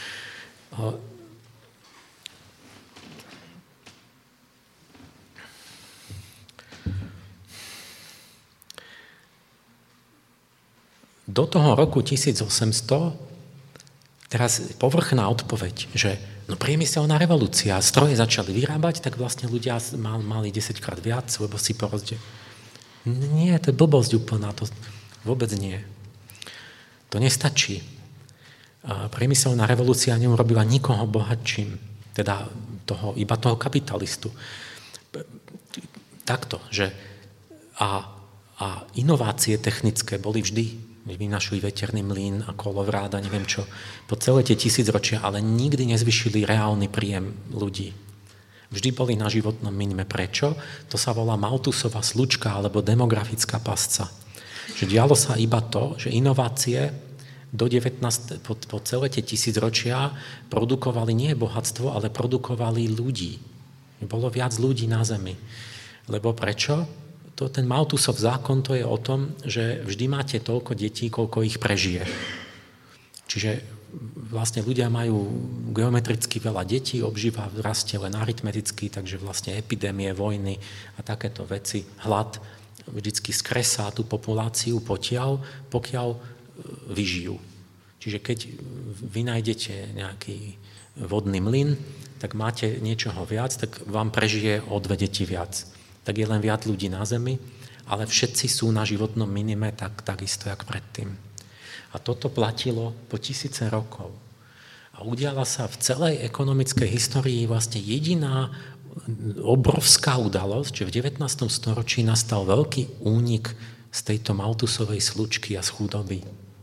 Do toho roku tisíc osemsto teraz povrchná odpoveď, že no priemyselná revolúcia, stroje začali vyrábať, tak vlastne ľudia mal, mali desaťkrát viac, lebo si porozde... Nie, to je blbosť úplná, to vôbec nie. To nestačí. Priemyselná revolúcia neurobila nikoho bohatším, teda toho, iba toho kapitalistu. Takto, že a, a inovácie technické boli vždy. Vynašli veterný mlyn a kolovrád a neviem čo, po celé tie tisícročia, ale nikdy nezvyšili reálny príjem ľudí. Vždy boli na životnom minime. Prečo? To sa volá Malthusova slučka alebo demografická pasca. Že dialo sa iba to, že inovácie do devätnásteho po, po celé tie tisícročia produkovali nie bohatstvo, ale produkovali ľudí. Bolo viac ľudí na zemi. Lebo prečo? To, ten Malthusov zákon to je o tom, že vždy máte toľko detí, koľko ich prežije. Čiže vlastne ľudia majú geometricky veľa detí, obživa rastie len aritmeticky, takže vlastne epidémie, vojny a takéto veci, hlad vždycky skresá tú populáciu potiaľ, pokiaľ vyžijú. Čiže keď vy nájdete nejaký vodný mlyn, tak máte niečoho viac, tak vám prežije o dve deti viac. Tak je len viac ľudí na zemi, ale všetci sú na životnom minime tak, takisto, jak predtým. A toto platilo po tisíce rokov. A udiala sa v celej ekonomickej histórii vlastne jediná obrovská udalosť, že v devätnástom storočí nastal veľký únik z tejto Malthusovej slučky a z chudoby.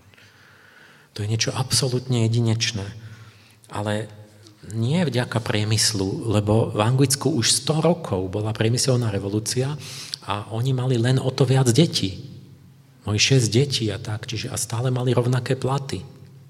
To je niečo absolútne jedinečné. Ale nie vďaka priemyslu, lebo v Anglicku už sto rokov bola priemyselná revolúcia a oni mali len o to viac detí. Mali šesť detí a tak, čiže a stále mali rovnaké platy.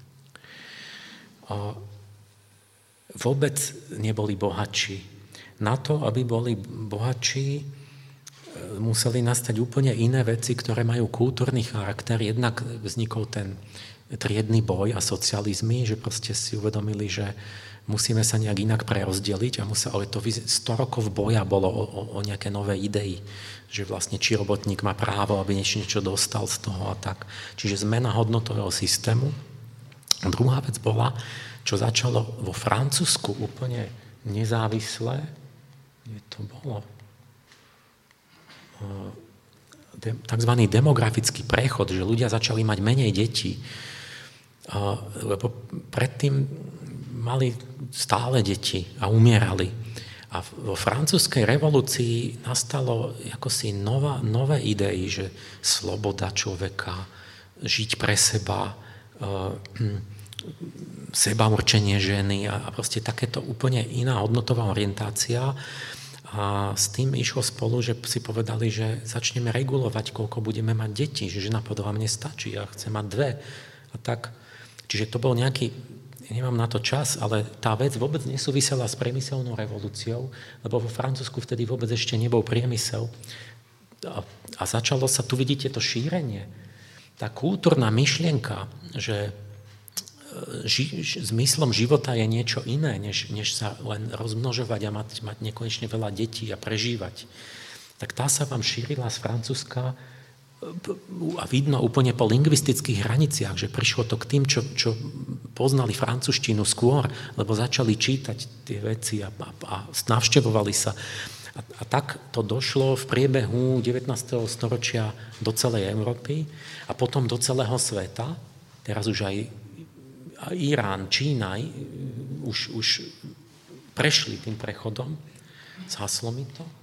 A vôbec neboli bohatší. Na to, aby boli bohatší, museli nastať úplne iné veci, ktoré majú kultúrny charakter. Jednak vznikol ten triedny boj a socializmy, že proste si uvedomili, že musíme sa nejak inak prerozdeliť a musel, ale to sto rokov boja bolo o, o, o nejaké nové idei, že vlastne či robotník má právo, aby niečo, niečo dostal z toho a tak. Čiže zmena hodnotového systému. A druhá vec bola, čo začalo vo Francúzsku úplne nezávisle, kde to bolo, takzvaný demografický prechod, že ľudia začali mať menej detí, lebo predtým mali stále deti a umierali. A vo francúzskej revolúcii nastalo akosi nová, nové idei, že sloboda človeka, žiť pre seba, seba určenie ženy a proste takéto úplne iná hodnotová orientácia. A s tým išlo spolu, že si povedali, že začneme regulovať, koľko budeme mať detí, že žena povedala, mne stačí, ja chcem mať dve. A tak, čiže to bol nejaký, ja nemám na to čas, ale tá vec vôbec nesúvisela s priemyselnou revolúciou, lebo vo Francúzsku vtedy vôbec ešte nebol priemysel. A, a začalo sa, tu vidíte to šírenie, tá kultúrna myšlienka, že ži, zmyslom života je niečo iné, než, než sa len rozmnožovať a mať, mať nekonečne veľa detí a prežívať. Tak tá sa vám šírila z Francúzska a vidno úplne po lingvistických hraniciach, že prišlo to k tým, čo, čo poznali francúzštinu skôr, lebo začali čítať tie veci a, a, a navštevovali sa. A, a tak to došlo v priebehu devätnásteho storočia do celej Európy a potom do celého sveta. Teraz už aj Irán, Čína už, už prešli tým prechodom. Zhaslo mi to.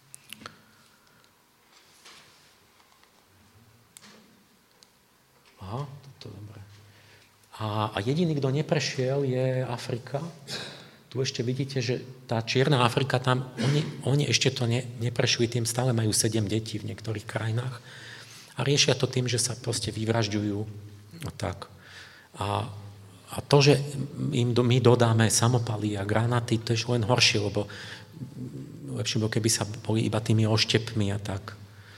Aha, toto je dobré. A, a jediný, kto neprešiel, je Afrika. Tu ešte vidíte, že tá Čierna Afrika, tam oni, oni ešte to ne, neprešli, tým stále majú sedem detí v niektorých krajinách a riešia to tým, že sa proste vyvražďujú. No tak. A A to, že im do, my dodáme samopaly a granáty, to je len horšie, lebo lepšie bolo, keby sa boli iba tými oštepmi a tak.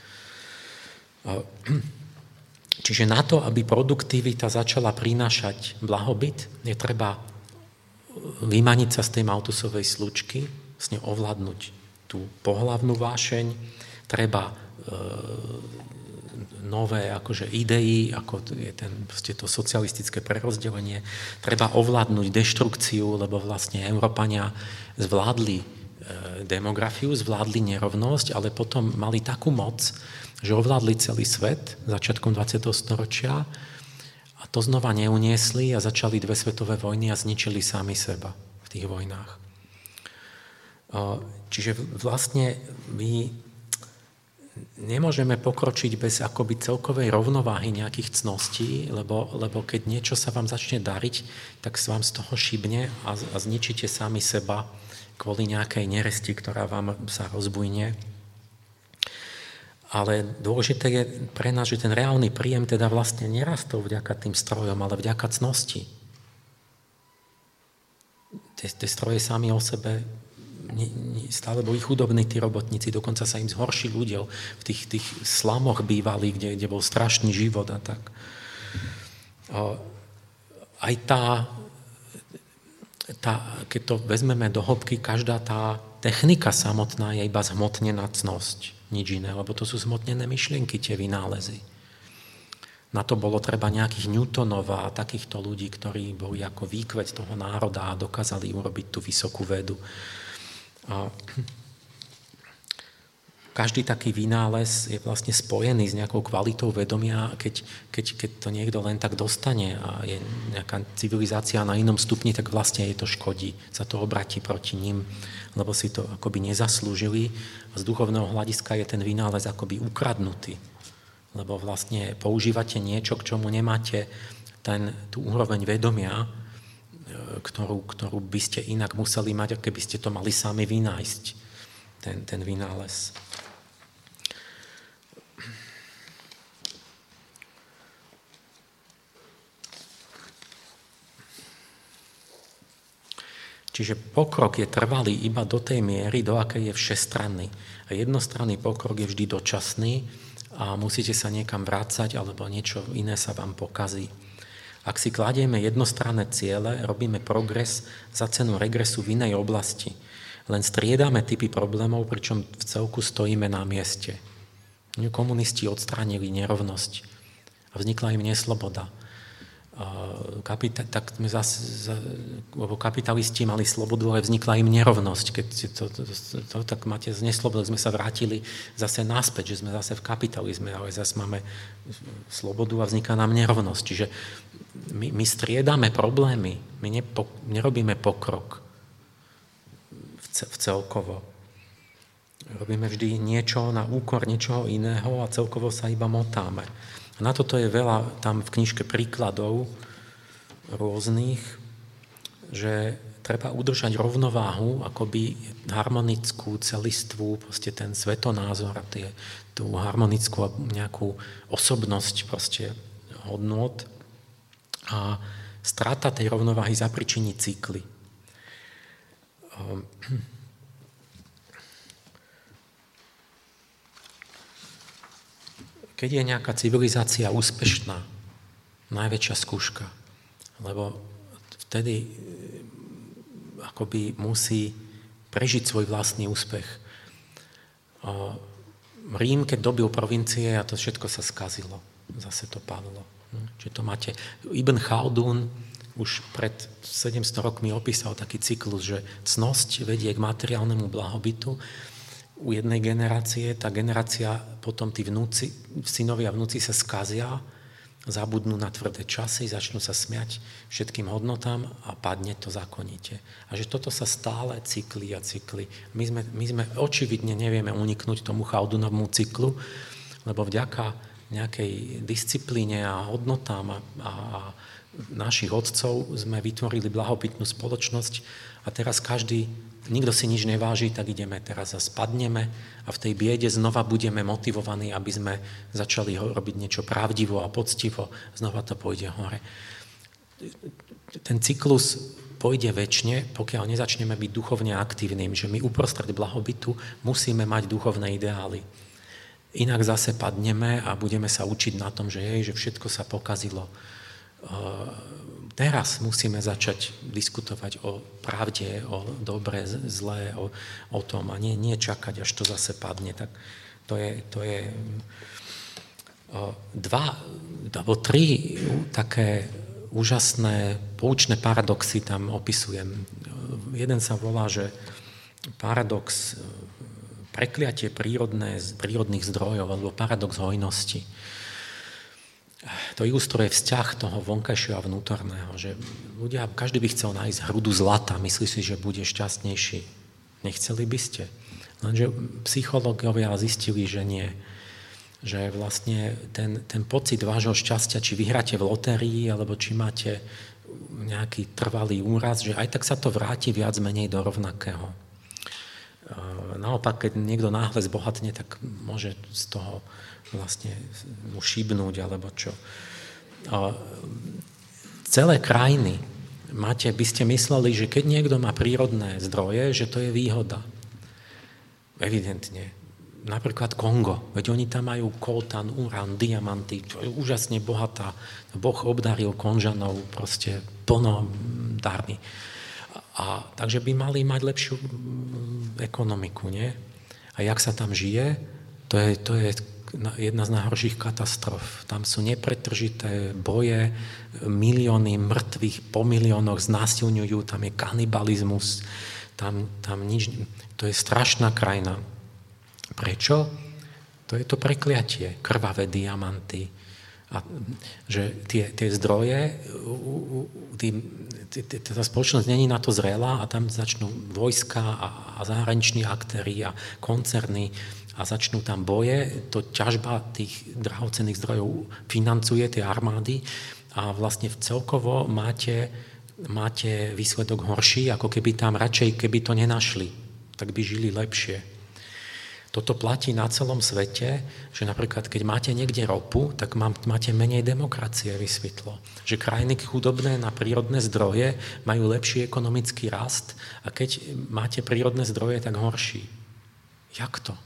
Čiže na to, aby produktivita začala prinášať blahobyt, je treba vymaniť sa z tej Malthusovej slučky, s ňou ovládnuť tú pohlavnú vášeň, treba e, nové akože idei, ako je ten, proste to socialistické prerozdelenie. Treba ovládnuť deštrukciu, lebo vlastne Európania zvládli e, demografiu, zvládli nerovnosť, ale potom mali takú moc, že ovládli celý svet začiatkom dvadsiateho storočia a to znova neuniesli a začali dve svetové vojny a zničili sami seba v tých vojnách. E, čiže vlastne my nemôžeme pokročiť bez akoby celkovej rovnováhy nejakých cností, lebo, lebo keď niečo sa vám začne dariť, tak sa vám z toho šibne a, a zničíte sami seba kvôli nejakej neresti, ktorá vám sa rozbujne. Ale dôležité je pre nás, že ten reálny príjem teda vlastne nerastol vďaka tým strojom, ale vďaka cnosti. Tie, tie stroje sami o sebe stále boli chudobní tí robotníci, dokonca sa im zhoršil ľudia v tých, tých slamoch bývali, kde, kde bol strašný život a tak. Aj tá, tá, keď to vezmeme do hĺbky, každá tá technika samotná je iba zhmotnená cnosť, nič iné, lebo to sú zhmotnené myšlienky, tie vynálezy. Na to bolo treba nejakých Newtonov a takýchto ľudí, ktorí boli ako výkvet toho národa a dokázali urobiť tú vysokú vedu. A každý taký vynález je vlastne spojený s nejakou kvalitou vedomia, keď, keď, keď to niekto len tak dostane a je nejaká civilizácia na inom stupni, tak vlastne je to škodí, sa to obratí proti ním, lebo si to akoby nezaslúžili a z duchovného hľadiska je ten vynález akoby ukradnutý, lebo vlastne používate niečo, k čomu nemáte ten, tú úroveň vedomia, Ktorú, ktorú by ste inak museli mať, keby ste to mali sami vynájsť, ten, ten vynález. Čiže pokrok je trvalý iba do tej miery, do akej je všestranný. A jednostranný pokrok je vždy dočasný a musíte sa niekam vrácať, alebo niečo iné sa vám pokazí. Ak si kladieme jednostranné ciele, robíme progres za cenu regresu v inej oblasti. Len striedame typy problémov, pričom v celku stojíme na mieste. Komunisti odstránili nerovnosť a vznikla im nesloboda. Kapita- tak sme zase, lebo kapitalisti mali slobodu, ale vznikla im nerovnosť. Keď to, to, to, to tak máte z neslobody, sme sa vrátili zase naspäť, že sme zase v kapitalizme, ale zase máme slobodu a vzniká nám nerovnosť. Čiže my, my striedame problémy, my nepo, nerobíme pokrok v, ce, v celkovo. Robíme vždy niečo na úkor niečoho iného a celkovo sa iba motáme. A A na toto je veľa tam v knižke príkladov rôznych, že treba udržať rovnováhu, akoby harmonickú, celistvú, proste ten svetonázor a tie, tú harmonickú nejakú osobnosť proste hodnôt. A strata tej rovnováhy zapričiní cykly. Keď je nejaká civilizácia úspešná, najväčšia skúška, lebo vtedy akoby musí prežiť svoj vlastný úspech. Rím, keď dobil provincie, a to všetko sa skazilo. Zase to padlo. Čiže to máte... Ibn Chaldún už pred sedemsto rokmi opísal taký cyklus, že cnosť vedie k materiálnemu blahobytu. U jednej generácie, tá generácia, potom tí vnúci, synovia a vnúci sa skazia, zabudnú na tvrdé časy, začnú sa smiať všetkým hodnotám a padne to zákonite. A že toto sa stále cykli a cykli. My sme, my sme očividne nevieme uniknúť tomu Chaldunovmu cyklu, lebo vďaka nejakej disciplíne a hodnotám a, a, a našich otcov sme vytvorili blahobytnú spoločnosť a teraz každý, nikto si nič neváži, tak ideme teraz a spadneme a v tej biede znova budeme motivovaní, aby sme začali robiť niečo pravdivo a poctivo, znova to pôjde hore. Ten cyklus pôjde večne, pokiaľ nezačneme byť duchovne aktívnym, že my uprostred blahobytu musíme mať duchovné ideály. Inak zase padneme a budeme sa učiť na tom, že, jej, že všetko sa pokazilo. Teraz musíme začať diskutovať o pravde, o dobre, zlé, o, o tom a nie, nie čakať, až to zase padne. Tak to je, to je dva, alebo tri také úžasné, poučné paradoxy tam opisujem. Jeden sa volá, že paradox prekliatie prírodné, prírodných zdrojov alebo paradox hojnosti. To ilustruje vzťah toho vonkajšieho a vnútorného, že ľudia, každý by chcel nájsť hrudu zlata, myslí si, že bude šťastnejší. Nechceli by ste? Lenže psychológovia zistili, že nie. Že vlastne ten, ten pocit vášho šťastia, či vyhráte v lotérii, alebo či máte nejaký trvalý úraz, že aj tak sa to vráti viac menej do rovnakého. Naopak, keď niekto náhle zbohatne, tak môže z toho vlastne mu šibnúť, alebo čo. Celé krajiny máte, by ste mysleli, že keď niekto má prírodné zdroje, že to je výhoda. Evidentne. Napríklad Kongo, veď oni tam majú koltan, urán, diamanty, čo je úžasne bohatá. Boh obdaril Konžanov proste plno darmi. A, takže by mali mať lepšiu ekonomiku, nie? A jak sa tam žije, to je, to je jedna z najhorších katastrof. Tam sú nepretržité boje, milióny mŕtvych po miliónoch znásilňujú, tam je kanibalizmus, tam, tam nič, to je strašná krajina. Prečo? To je to prekliatie, krvavé diamanty. A že tie, tie zdroje, tí, tí, tí, tá spoločnosť není na to zrelá a tam začnú vojska a, a zahraniční aktéri a koncerny a začnú tam boje, to ťažba tých drahocenných zdrojov financuje tie armády a vlastne celkovo máte, máte výsledok horší, ako keby tam radšej, keby to nenašli, tak by žili lepšie. Toto platí na celom svete, že napríklad, keď máte niekde ropu, tak máte menej demokracie, vysvetlo. Že krajiny chudobné na prírodné zdroje majú lepší ekonomický rast a keď máte prírodné zdroje, tak horší. Jak to?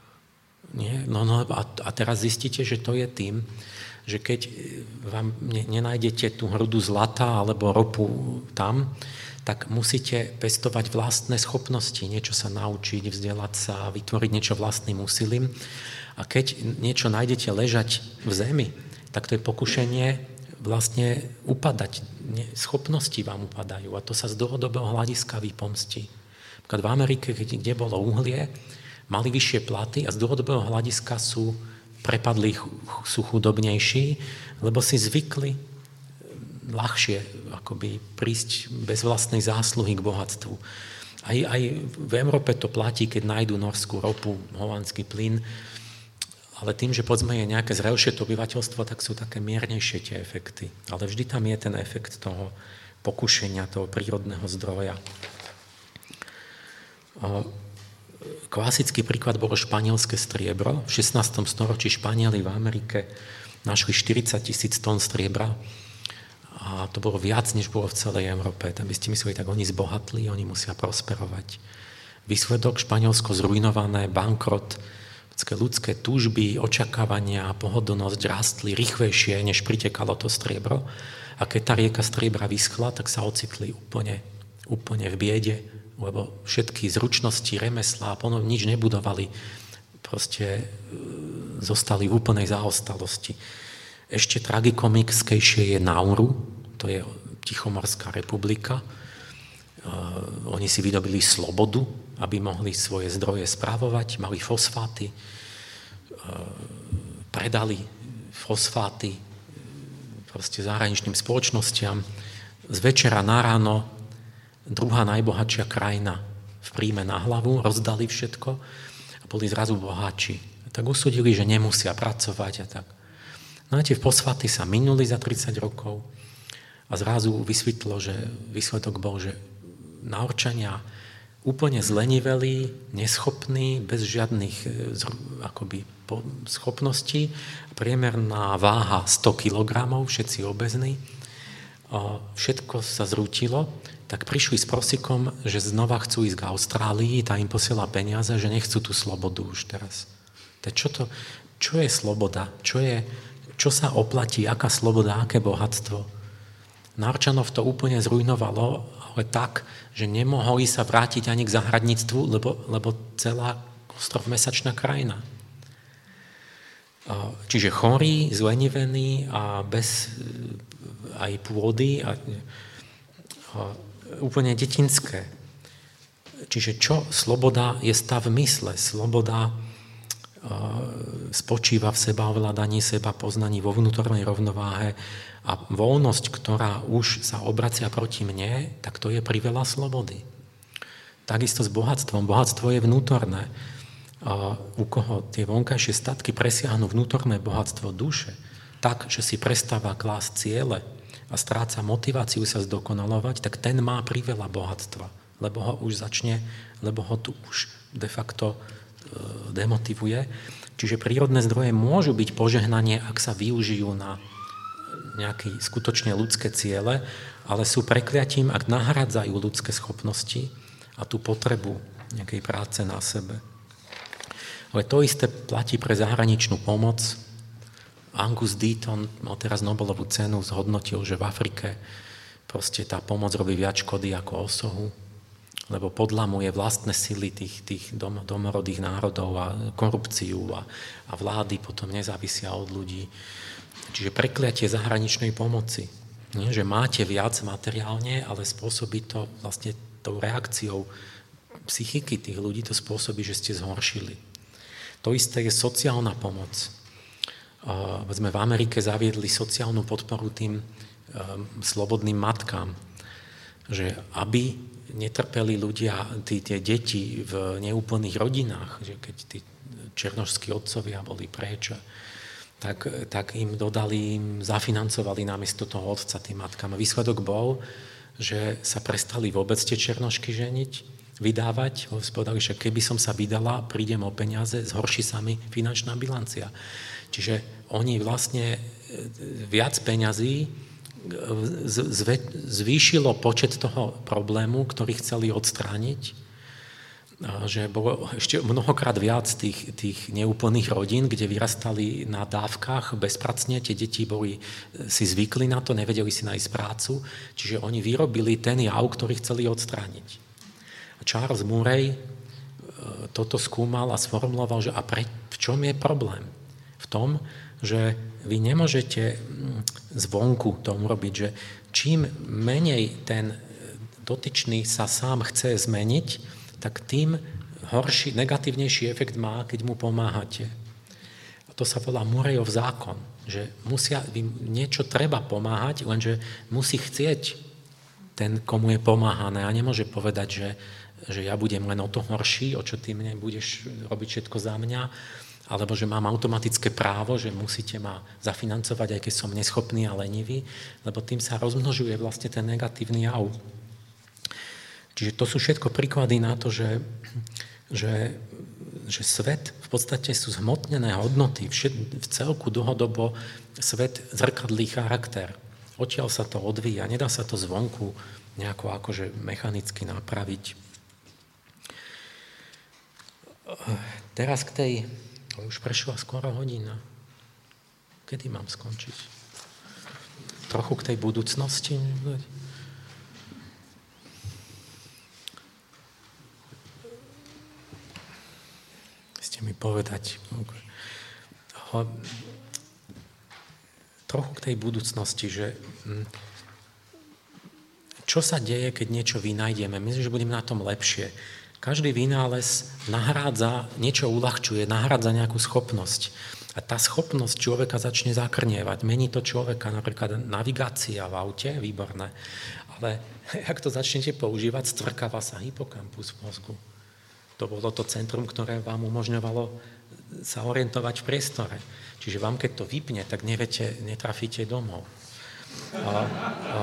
Nie? No, no, a, a teraz zistíte, že to je tým, že keď vám ne, nenájdete tú hrudu zlata alebo ropu tam, tak musíte pestovať vlastné schopnosti, niečo sa naučiť, vzdelať sa, vytvoriť niečo vlastným úsilím. A keď niečo nájdete ležať v zemi, tak to je pokušenie vlastne upadať. Schopnosti vám upadajú a to sa z dlhodobého hľadiska vypomstí. V Amerike, kde bolo uhlie, mali vyššie platy a z dlhodobého hľadiska sú prepadli, sú chudobnejší, lebo si zvykli ľahšie akoby prísť bez vlastnej zásluhy k bohatstvu. Aj, aj v Európe to platí, keď nájdu norskú ropu, holandský plyn, ale tým, že povedzme je nejaké zrelšie to obyvateľstvo, tak sú také miernejšie tie efekty. Ale vždy tam je ten efekt toho pokušenia, toho prírodného zdroja. Klasický príklad bolo španielské striebro. V šestnástom storočí Španieli v Amerike našli štyridsať tisíc tón striebra a to bolo viac, než bolo v celej Európe. Tam by ste mysleli, tak oni zbohatli, oni musia prosperovať. Výsledok: Španielsko zrujnované, bankrot, ľudské túžby, očakávania, pohodlnosť rástli rýchlejšie, než pritekalo to striebro. A keď tá rieka striebra vyschla, tak sa ocitli úplne, úplne v biede, lebo všetky zručnosti, remeslá, ponovne nič nebudovali, proste zostali v úplnej zaostalosti. Ešte tragikomickejšie je Nauru, to je Tichomorská republika. Uh, oni si vydobili slobodu, aby mohli svoje zdroje správovať, mali fosfáty, predali fosfáty proste zahraničným spoločnostiam. Z večera na ráno druhá najbohatšia krajina v príjme na hlavu, rozdali všetko a boli zrazu bohatší. Tak usúdili, že nemusia pracovať a tak. No a tie fosfáty sa minuli za tridsať rokov a zrazu vysvetlo, že výsledok bol, že Naurčania úplne zlenivelí, neschopní, bez žiadnych akoby, schopností. Priemerná váha sto kilogramov, všetci obezní. Všetko sa zrútilo, tak prišli s prosikom, že znova chcú ísť k Austrálii, tá im posiela peniaze, že nechcú tú slobodu už teraz. Tak čo, to, čo je sloboda? Čo, je, čo sa oplatí? Aká sloboda? Aké bohatstvo? Naurčanov to úplne zrujnovalo, ale tak, že nemohli sa vrátiť ani k zahradníctvu, lebo, lebo celá ostrov-mesačná krajina. Čiže chorí, zlenivení a bez aj pôdy a, a úplne detinské. Čiže čo? Sloboda je stav mysle. Sloboda a, spočíva v sebaovládaní, seba poznaní, vo vnútornej rovnováhe. A voľnosť, ktorá už sa obracia proti mne, tak to je priveľa slobody. Takisto s bohatstvom. Bohatstvo je vnútorné. A u koho tie vonkajšie statky presiahnu vnútorné bohatstvo duše, tak, že si prestáva klásť ciele a stráca motiváciu sa zdokonalovať, tak ten má priveľa bohatstva, lebo ho už začne, lebo ho tu už de facto e, demotivuje. Čiže prírodné zdroje môžu byť požehnanie, ak sa využijú na nejaké skutočne ľudské ciele, ale sú prekliatím, ak nahradzajú ľudské schopnosti a tú potrebu nejakej práce na sebe. Ale to isté platí pre zahraničnú pomoc. Angus Deaton mal teraz Nobelovú cenu, zhodnotil, že v Afrike proste tá pomoc robí viac škody ako osohu, lebo podlamuje vlastné sily tých, tých dom, domorodých národov a korupciu a, a vlády potom nezávisia od ľudí. Čiže prekliatie zahraničnej pomoci. Nie, že máte viac materiálne, ale spôsobí to vlastne tou reakciou psychiky tých ľudí, to spôsobí, že ste zhoršili. To isté je sociálna pomoc. Uh, sme v Amerike zaviedli sociálnu podporu tým um, slobodným matkám, že aby netrpeli ľudia, tí, tie deti v neúplných rodinách, že keď tí černošskí otcovia boli preč, tak, tak im dodali, im zafinancovali namiesto toho otca tým matkám. A výsledok bol, že sa prestali vôbec tie černošky ženiť, vydávať. Povedali, že keby som sa vydala, prídem o peniaze, zhorší sa mi finančná bilancia. Čiže oni vlastne viac peňazí zvýšilo počet toho problému, ktorý chceli odstrániť, že bolo ešte mnohokrát viac tých, tých neúplných rodín, kde vyrastali na dávkach bezpracne, tie deti boli, si zvykli na to, nevedeli si nájsť prácu, čiže oni vyrobili ten jav, ktorý chceli odstrániť. A Charles Murray toto skúmal a sformuloval, že a pre, v čom je problém? V tom, že vy nemôžete zvonku to urobiť, že čím menej ten dotyčný sa sám chce zmeniť, tak tým horší, negatívnejší efekt má, keď mu pomáhate. A to sa volá Murrayov zákon, že musia, niečo treba pomáhať, lenže musí chcieť ten, komu je pomáhané a nemôže povedať, že, že ja budem len o to horší, o čo ty mne budeš robiť všetko za mňa, alebo že mám automatické právo, že musíte ma zafinancovať, aj keď som neschopný a lenivý, lebo tým sa rozmnožuje vlastne ten negatívny jav. Čiže to sú všetko príklady na to, že, že, že svet v podstate sú zhmotnené hodnoty. V celku dlhodobo svet zrkadlí charakter. Odtiaľ sa to odvíja, nedá sa to zvonku nejako akože mechanicky napraviť. Teraz k tej... Už prešla skoro hodina. Kedy mám skončiť? Trochu k tej budúcnosti? Ste mi povedať. Trochu k tej budúcnosti, že čo sa deje, keď niečo vynájdeme? Myslím, že budeme na tom lepšie. Každý vynález nahrádza, niečo uľahčuje, nahrádza nejakú schopnosť. A tá schopnosť človeka začne zakrnievať. Mení to človeka, napríklad navigácia v aute, výborné. Ale ak to začnete používať, stvrkáva sa hypokampus v mozgu. To bolo to centrum, ktoré vám umožňovalo sa orientovať v priestore. Čiže vám, keď to vypne, tak neviete, netrafíte domov. A, a,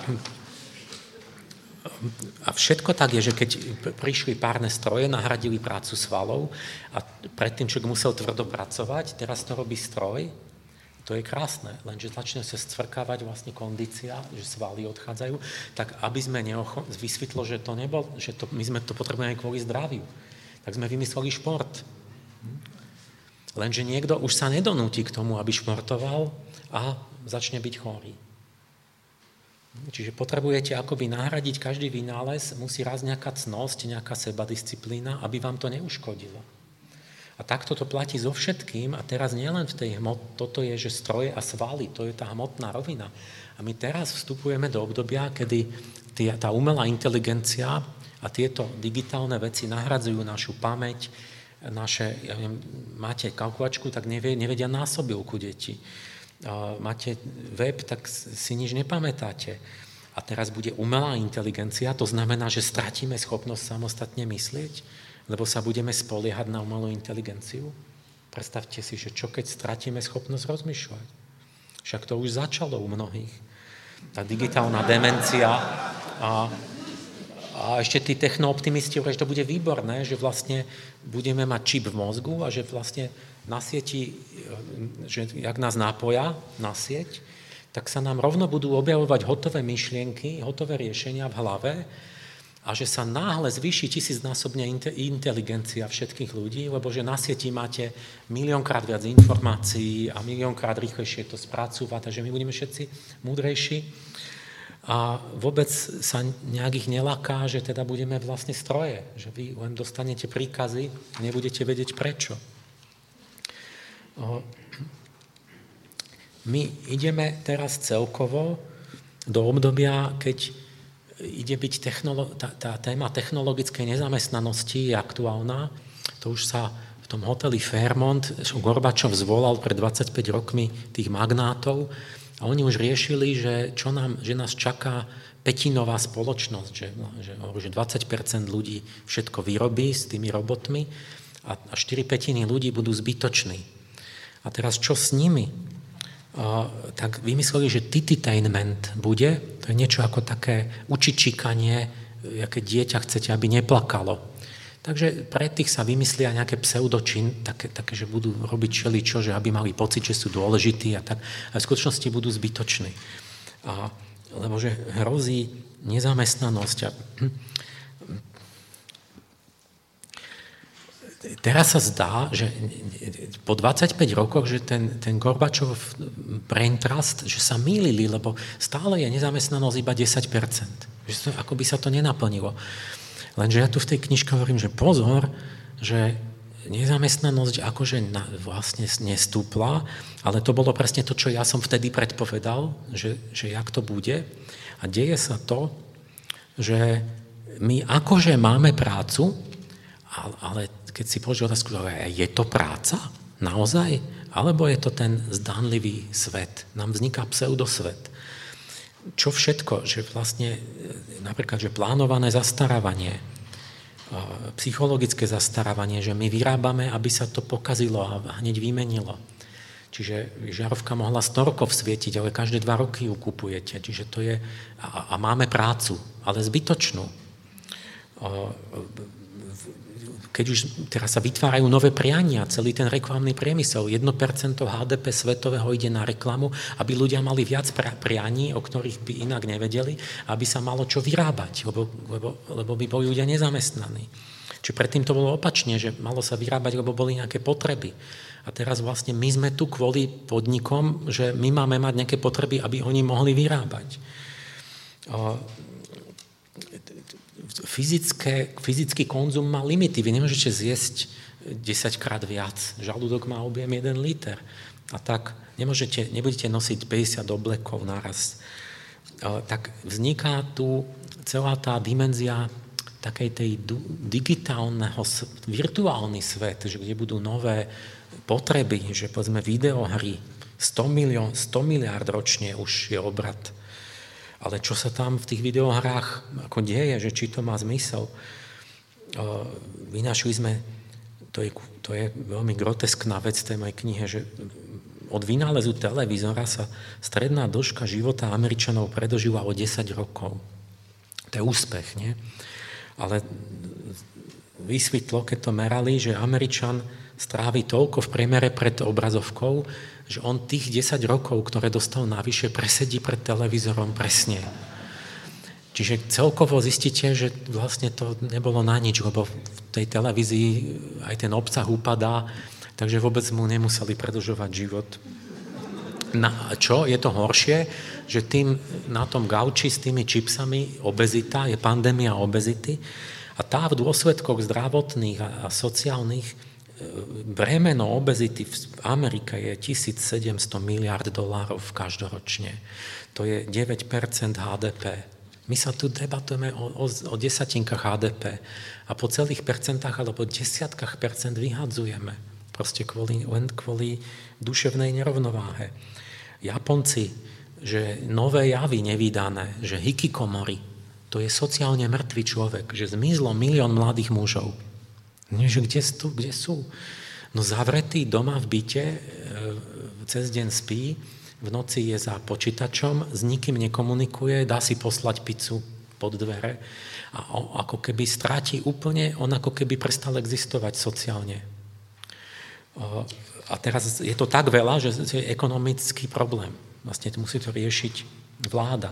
A všetko tak je, že keď prišli párne stroje, nahradili prácu svalov a predtým človek musel tvrdo pracovať, teraz to robí stroj, to je krásne, lenže začne sa stvrkávať vlastne kondícia, že svaly odchádzajú, tak aby sme neocho- vysvetlo, že to nebol, že to, my sme to potrebujeme kvôli zdraviu, tak sme vymysleli šport. Lenže niekto už sa nedonúti k tomu, aby športoval a začne byť chorý. Čiže potrebujete akoby nahradiť každý vynález, musí raz nejaká cnosť, nejaká sebadisciplína, aby vám to neuškodilo. A takto to platí so všetkým a teraz nielen v tej hmot, toto je, že stroje a svaly, to je tá hmotná rovina. A my teraz vstupujeme do obdobia, kedy tie, tá umelá inteligencia a tieto digitálne veci nahradzujú našu pamäť, naše, ja viem, máte kalkulačku, tak nevie, nevedia násobilku deti. Máte web, tak si nič nepamätáte. A teraz bude umelá inteligencia, to znamená, že stratíme schopnosť samostatne myslieť, lebo sa budeme spoliehať na umelú inteligenciu. Predstavte si, že čo keď stratíme schopnosť rozmýšľať. Však to už začalo u mnohých. Tá digitálna demencia a, a ešte tí technooptimisti hovoria, že to bude výborné, že vlastne budeme mať čip v mozgu a že vlastne na sieti, že jak nás nápoja na sieť, tak sa nám rovno budú objavovať hotové myšlienky, hotové riešenia v hlave a že sa náhle zvýši tisícnásobne inteligencia všetkých ľudí, lebo že na sieti máte miliónkrát viac informácií a miliónkrát rýchlejšie to spracúva, takže my budeme všetci múdrejší a vôbec sa nejak ich nelaká, že teda budeme vlastne stroje, že vy len dostanete príkazy a nebudete vedieť prečo. My ideme teraz celkovo do obdobia, keď ide byť technolo- tá, tá téma technologickej nezamestnanosti je aktuálna. To už sa v tom hoteli Fairmont Gorbačov zvolal pred dvadsaťpäť rokmi tých magnátov a oni už riešili, že, čo nám, že nás čaká pätinová spoločnosť, že, že, že dvadsať percent ľudí všetko vyrobí s tými robotmi a, a štyri pätiny ľudí budú zbytoční. A teraz čo s nimi? Uh, tak vymysleli, že tititainment bude, to je niečo ako také učičíkanie, aké dieťa chcete, aby neplakalo. Takže pre tých sa vymyslia nejaké pseudočin, také, také, že budú robiť čeličo, že aby mali pocit, že sú dôležití a tak. A v skutočnosti budú zbytoční. A, lebo že hrozí nezamestnanosť. A, teraz sa zdá, že po dvadsaťpäť rokoch, že ten, ten Gorbačov Brain Trust, že sa mýlili, lebo stále je nezamestnanosť iba desať percent. Že to, ako by sa to nenaplnilo. Lenže ja tu v tej knižke hovorím, že pozor, že nezamestnanosť akože na, vlastne nestúpla, ale to bolo presne to, čo ja som vtedy predpovedal, že, že jak to bude. A deje sa to, že my akože máme prácu, ale keď si položil otázku, je to práca? Naozaj? Alebo je to ten zdánlivý svet? Nám vzniká pseudosvet. Čo všetko? Že vlastne napríklad, že plánované zastarávanie, psychologické zastarávanie, že my vyrábame, aby sa to pokazilo a hneď vymenilo. Čiže žiarovka mohla sto rokov svietiť, ale každé dva roky ju kupujete. Čiže to je, a, a máme prácu, ale zbytočnú. Keď už teraz sa vytvárajú nové priania, celý ten reklamný priemysel, jedno percento há dé pé svetového ide na reklamu, aby ľudia mali viac prianí, o ktorých by inak nevedeli, aby sa malo čo vyrábať, lebo, lebo, lebo by boli ľudia nezamestnaní. Čiže predtým to bolo opačne, že malo sa vyrábať, lebo boli nejaké potreby. A teraz vlastne my sme tu kvôli podnikom, že my máme mať nejaké potreby, aby oni mohli vyrábať. Fyzické, fyzický konzum má limity. Vy nemôžete zjesť desaťkrát viac. Žalúdok má objem jeden liter. A tak nemôžete, nebudete nosiť päťdesiat oblekov naraz. Tak vzniká tu celá tá dimenzia takej tej digitálneho, virtuálny svet, že kde budú nové potreby, že povedzme videohry, sto milión, sto miliárd ročne už je obrat. Ale čo sa tam v tých videohrách ako deje, že či to má zmysel. Vynašli sme, to je, to je veľmi groteskná vec tej mojej knihe, že od vynálezu televízora sa stredná dĺžka života Američanov predožila o desať rokov. To je úspech, nie? Ale vysvetlo, keď to merali, že Američan strávi toľko v priemere pred obrazovkou, že on tých desať rokov, ktoré dostal navyše, presedí pred televízorom presne. Čiže celkovo zistíte, že vlastne to nebolo na nič, lebo v tej televízii aj ten obsah upadá, takže vôbec mu nemuseli predĺžovať život. Na čo je to horšie, že tým na tom gauči s tými čipsami obezita, je pandémia obezity a tá v dôsledkoch zdravotných a, a sociálnych bremeno obezity v Amerike je tisícsedemsto miliárd dolárov každoročne. To je deväť percent há dé pé. My sa tu debatujeme o, o, o desatinkách há dé pé a po celých percentách alebo desiatkách percent vyhadzujeme. Proste kvôli, len kvôli duševnej nerovnováhe. Japonci, že nové javy nevídané, že hikikomori, to je sociálne mŕtvý človek, že zmizlo milión mladých mužov. Nie, že kde sú, kde sú? No zavretý doma v byte, cez deň spí, v noci je za počítačom, s nikým nekomunikuje, dá si poslať pizzu pod dvere a ako keby stráti úplne, on ako keby prestal existovať sociálne. A teraz je to tak veľa, že je ekonomický problém. Vlastne musí to riešiť vláda.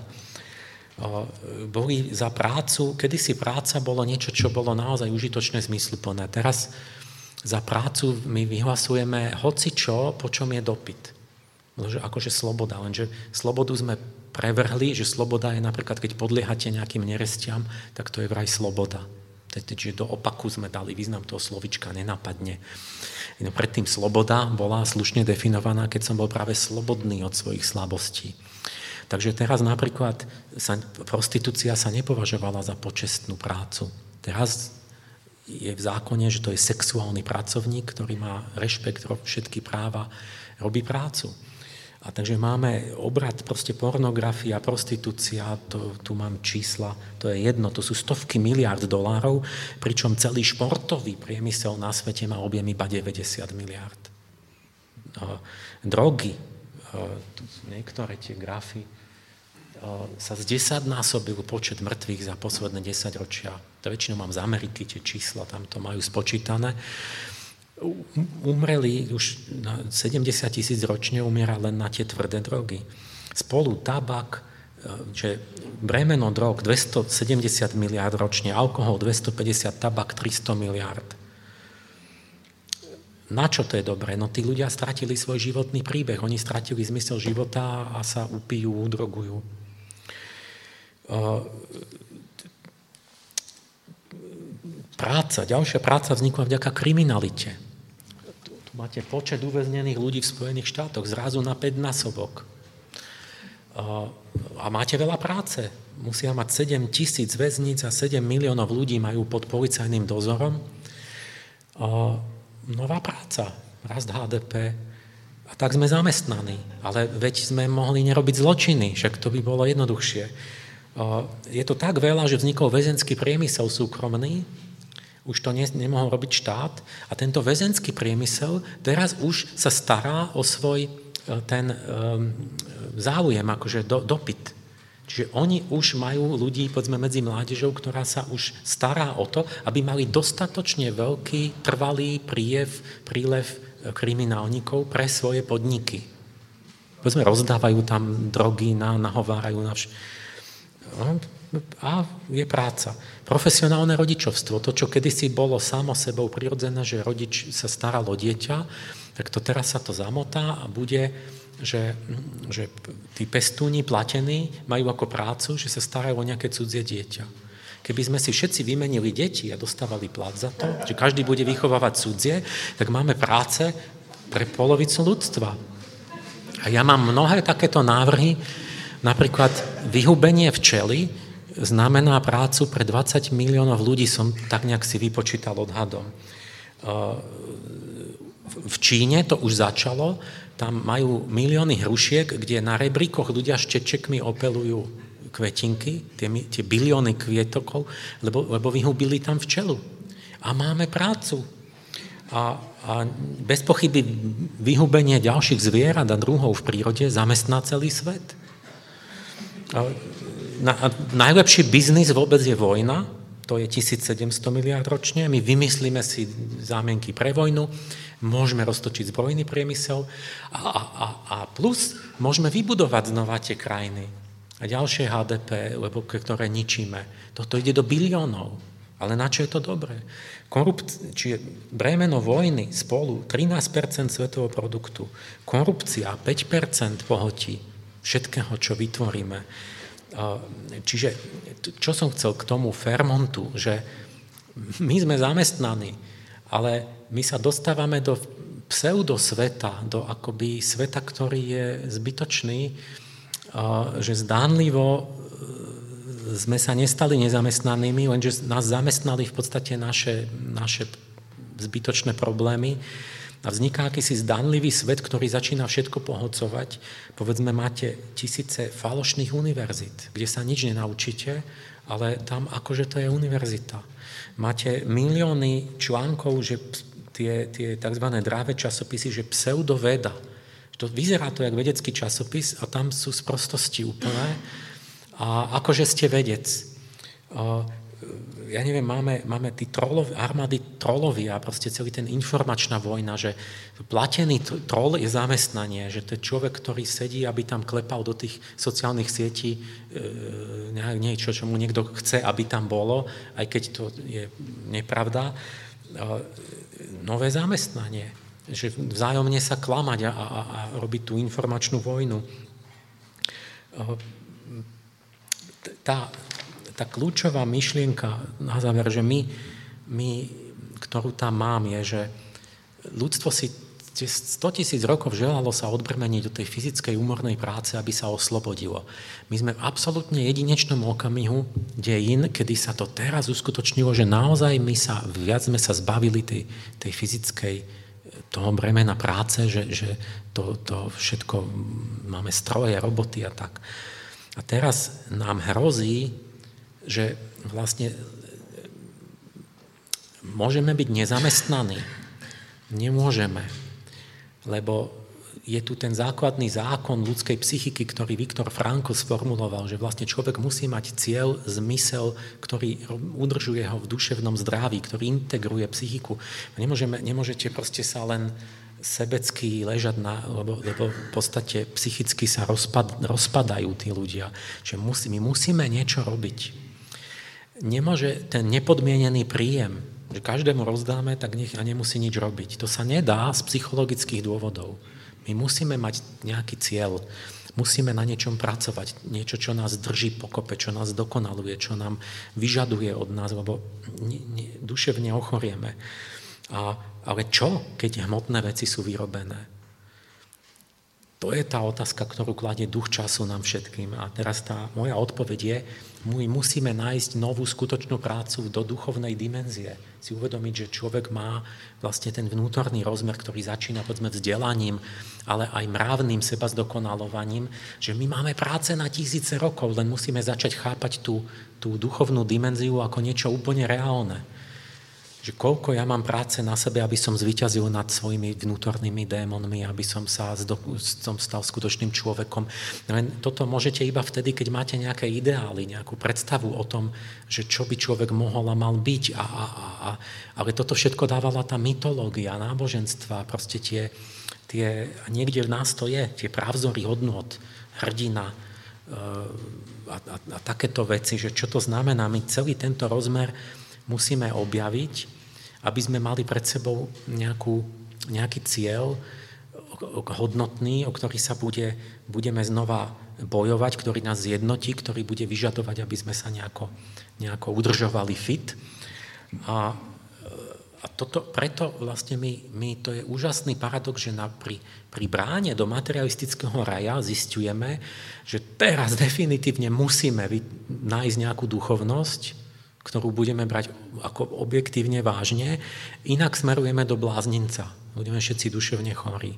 Boli za prácu, kedysi práca bolo niečo, čo bolo naozaj užitočné, zmysluplné. Teraz za prácu my vyhlasujeme hocičo, po čom je dopyt. Akože sloboda, lenže slobodu sme prevrhli, že sloboda je napríklad, keď podliehate nejakým nerestiam, tak to je vraj sloboda. Čiže do opaku sme dali význam toho slovička, nenapadne. No, predtým sloboda bola slušne definovaná, keď som bol práve slobodný od svojich slabostí. Takže teraz napríklad sa, prostitúcia sa nepovažovala za počestnú prácu. Teraz je v zákone, že to je sexuálny pracovník, ktorý má rešpekt, všetky práva, robí prácu. A takže máme obrat, proste pornografia, prostitúcia, to, tu mám čísla, to je jedno, to sú stovky miliárd dolárov, pričom celý športový priemysel na svete má objem iba deväťdesiat miliárd. Drogy, niektoré tie grafy, sa zdesaťnásobil počet mŕtvych za posledné desaťročia. To väčšinou mám z Ameriky, tie čísla, tam to majú spočítané. Umreli už na sedemdesiat tisíc ročne, umiera len na tie tvrdé drogy. Spolu tabak, že bremeno drog dvestosedemdesiat miliárd ročne, alkohol dvestopäťdesiat, tabak tristo miliárd. Na čo to je dobré? No tí ľudia stratili svoj životný príbeh, oni stratili zmysel života a sa upijú, udrogujú. Práca, ďalšia práca vznikla vďaka kriminalite. Tu, tu máte počet uväznených ľudí v Spojených štátoch zrazu na päťnásobok. A máte veľa práce. Musia mať sedem tisíc väzníc a sedem miliónov ľudí majú pod policajným dozorom. Nová práca, rast há dé pé. A tak sme zamestnaní. Ale veď sme mohli nerobiť zločiny, však to by bolo jednoduchšie. Je to tak veľa, že vznikol väzenský priemysel súkromný, Už to ne, nemohol robiť štát a tento väzenský priemysel teraz už sa stará o svoj ten um, záujem, akože do, dopyt. Čiže oni už majú ľudí, povedzme, medzi mládežou, ktorá sa už stará o to, aby mali dostatočne veľký, trvalý príjev, prílev kriminálnikov pre svoje podniky. Povedzme, rozdávajú tam drogy, na, nahovárajú na vš... No, a je práca. Profesionálne rodičovstvo, to, čo kedysi bolo samo sebou prirodzené, že rodič sa staral o dieťa, tak to teraz sa to zamotá a bude, že, že tí pestúni platení majú ako prácu, že sa starajú o nejaké cudzie dieťa. Keby sme si všetci vymenili deti a dostávali plat za to, že každý bude vychovávať cudzie, tak máme práce pre polovicu ľudstva. A ja mám mnohé takéto návrhy, napríklad vyhubenie včely znamená prácu pre dvadsať miliónov ľudí, som tak nejak si vypočítal odhadom. V Číne to už začalo, tam majú milióny hrušiek, kde na rebríkoch ľudia štečekmi opelujú kvetinky, tie, tie bilióny kvietokov, lebo, lebo vyhubili tam včelu. A máme prácu. A, a bez pochyby vyhubenie ďalších zvierat a druhov v prírode zamestná celý svet. A, Na, najlepší biznis vôbec je vojna, to je tisícsedemsto miliárd ročne, my vymyslíme si zámienky pre vojnu, môžeme roztočiť zbrojný priemysel a, a, a plus môžeme vybudovať znova tie krajiny a ďalšie há dé pé, lebo ktoré ničíme. Toto ide do biliónov, ale na čo je to dobré? Korupcia, čiže bremeno vojny spolu trinásť percent svetového produktu, korupcia päť percent pohotí všetkého, čo vytvoríme. Čiže, čo som chcel k tomu Fairmontu, že my sme zamestnaní, ale my sa dostávame do pseudosveta, do akoby sveta, ktorý je zbytočný, že zdánlivo sme sa nestali nezamestnanými, lenže nás zamestnali v podstate naše, naše zbytočné problémy. A vzniká akýsi zdanlivý svet, ktorý začína všetko pohodcovať. Povedzme, máte tisíce falošných univerzít, kde sa nič nenaučíte, ale tam akože to je univerzita. Máte milióny článkov, že tie, tie tzv. Dráve časopisy, že pseudoveda. To vyzerá to jak vedecký časopis a tam sú sprostosti úplné. A akože ste vedec. Ja neviem, máme, máme tí trolov, armády trolovia, proste celý ten informačná vojna, že platený trol je zamestnanie, že to je človek, ktorý sedí, aby tam klepal do tých sociálnych sietí e, niečo, čo mu niekto chce, aby tam bolo, aj keď to je nepravda. E, nové zamestnanie, že vzájomne sa klamať a, a, a robiť tú informačnú vojnu. E, tá Tá kľúčová myšlienka na záver, že my, my, ktorú tam mám, je, že ľudstvo si stotisíc rokov želalo sa odbrmeniť do tej fyzickej úmornej práce, aby sa oslobodilo. My sme v absolútne jedinečnom okamihu dejín, kedy sa to teraz uskutočnilo, že naozaj my sa, viac sme sa zbavili tej, tej fyzickej, toho bremena práce, že, že to, to všetko, máme stroje, roboty a tak. A teraz nám hrozí, že vlastne môžeme byť nezamestnaní. Nemôžeme, lebo je tu ten základný zákon ľudskej psychiky, ktorý Viktor Frankl sformuloval, že vlastne človek musí mať cieľ, zmysel, ktorý udržuje ho v duševnom zdraví, ktorý integruje psychiku. Nemôžeme, nemôžete proste sa len sebecky ležať, na, lebo, lebo v podstate psychicky sa rozpad, rozpadajú tí ľudia. Čiže musí, my musíme niečo robiť. Nemôže ten nepodmienený príjem, že každému rozdáme, tak nech a nemusí nič robiť. To sa nedá z psychologických dôvodov. My musíme mať nejaký cieľ, musíme na niečom pracovať, niečo, čo nás drží pokope, čo nás dokonaluje, čo nám vyžaduje od nás, lebo ne, ne, duševne ochorieme. A, ale čo, keď hmotné veci sú vyrobené? To je tá otázka, ktorú kladie duch času nám všetkým. A teraz tá moja odpoveď je, my musíme nájsť novú skutočnú prácu do duchovnej dimenzie. Si uvedomiť, že človek má vlastne ten vnútorný rozmer, ktorý začína povedzme vzdelaním, ale aj mravným seba zdokonalovaním, že my máme práce na tisíce rokov, len musíme začať chápať tú, tú duchovnú dimenziu ako niečo úplne reálne. že koľko ja mám práce na sebe, aby som zvíťazil nad svojimi vnútornými démonmi, aby som sa som stal skutočným človekom. Toto môžete iba vtedy, keď máte nejaké ideály, nejakú predstavu o tom, že čo by človek mohol a mal byť. A, a, a, ale toto všetko dávala tá mytológia, náboženstva, proste tie, tie, niekde v nás to je, tie právzory hodnôt, hrdina a, a, a takéto veci, že čo to znamená. My celý tento rozmer musíme objaviť, aby sme mali pred sebou nejakú, nejaký cieľ hodnotný, o ktorý sa bude, budeme znova bojovať, ktorý nás zjednotí, ktorý bude vyžadovať, aby sme sa nejako, nejako udržovali fit. A, a toto, preto vlastne my, my, to je úžasný paradox, že na, pri, pri bráne do materialistického raja zisťujeme, že teraz definitívne musíme nájsť nejakú duchovnosť, ktorú budeme brať ako objektívne vážne, inak smerujeme do blázninca. Budeme všetci duševne chorí.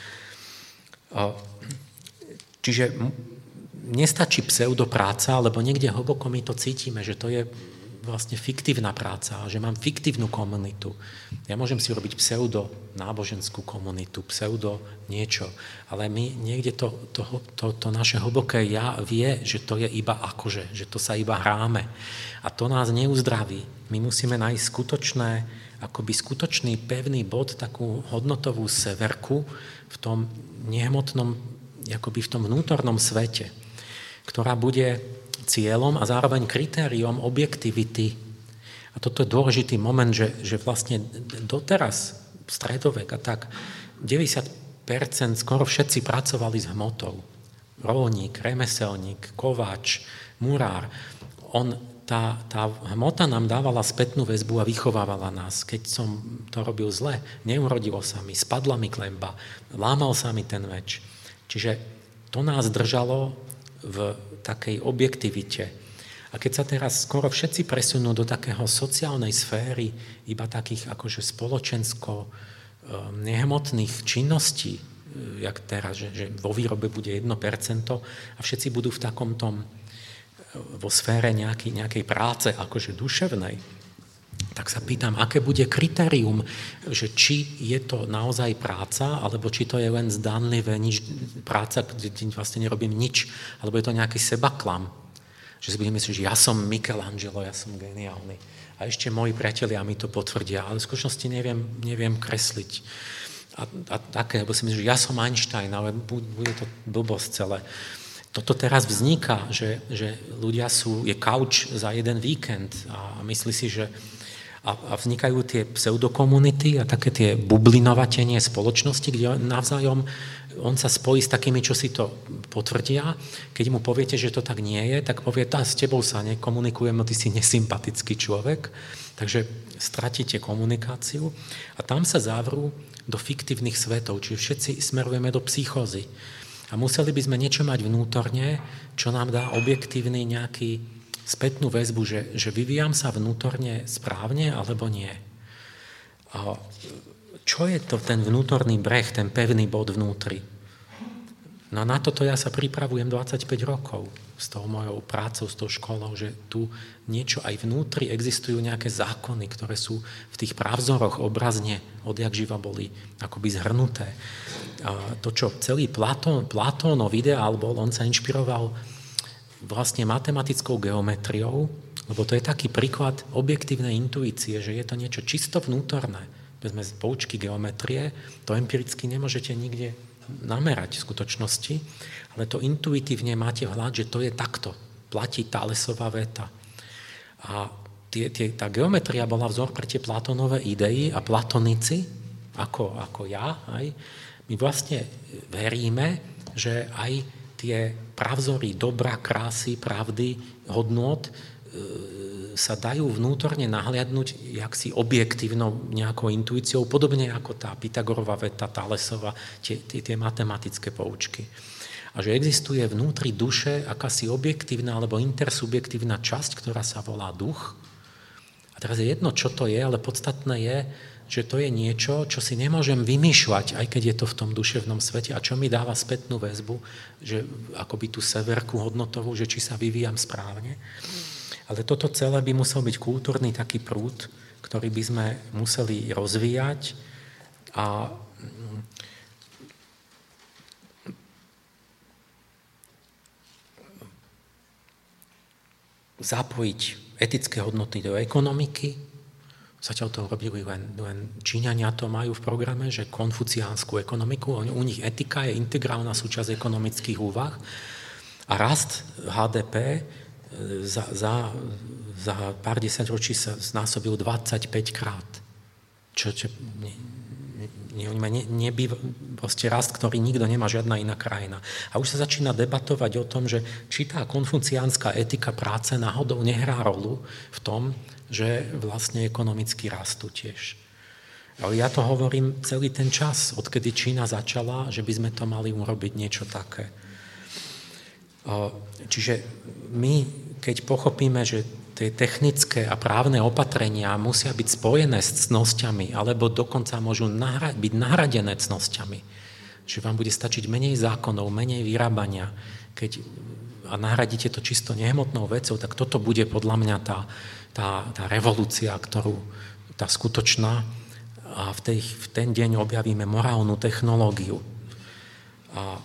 Čiže nestačí pseudopráca, lebo niekde hlboko my to cítime, že to je vlastne fiktívna práca, že mám fiktívnu komunitu. Ja môžem si robiť pseudo náboženskú komunitu, pseudo niečo, ale my niekde to, to, to, to naše hlboké ja vie, že to je iba akože, že to sa iba hráme. A to nás neuzdraví. My musíme nájsť skutočné, akoby skutočný pevný bod, takú hodnotovú severku v tom nehmotnom, akoby v tom vnútornom svete, ktorá bude cieľom a zároveň kritériom objektivity. A toto je dôležitý moment, že, že vlastne doteraz, stredovek a tak, deväťdesiat percent skoro všetci pracovali s hmotou. Rolník, remeselník, kováč, murár. On, tá, tá hmota nám dávala spätnú väzbu a vychovávala nás. Keď som to robil zle, neurodilo sa mi, spadla mi klemba, lámal sa mi ten meč. Čiže to nás držalo v takej objektivite. A keď sa teraz skoro všetci presunú do takého sociálnej sféry, iba takých akože spoločensko nehmotných činností, jak teraz, že, že vo výrobe bude jedno percento a všetci budú v takom tom, vo sfére nejaký, nejakej práce, akože duševnej, tak sa pýtam, aké bude kritérium, že či je to naozaj práca, alebo či to je len zdanlivé nič, práca, kde vlastne nerobím nič, alebo je to nejaký sebaklam. Že si budem myslieť, že ja som Michelangelo, ja som geniálny. A ešte moji priatelia mi to potvrdia, ale v skutočnosti neviem, neviem kresliť. A, a také, lebo si myslím, že ja som Einstein, ale bude to blbosť celé. Toto teraz vzniká, že, že ľudia sú, je kauč za jeden víkend a myslí si, že a vznikajú tie pseudokomunity a také tie bublinovatenie spoločnosti, kde navzájom on sa spojí s takými, čo si to potvrdia. Keď mu poviete, že to tak nie je, tak povie, tá, s tebou sa nekomunikujem, ty si nesympatický človek, takže stratíte komunikáciu a tam sa zavrú do fiktívnych svetov, čiže všetci smerujeme do psychózy. A museli by sme niečo mať vnútorne, čo nám dá objektívny nejaký spätnú väzbu, že, že vyvíjam sa vnútorne správne, alebo nie. A čo je to ten vnútorný breh, ten pevný bod vnútri? No na toto ja sa pripravujem dvadsaťpäť rokov s tou mojou prácou, s tou školou, že tu niečo aj vnútri existujú nejaké zákony, ktoré sú v tých právzoroch obrazne odjak živa boli akoby zhrnuté. A to, čo celý Platón, Platónov ideál bol, on sa inšpiroval vlastne matematickou geometriou, lebo to je taký príklad objektívnej intuície, že je to niečo čisto vnútorné. Vezme z poučky geometrie, to empiricky nemôžete nikde namerať v skutočnosti, ale to intuitívne máte vhľad, že to je takto. Platí Thalesova veta. A tie, tie, tá geometria bola vzor pre tie Platónové idei a platonici, ako, ako ja, aj, my vlastne veríme, že aj tie pravzory dobra, krásy, pravdy, hodnôt e, sa dajú vnútorne nahliadnúť jaksi objektívnou nejakou intuíciou, podobne ako tá Pythagorová veta, Thalesova, tie, tie, tie matematické poučky. A že existuje vnútri duše akási objektívna alebo intersubjektívna časť, ktorá sa volá duch. A teraz je jedno, čo to je, ale podstatné je, že to je niečo, čo si nemôžem vymýšľať, aj keď je to v tom duševnom svete a čo mi dáva spätnú väzbu, že akoby tú severku hodnotovú, že či sa vyvíjam správne. Ale toto celé by musel byť kultúrny taký prúd, ktorý by sme museli rozvíjať a zapojiť etické hodnoty do ekonomiky. Zatiaľ to robili len, len Číňania, to majú v programe, že konfuciánsku ekonomiku, u nich etika je integrálna súčasť ekonomických úvah a rast há dé pé za, za, za pár desaťročí sa znásobil dvadsaťpäť krát. Čo, čo ne, ne, ne, nebýva, proste rast, ktorý nikto nemá, žiadna iná krajina. A už sa začína debatovať o tom, že či tá konfuciánska etika práce náhodou nehrá rolu v tom, že vlastne ekonomicky rastú tiež. Ale ja to hovorím celý ten čas, odkedy Čína začala, že by sme to mali urobiť niečo také. Čiže my, keď pochopíme, že tie technické a právne opatrenia musia byť spojené s cnosťami, alebo dokonca môžu nahra- byť nahradené cnosťami, že vám bude stačiť menej zákonov, menej vyrábania, keď a nahradíte to čisto nehmotnou vecou, tak toto bude podľa mňa tá, tá, tá revolúcia, ktorú, tá skutočná, a v, tej, v ten deň objavíme morálnu technológiu. A,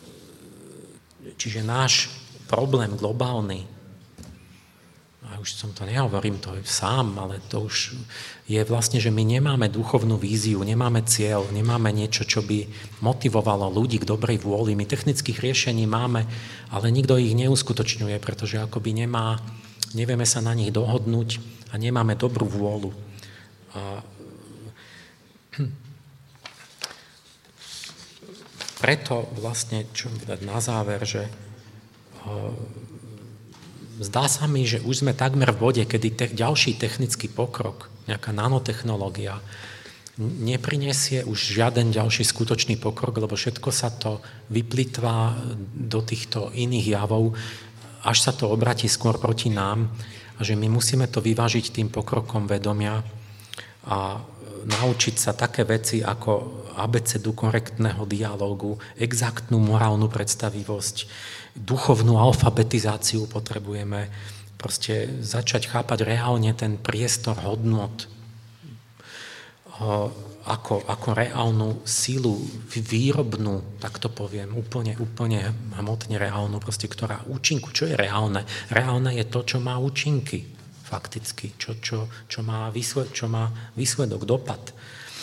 čiže náš problém globálny, a už som to nehovorím, to je sám, ale to už je vlastne, že my nemáme duchovnú víziu, nemáme cieľ, nemáme niečo, čo by motivovalo ľudí k dobrej vôli. My technických riešení máme, ale nikto ich neuskutočňuje, pretože akoby nemá, nevieme sa na nich dohodnúť a nemáme dobrú vôľu. A preto vlastne, čo dať na záver, že zdá sa mi, že už sme takmer v bode, kedy te, ďalší technický pokrok, nejaká nanotechnológia, neprinesie už žiaden ďalší skutočný pokrok, lebo všetko sa to vyplitvá do týchto iných javov, až sa to obratí skôr proti nám a že my musíme to vyvážiť tým pokrokom vedomia a naučiť sa také veci ako abecedu korektného dialógu, exaktnú morálnu predstavivosť, duchovnú alfabetizáciu potrebujeme, proste začať chápať reálne ten priestor hodnot ako, ako reálnu sílu výrobnú, tak to poviem, úplne, úplne hmotne reálnu, proste, ktorá účinku, čo je reálne? Reálne je to, čo má účinky, fakticky, čo, čo, čo, má, výsled, čo má výsledok, dopad.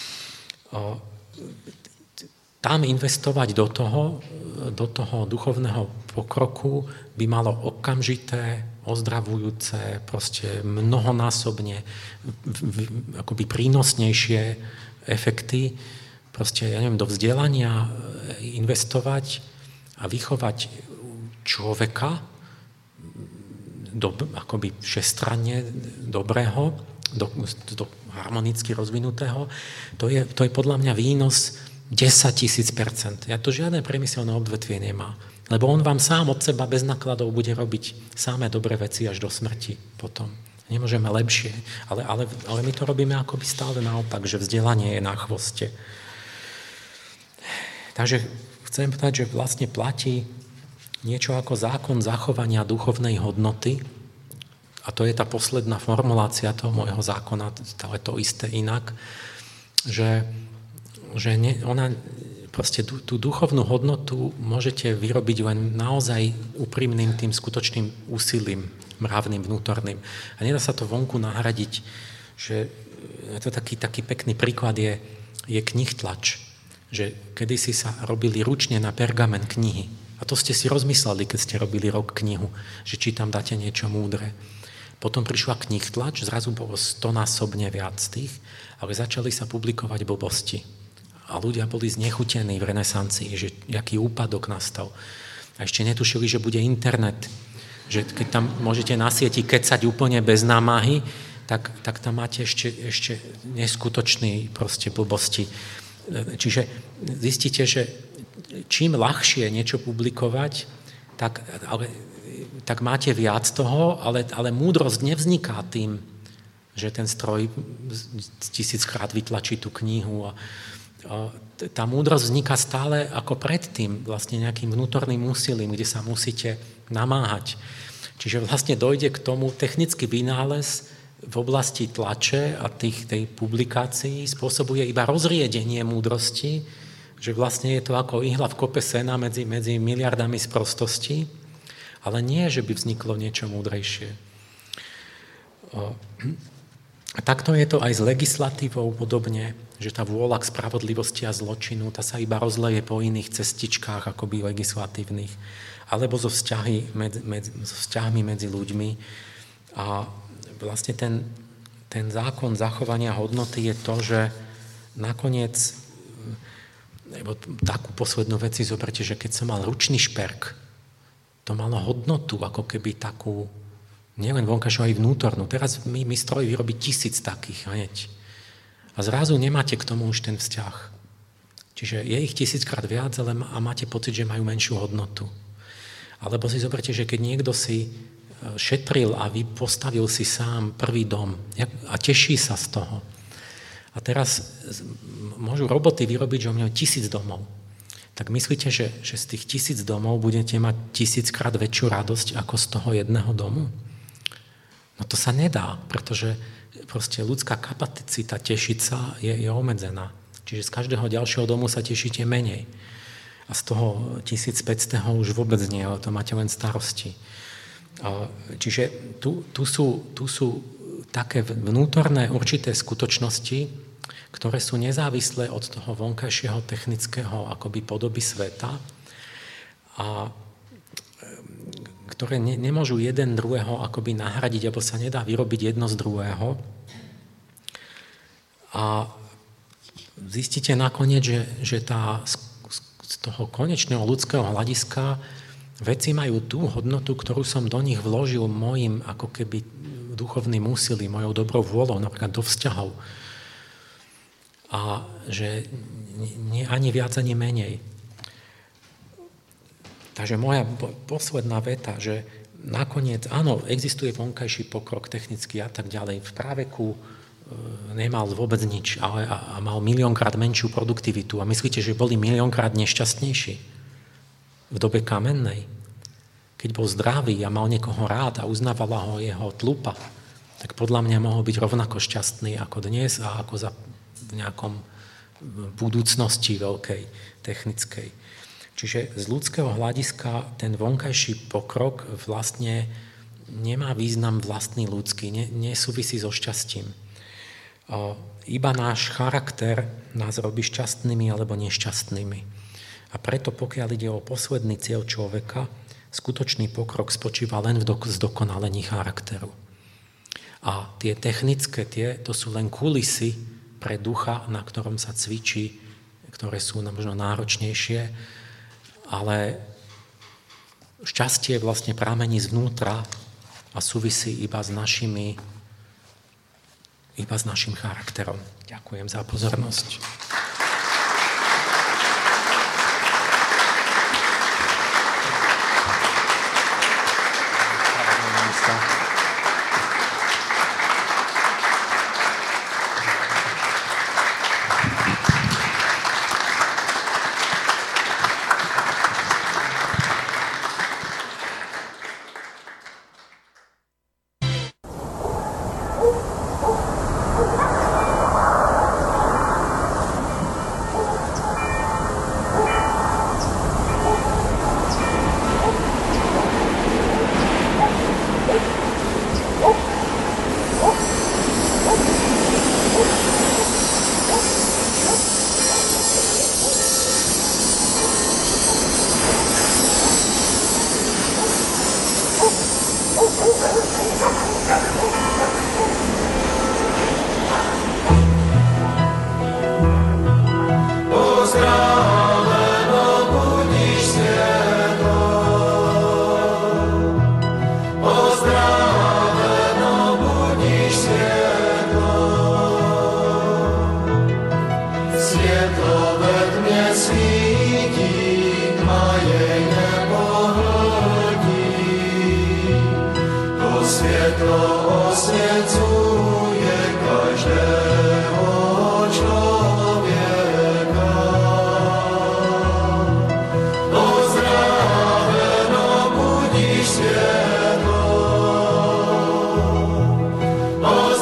Tam investovať do toho, do toho duchovného pokroku by malo okamžité, ozdravujúce, proste mnohonásobne akoby prínosnejšie efekty. Proste, ja neviem, do vzdelania investovať a vychovať človeka do, akoby všestranne dobrého, do, do harmonicky rozvinutého. To je, to je podľa mňa výnos desaťtisíc percent. Ja to žiadne priemyselné odvetvie nemá. Lebo on vám sám od seba bez nákladov bude robiť samé dobré veci až do smrti potom. Nemôžeme lepšie. Ale, ale, ale my to robíme akoby stále naopak, že vzdelanie je na chvoste. Takže chcem povedať, že vlastne platí niečo ako zákon zachovania duchovnej hodnoty. A to je tá posledná formulácia toho môjho zákona, stále to isté inak, že že ne, ona proste tú, tú duchovnú hodnotu môžete vyrobiť len naozaj úprimným tým skutočným úsilím, mravným, vnútorným. A nedá sa to vonku nahradiť, že to taký, taký pekný príklad je, je knihtlač, že kedysi sa robili ručne na pergamen knihy. A to ste si rozmysleli, keď ste robili rok knihu, že či tam dáte niečo múdre. Potom prišla knihtlač, zrazu bolo stonásobne viac tých, ale začali sa publikovať blbosti. A ľudia boli znechutení v renesancii, že aký úpadok nastal. A ešte netušili, že bude internet. Že keď tam môžete na sieti kecať úplne bez námahy, tak, tak tam máte ešte, ešte neskutočný proste blbosti. Čiže zistíte, že čím ľahšie niečo publikovať, tak, ale, tak máte viac toho, ale, ale múdrosť nevzniká tým, že ten stroj tisíckrát vytlačí tú knihu a tá múdrosť vzniká stále ako predtým, vlastne nejakým vnútorným úsilím, kde sa musíte namáhať. Čiže vlastne dojde k tomu technický vynález, v oblasti tlače a tých, tej publikácií spôsobuje iba rozriedenie múdrosti, že vlastne je to ako ihla v kope sena medzi, medzi miliardami sprostosti, ale nie, že by vzniklo niečo múdrejšie. A takto je to aj s legislatívou podobne, že tá vôľa k spravodlivosti a zločinu, tá sa iba rozleje po iných cestičkách akoby legislatívnych, alebo so, vzťahy medzi, medzi, so vzťahmi medzi ľuďmi. A vlastne ten, ten zákon zachovania hodnoty je to, že nakoniec, lebo takú poslednú vec si zoberte, že keď som mal ručný šperk, to malo hodnotu, ako keby takú, nielen vonkajšiu, aj vnútornú. Teraz mi, mi stroj vyrobí tisíc takých hneď. A zrazu nemáte k tomu už ten vzťah. Čiže je ich tisíckrát viac, ale a máte pocit, že majú menšiu hodnotu. Alebo si zoberte, že keď niekto si šetril a vy postavil si sám prvý dom a teší sa z toho. A teraz môžu roboty vyrobiť, že majú tisíc domov. Tak myslíte, že, že z tých tisíc domov budete mať tisíckrát väčšiu radosť ako z toho jedného domu? No to sa nedá, pretože proste ľudská kapacita tešiť sa je, je obmedzená. Čiže z každého ďalšieho domu sa tešíte menej. A z toho tisícpäťsto už vôbec nie, ale to máte len starosti. Čiže tu, tu, sú, tu sú také vnútorné určité skutočnosti, ktoré sú nezávislé od toho vonkajšieho technického akoby podoby sveta a ktoré ne, nemôžu jeden druhého akoby nahradiť, alebo sa nedá vyrobiť jedno z druhého. A zistíte nakoniec, že, že tá, z toho konečného ľudského hľadiska veci majú tú hodnotu, ktorú som do nich vložil mojim ako keby duchovným úsilím, mojou dobrou vôľou, napríklad do vzťahov. A že nie, ani viac, ani menej. Takže moja posledná veta, že nakoniec, áno, existuje vonkajší pokrok technický a tak ďalej. V práveku e, nemal vôbec nič, ale a, a mal miliónkrát menšiu produktivitu. A myslíte, že boli miliónkrát nešťastnejší v dobe kamennej? Keď bol zdravý a mal niekoho rád a uznávala ho jeho tlupa, tak podľa mňa mohol byť rovnako šťastný ako dnes a ako za v nejakom budúcnosti veľkej, technickej. Čiže z ľudského hľadiska ten vonkajší pokrok vlastne nemá význam vlastný ľudský, ne, nesúvisí so šťastím. Iba náš charakter nás robí šťastnými alebo nešťastnými. A preto pokiaľ ide o posledný cieľ človeka, skutočný pokrok spočíva len v zdokonalení charakteru. A tie technické, tie, to sú len kulisy pre ducha, na ktorom sa cvičí, ktoré sú možno náročnejšie, ale šťastie vlastne pramení zvnútra a súvisí iba s našimi, iba s našim charakterom. Ďakujem za pozornosť. Oh,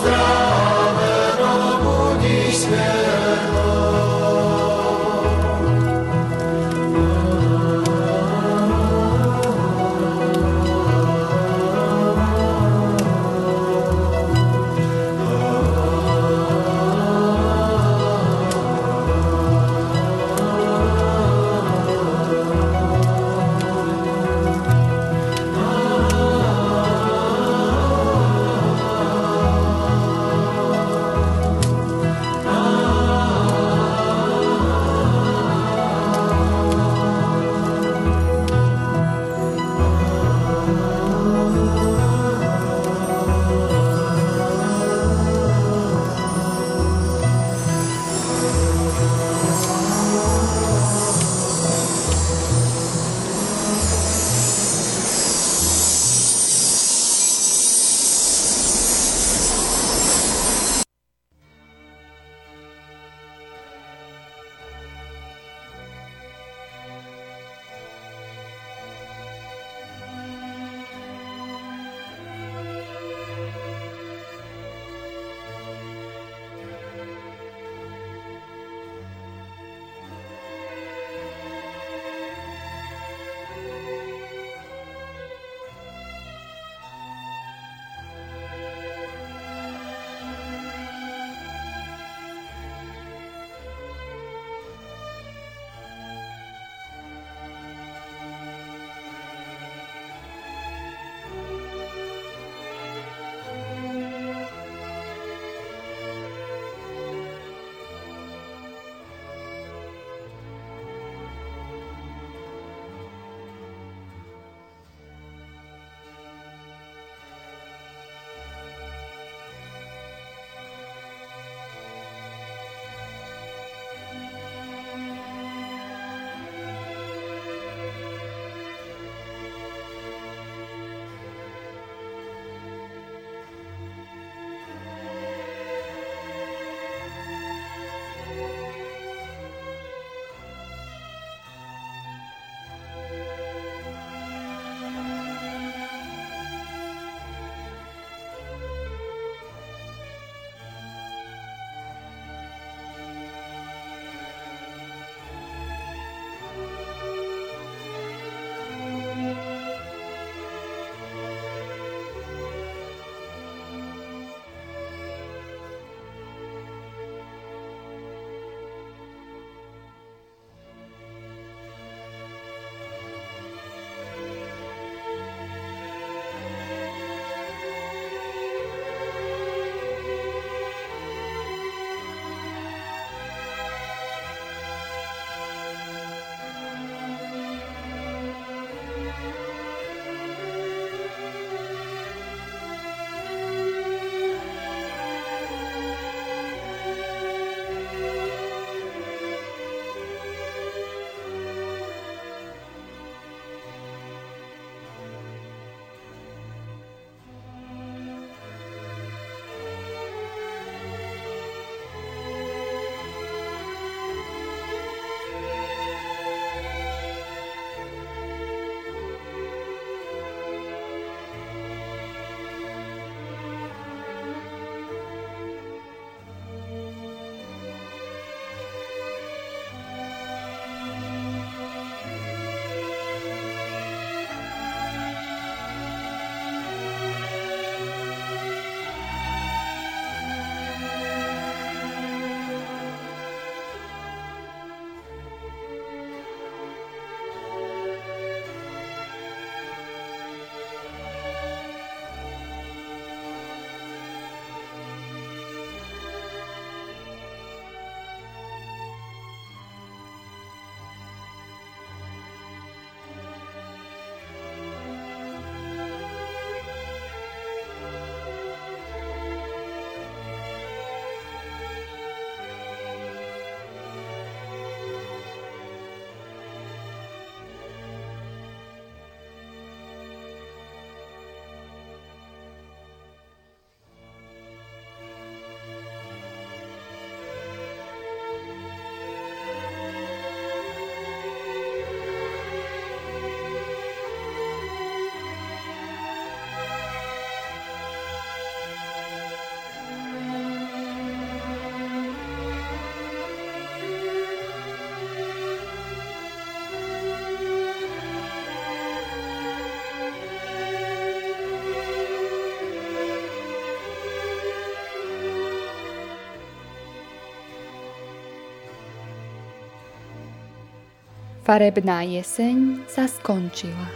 Farebná jeseň sa skončila.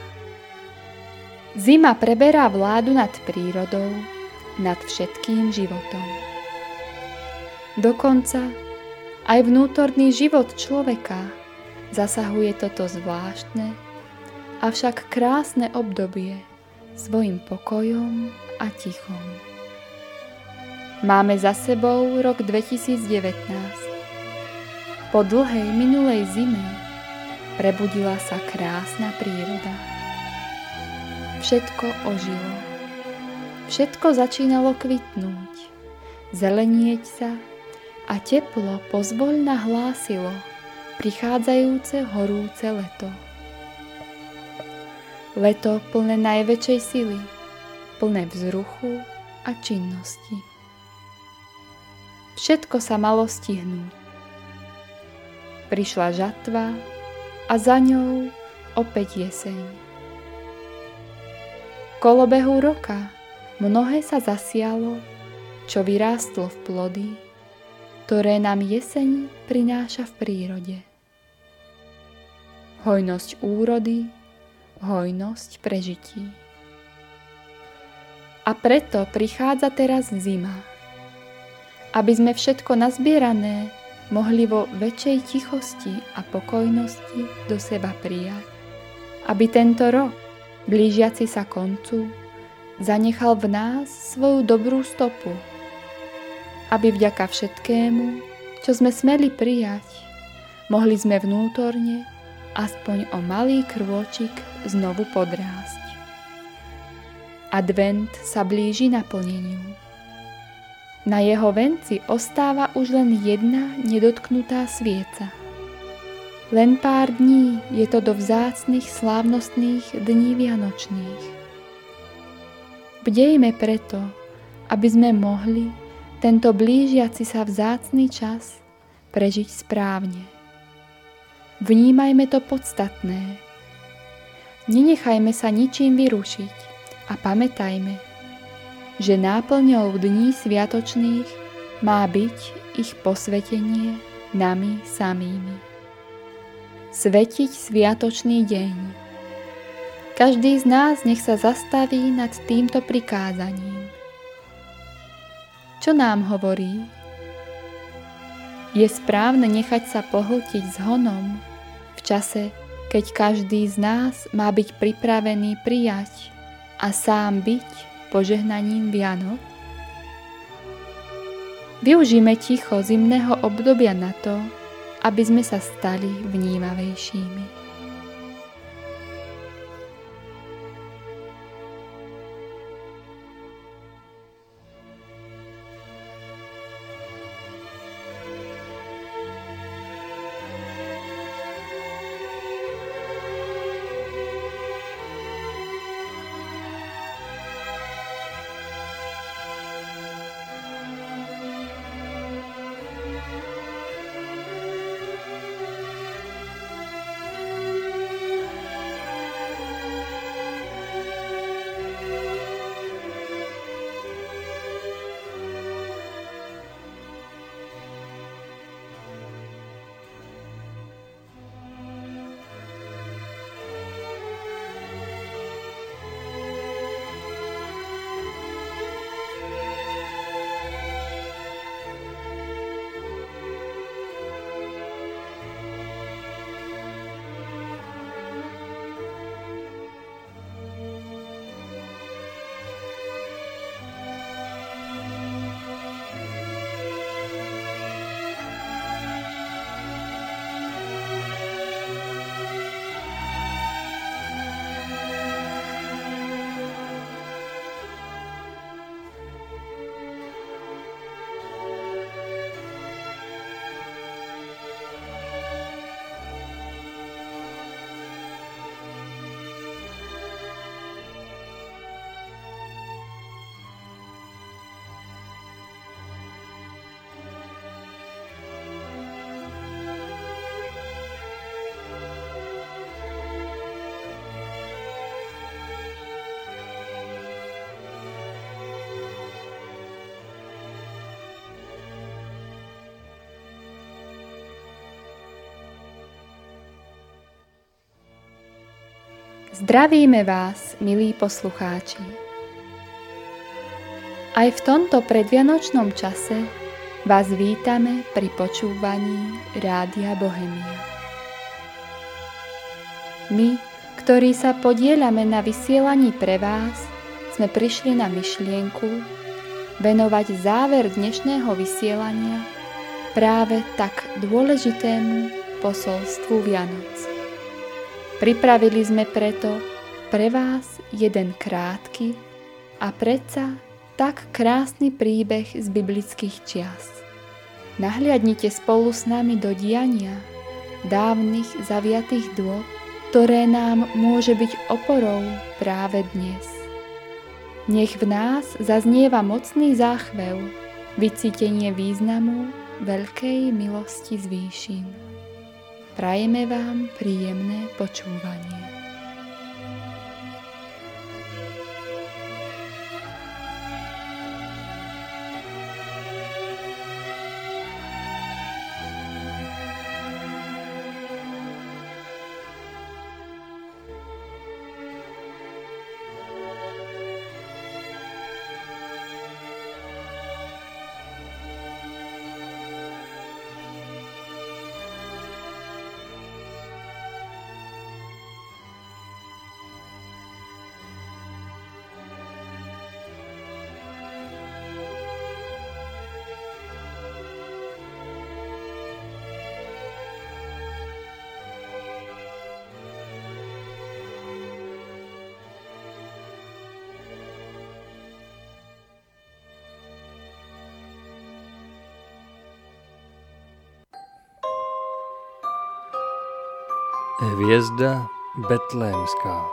Zima preberá vládu nad prírodou, nad všetkým životom. Dokonca aj vnútorný život človeka zasahuje toto zvláštne, avšak krásne obdobie svojim pokojom a tichom. Máme za sebou rok dvetisícdevätnásť. Po dlhej minulej zime prebudila sa krásna príroda. Všetko ožilo. Všetko začínalo kvitnúť, zelenieť sa a teplo pozvoľna hlásilo prichádzajúce horúce leto. Leto plné najväčšej sily, plné vzruchu a činnosti. Všetko sa malo stihnúť. Prišla žatva a za ňou opäť jeseň. V kolobehu roka mnohé sa zasialo, čo vyrástlo v plody, ktoré nám jeseň prináša v prírode. Hojnosť úrody, hojnosť prežití. A preto prichádza teraz zima, aby sme všetko nazbierané mohli vo väčšej tichosti a pokojnosti do seba prijať. Aby tento rok, blížiaci sa koncu, zanechal v nás svoju dobrú stopu. Aby vďaka všetkému, čo sme smeli prijať, mohli sme vnútorne aspoň o malý krôčik znovu podrásť. Advent sa blíži naplneniu. Na jeho venci ostáva už len jedna nedotknutá svieca. Len pár dní je to do vzácnych slávnostných dní vianočných. Bdejme preto, aby sme mohli tento blížiaci sa vzácny čas prežiť správne. Vnímajme to podstatné. Nenechajme sa ničím vyrušiť a pamätajme, že náplňou dní sviatočných má byť ich posvetenie nami samými. Svetiť sviatočný deň. Každý z nás nech sa zastaví nad týmto prikázaním. Čo nám hovorí? Je správne nechať sa pohltiť zhonom v čase, keď každý z nás má byť pripravený prijať a sám byť požehnaním Vianoc? Využíme ticho zimného obdobia na to, aby sme sa stali vnímavejšími. Zdravíme vás, milí poslucháči. Aj v tomto predvianočnom čase vás vítame pri počúvaní Rádia Bohemia. My, ktorí sa podieľame na vysielaní pre vás, sme prišli na myšlienku venovať záver dnešného vysielania práve tak dôležitému posolstvu Vianoc. Pripravili sme preto pre vás jeden krátky a predsa tak krásny príbeh z biblických čias. Nahliadnite spolu s nami do diania dávnych zaviatých dôb, ktoré nám môže byť oporou práve dnes. Nech v nás zaznieva mocný záchvev, vycítenie významu veľkej milosti z výšin. Prajeme vám príjemné počúvanie. Hvězda betlémská.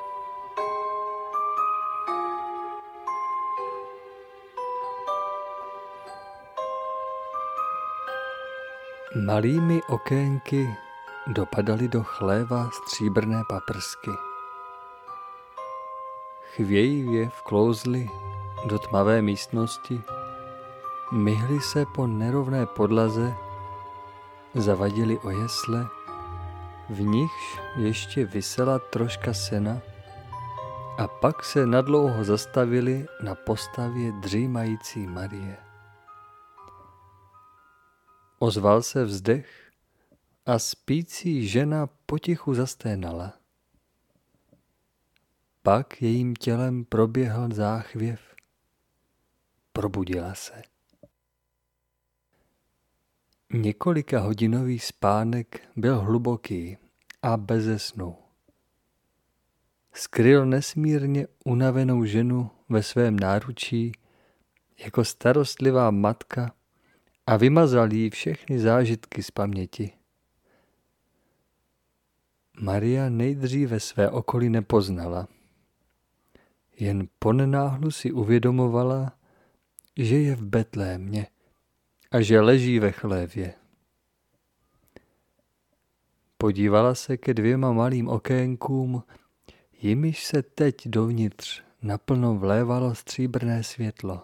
Malými okénky dopadaly do chléva stříbrné paprsky. Chvějivě vklouzly do tmavé místnosti, myhly se po nerovné podlaze, zavadili o jesle, v nichž ještě visela troška sena, a pak se nadlouho zastavili na postavě dřímající Marie. Ozval se vzdech a spící žena potichu zasténala. Pak jejím tělem proběhl záchvěv. Probudila se. Několika hodinový spánek byl hluboký a beze snu. Skryl nesmírně unavenou ženu ve svém náručí jako starostlivá matka a vymazal jí všechny zážitky z paměti. Maria nejdříve své okolí nepoznala. Jen ponenáhlu si uvědomovala, že je v Betlémě a že leží ve chlévě. Podívala se ke dvěma malým okénkům, jimiž se teď dovnitř naplno vlévalo stříbrné světlo.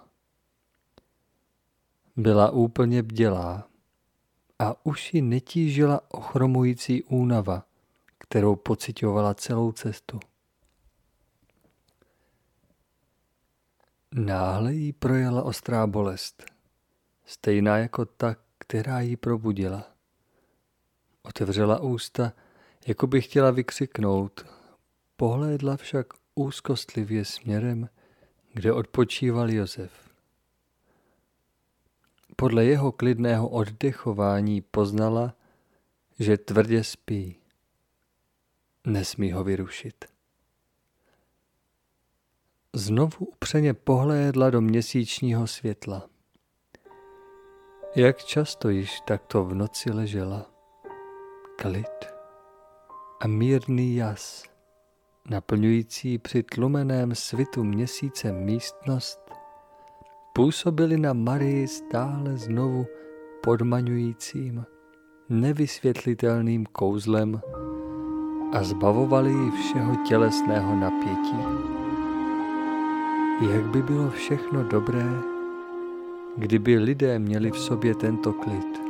Byla úplně bdělá a už ji netížila ochromující únava, kterou pociťovala celou cestu. Náhle jí projela ostrá bolest, stejná jako ta, která jí probudila. Otevřela ústa, jako by chtěla vykřiknout, pohlédla však úzkostlivě směrem, kde odpočíval Josef. Podle jeho klidného oddechování poznala, že tvrdě spí. Nesmí ho vyrušit. Znovu upřeně pohlédla do měsíčního světla. Jak často již takto v noci ležela. Klid a mírný jas, naplňující při tlumeném svitu měsíce místnost, působily na Marii stále znovu podmaňujícím, nevysvětlitelným kouzlem a zbavovaly ji všeho tělesného napětí. Jak by bylo všechno dobré, kdyby lidé měli v sobě tento klid.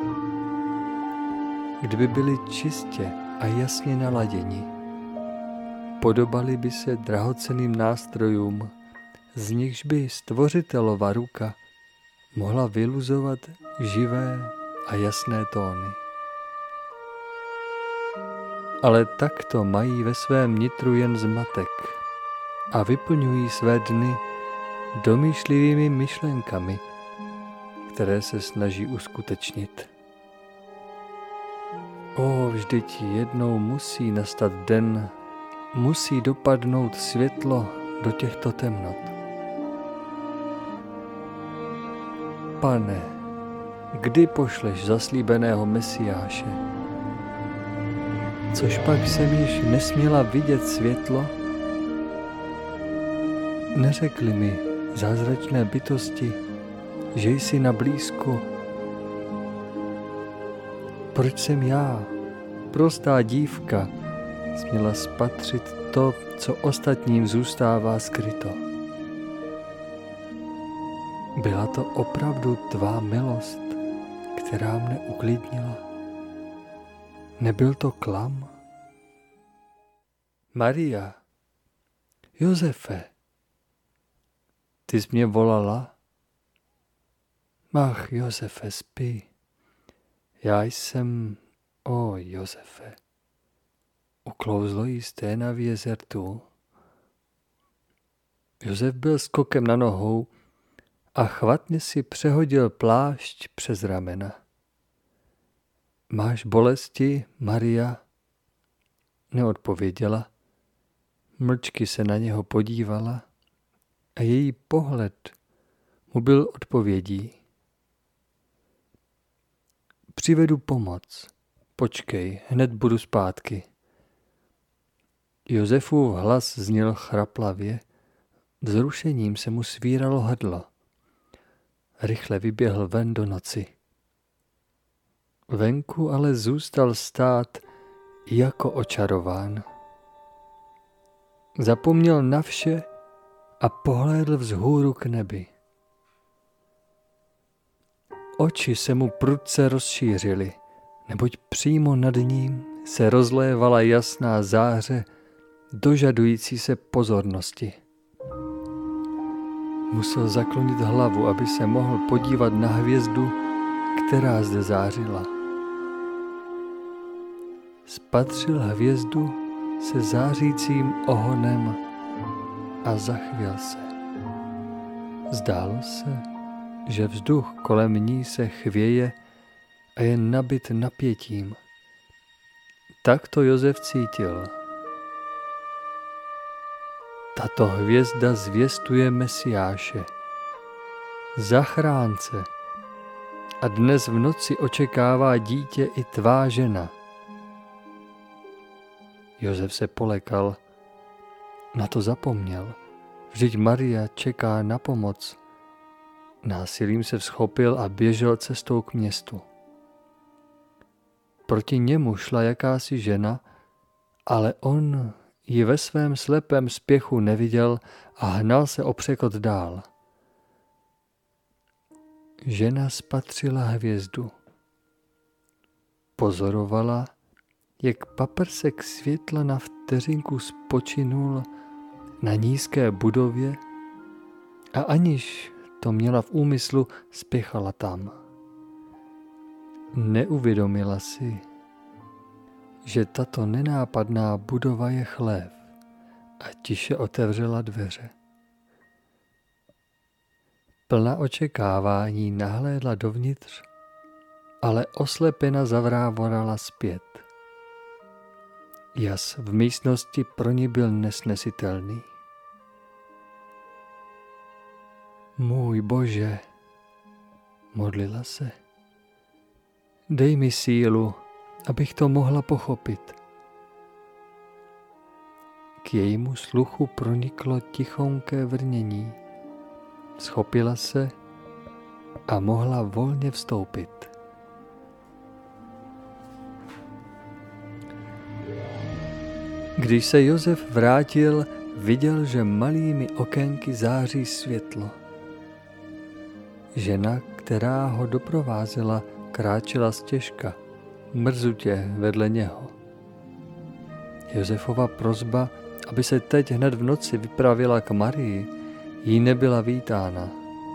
Kdyby byli čistě a jasně naladěni. Podobali by se drahocenným nástrojům, z nichž by stvořitelova ruka mohla vyluzovat živé a jasné tóny. Ale takto mají ve svém nitru jen zmatek a vyplňují své dny domýšlivými myšlenkami, které se snaží uskutečnit. O, vždyť jednou musí nastat den, musí dopadnout světlo do těchto temnot. Pane, kdy pošleš zaslíbeného Mesiáše? Což pak jsem již nesměla vidět světlo? Neřekli mi zázračné bytosti, že jsi na blízku. Proč jsem já, prostá dívka, směla spatřit to, co ostatním zůstává skryto? Byla to opravdu tvá milost, která mne uklidnila? Nebyl to klam? Maria, Josefe, ty jsi mě volala? Ach, Josefe, spí. Já jsem, o Josefe, uklouzlo jí sténa v jezertu. Josef byl skokem na nohou a chvatně si přehodil plášť přes ramena. Máš bolesti, Maria? Neodpověděla. Mlčky se na něho podívala a její pohled mu byl odpovědí. Přivedu pomoc. Počkej, hned budu zpátky. Josefův hlas zněl chraplavě, vzrušením se mu svíralo hrdlo. Rychle vyběhl ven do noci. Venku ale zůstal stát jako očarován. Zapomněl na vše a pohlédl vzhůru k nebi. Oči se mu prudce rozšířily, neboť přímo nad ním se rozlévala jasná záře, dožadující se pozornosti. Musel zaklonit hlavu, aby se mohl podívat na hvězdu, která zde zářila. Spatřil hvězdu se zářícím ohonem a zachvěl se. Zdálo se, že vzduch kolem ní se chvěje a je nabit napětím. Tak to Josef cítil. Tato hvězda zvěstuje Mesiáše, zachránce, a dnes v noci očekává dítě i tvá žena. Josef se polekal, na to zapomněl, vždyť Maria čeká na pomoc. Násilím se vzchopil a běžel cestou k městu. Proti němu šla jakási žena, ale on ji ve svém slepém spěchu neviděl a hnal se o překot dál. Žena spatřila hvězdu. Pozorovala, jak paprsek světla na vteřinku spočinul na nízké budově a aniž to měla v úmyslu, spěchala tam. Neuvědomila si, že tato nenápadná budova je chlév, a tiše otevřela dveře. Plná očekávání nahlédla dovnitř, ale oslepena zavrávorala zpět. Jas v místnosti pro ní byl nesnesitelný. Můj Bože, modlila se, dej mi sílu, abych to mohla pochopit. K jejímu sluchu proniklo tichonké vrnění. Schopila se a mohla volně vstoupit. Když se Josef vrátil, viděl, že malými okénky září světlo. Žena, která ho doprovázela, kráčela stěžka, mrzutě vedle něho. Josefova prosba, aby se teď hned v noci vypravila k Marii, jí nebyla vítána.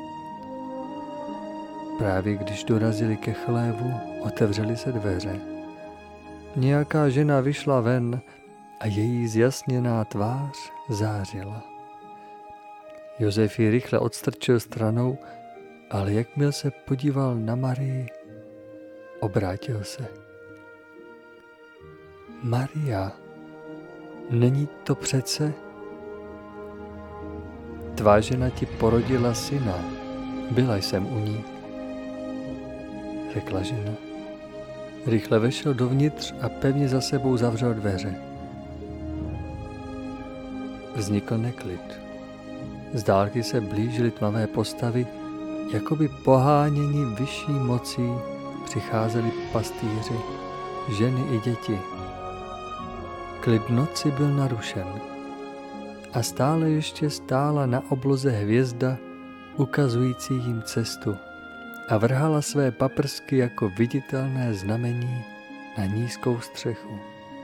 Právě když dorazili ke chlévu, otevřely se dveře. Nějaká žena vyšla ven a její zjasněná tvář zářila. Josef ji rychle odstrčil stranou ale jakmile se podíval na Marii, obrátil se. Maria, není to přece? Tvá žena ti porodila syna, byla jsem u ní, řekla žena. Rychle vešel dovnitř a pevně za sebou zavřel dveře. Vznikl neklid. Z dálky se blížily tmavé postavy, jakoby poháněni vyšší mocí přicházeli pastýři, ženy i děti. Klid noci byl narušen a stále ještě stála na obloze hvězda, ukazující jim cestu, a vrhala své paprsky jako viditelné znamení na nízkou střechu.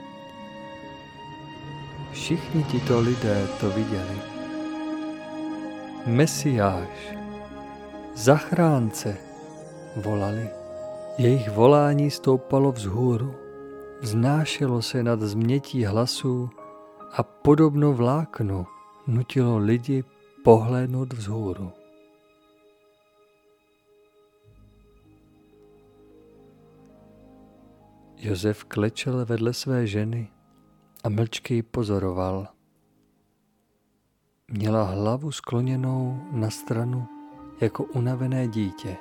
Všichni tito lidé to viděli. Mesiáš, zachránce, volali. Jejich volání stoupalo vzhůru, vznášelo se nad změtí hlasů a podobno vláknu nutilo lidi pohlédnout vzhůru. Josef klečel vedle své ženy a mlčky ji pozoroval. Měla hlavu skloněnou na stranu jako unavené dítě.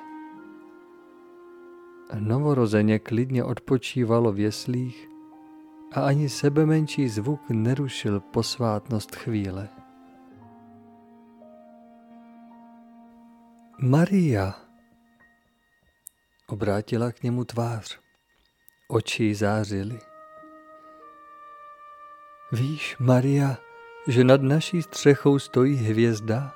Novorozeně klidně odpočívalo v jeslích a ani sebemenší zvuk nerušil posvátnost chvíle. Maria, obrátila k němu tvář. Oči zářily. Víš, Maria, že nad naší střechou stojí hvězda?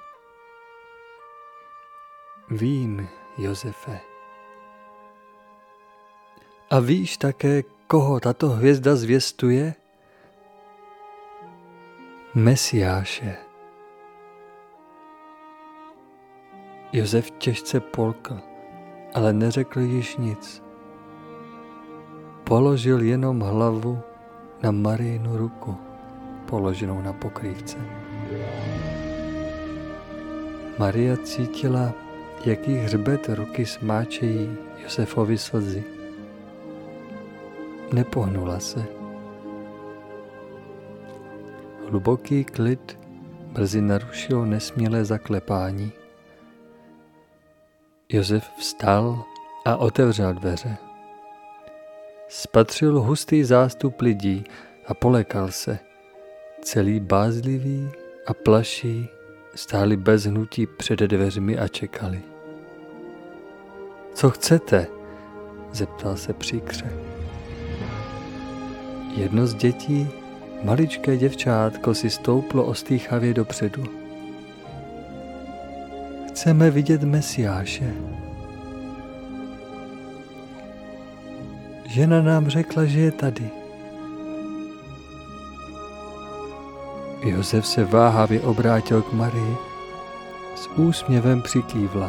Vím, Josefe. A víš také, koho tato hvězda zvěstuje? Mesiáše. Josef těžce polkl, ale neřekl již nic. Položil jenom hlavu na Marijinu ruku, položenou na pokrývce. Maria cítila, jak jí hřbet ruky smáčejí Josefovi slzy. Nepohnula se. Hluboký klid brzy narušilo nesmělé zaklepání. Josef vstal a otevřel dveře. Spatřil hustý zástup lidí a polekal se. Celý bázlivý a plaší stáli bez hnutí před dveřmi a čekali. Co chcete? Zeptal se příkře. Jedno z dětí, maličké děvčátko, si stouplo ostýchavě dopředu. Chceme vidět Mesiáše. Žena nám řekla, že je tady. Josef se váhavě obrátil k Marii, s úsměvem přikývla.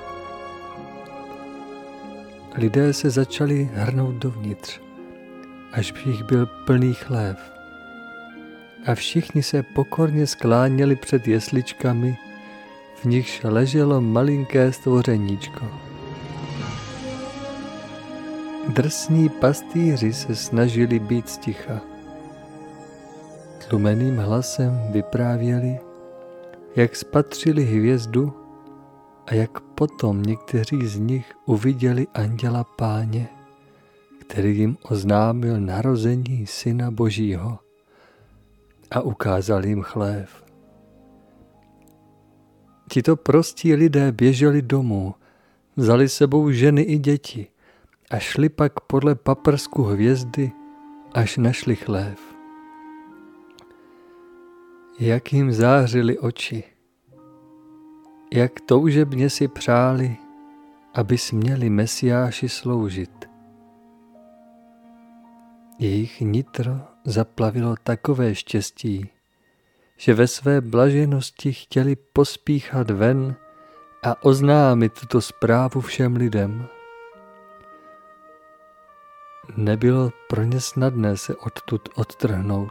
Lidé se začali hrnout dovnitř, až v jich byl plný chlév. A všichni se pokorně skláněli před jesličkami, v nichž leželo malinké stvořeníčko. Drsní pastýři se snažili být sticha. Tlumeným hlasem vyprávěli, jak spatřili hvězdu a jak potom někteří z nich uviděli anděla Páně, který jim oznámil narození Syna Božího a ukázal jim chlév. Tito prostí lidé běželi domů, vzali sebou ženy i děti a šli pak podle paprsku hvězdy, až našli chlév. Jak jim zářily oči, jak toužebně si přáli, aby směli Mesiáši sloužit. Jejich nitro zaplavilo takové štěstí, že ve své blaženosti chtěli pospíchat ven a oznámit tuto zprávu všem lidem. Nebylo pro ně snadné se odtud odtrhnout.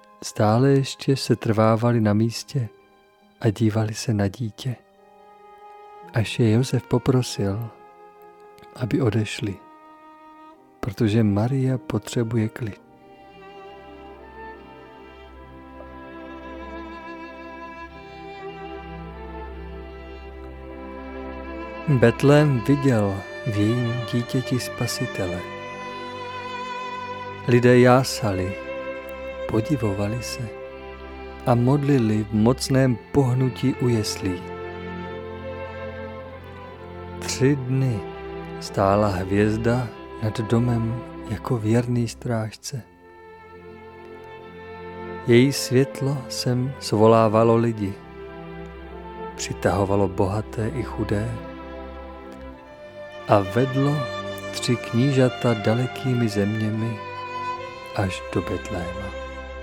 Stále ještě se trvávali na místě a dívali se na dítě. až je Josef poprosil, aby odešli, protože Maria potřebuje klid. Betlém viděl v jejím dítěti Spasitele. Lidé jásali, podivovali se a modlili v mocném pohnutí u jeslí. Tři dny stála hvězda nad domem jako věrný strážce. Její světlo sem svolávalo lidi, přitahovalo bohaté i chudé a vedlo tři knížata dalekými zeměmi až do Betléma.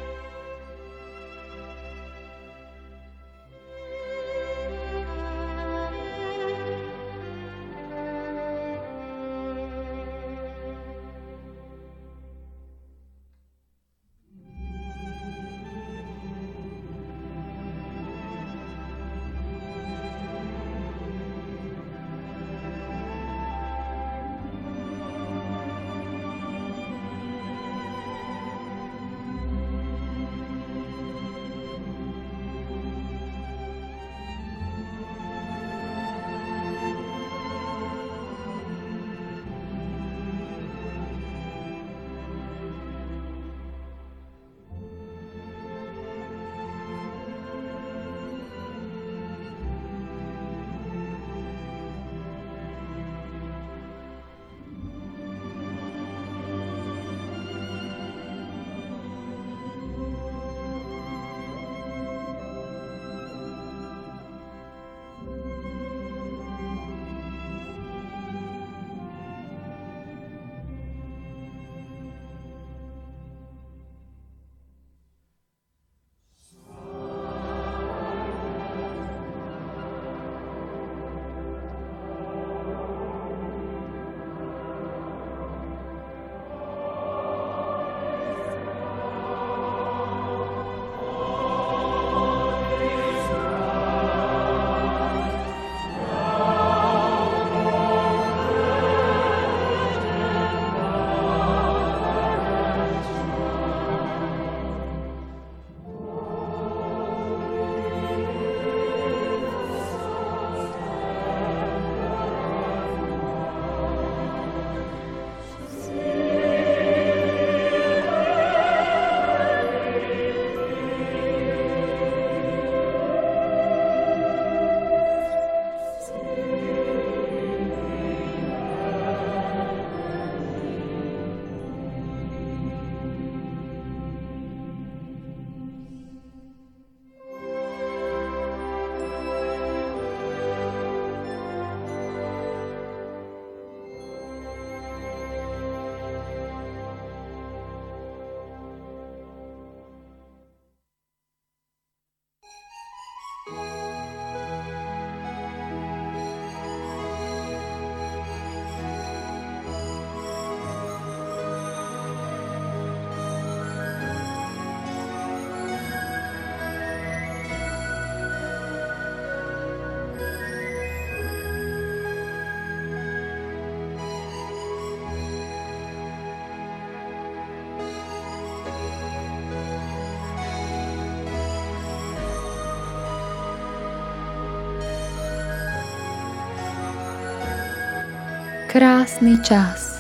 Krásny čas.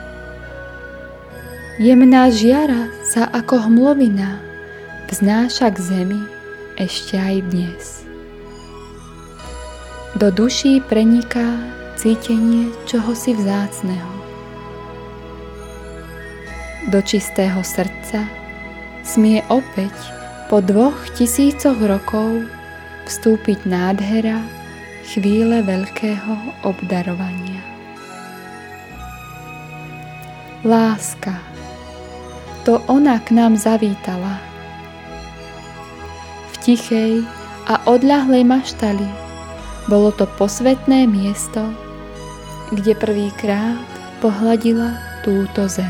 Jemná žiara sa ako hmlovina vznáša k zemi ešte aj dnes. Do duší preniká cítenie čohosi vzácneho. Do čistého srdca smie opäť po dvoch tisícoch rokov vstúpiť nádhera chvíle veľkého obdarovania. Láska, to ona k nám zavítala. V tichej a odľahlej maštali bolo to posvätné miesto, kde prvýkrát pohľadila túto zem.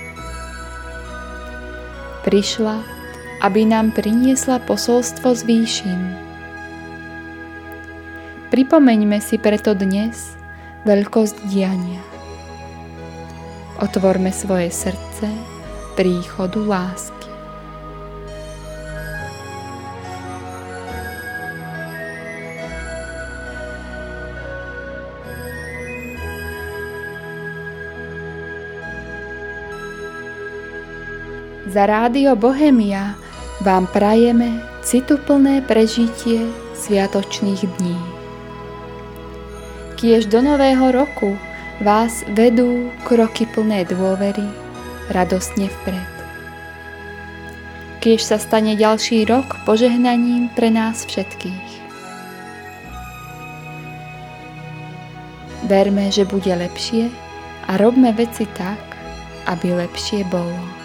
Prišla, aby nám priniesla posolstvo z výšin. Pripomeňme si preto dnes veľkosť diania. Otvorme svoje srdce príchodu lásky. Za Rádio Bohemia vám prajeme cituplné prežitie sviatočných dní. Kiež do nového roku vás vedú kroky plné dôvery radostne vpred. Kiež sa stane ďalší rok požehnaním pre nás všetkých. Verme, že bude lepšie a robme veci tak, aby lepšie bolo.